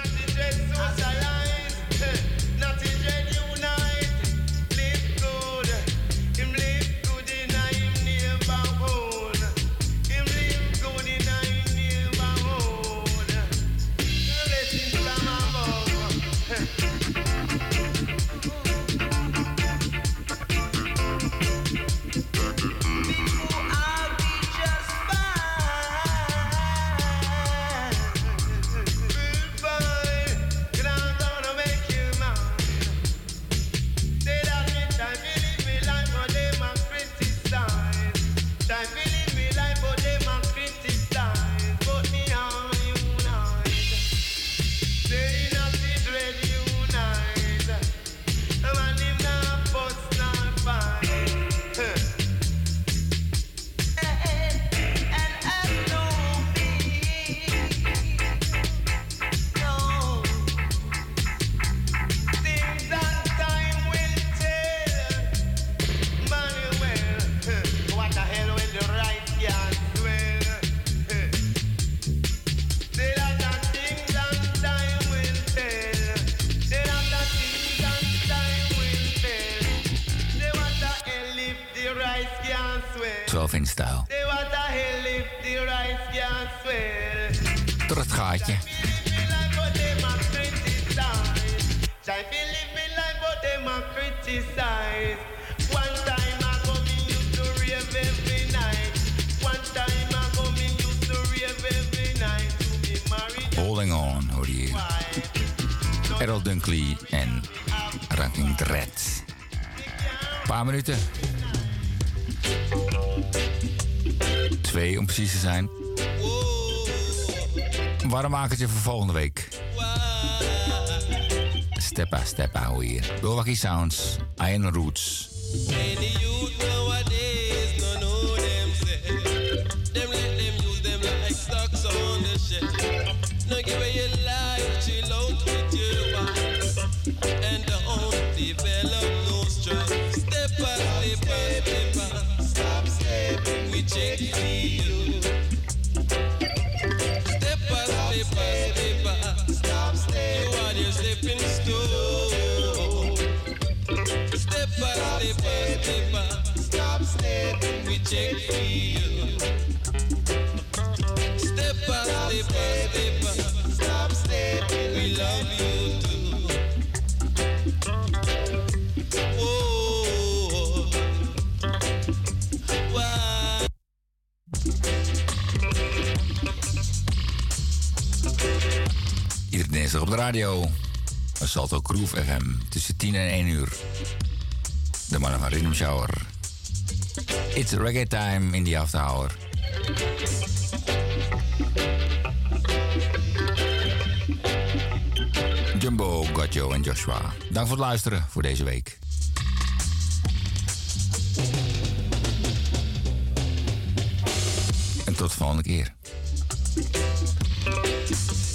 twaalf in stijl. Door het gaatje. Holding On, hoor je hier. Errol Dunkley en Ranking Dread. Een paar minuten. Twee om precies te zijn. Warm makertje voor volgende week. Steppa, steppa, hoor je hier. Milwaukee Sounds, Iron Roots. Many youth nowadays don't know themselves. Them let them use them like stocks on the shelf. No give away your life, chill out with your wife. And don't develop no stress. Step by step by step by. Stop stepping, we check for you. Step by step by step by. Stop stepping, you are your stepping stone. Step by step by step by. Stop stepping, we check for you. Step by step by step by. Stop stepping, we love you too. Oh, wow. Iedere dinsdag op de radio. Salto Groove F M. Tussen tien en één uur. De mannen van Rhythm Shower. It's reggae time in the after hour. Jumbo, Gotjo en Joshua. Dank voor het luisteren voor deze week. En tot de volgende keer.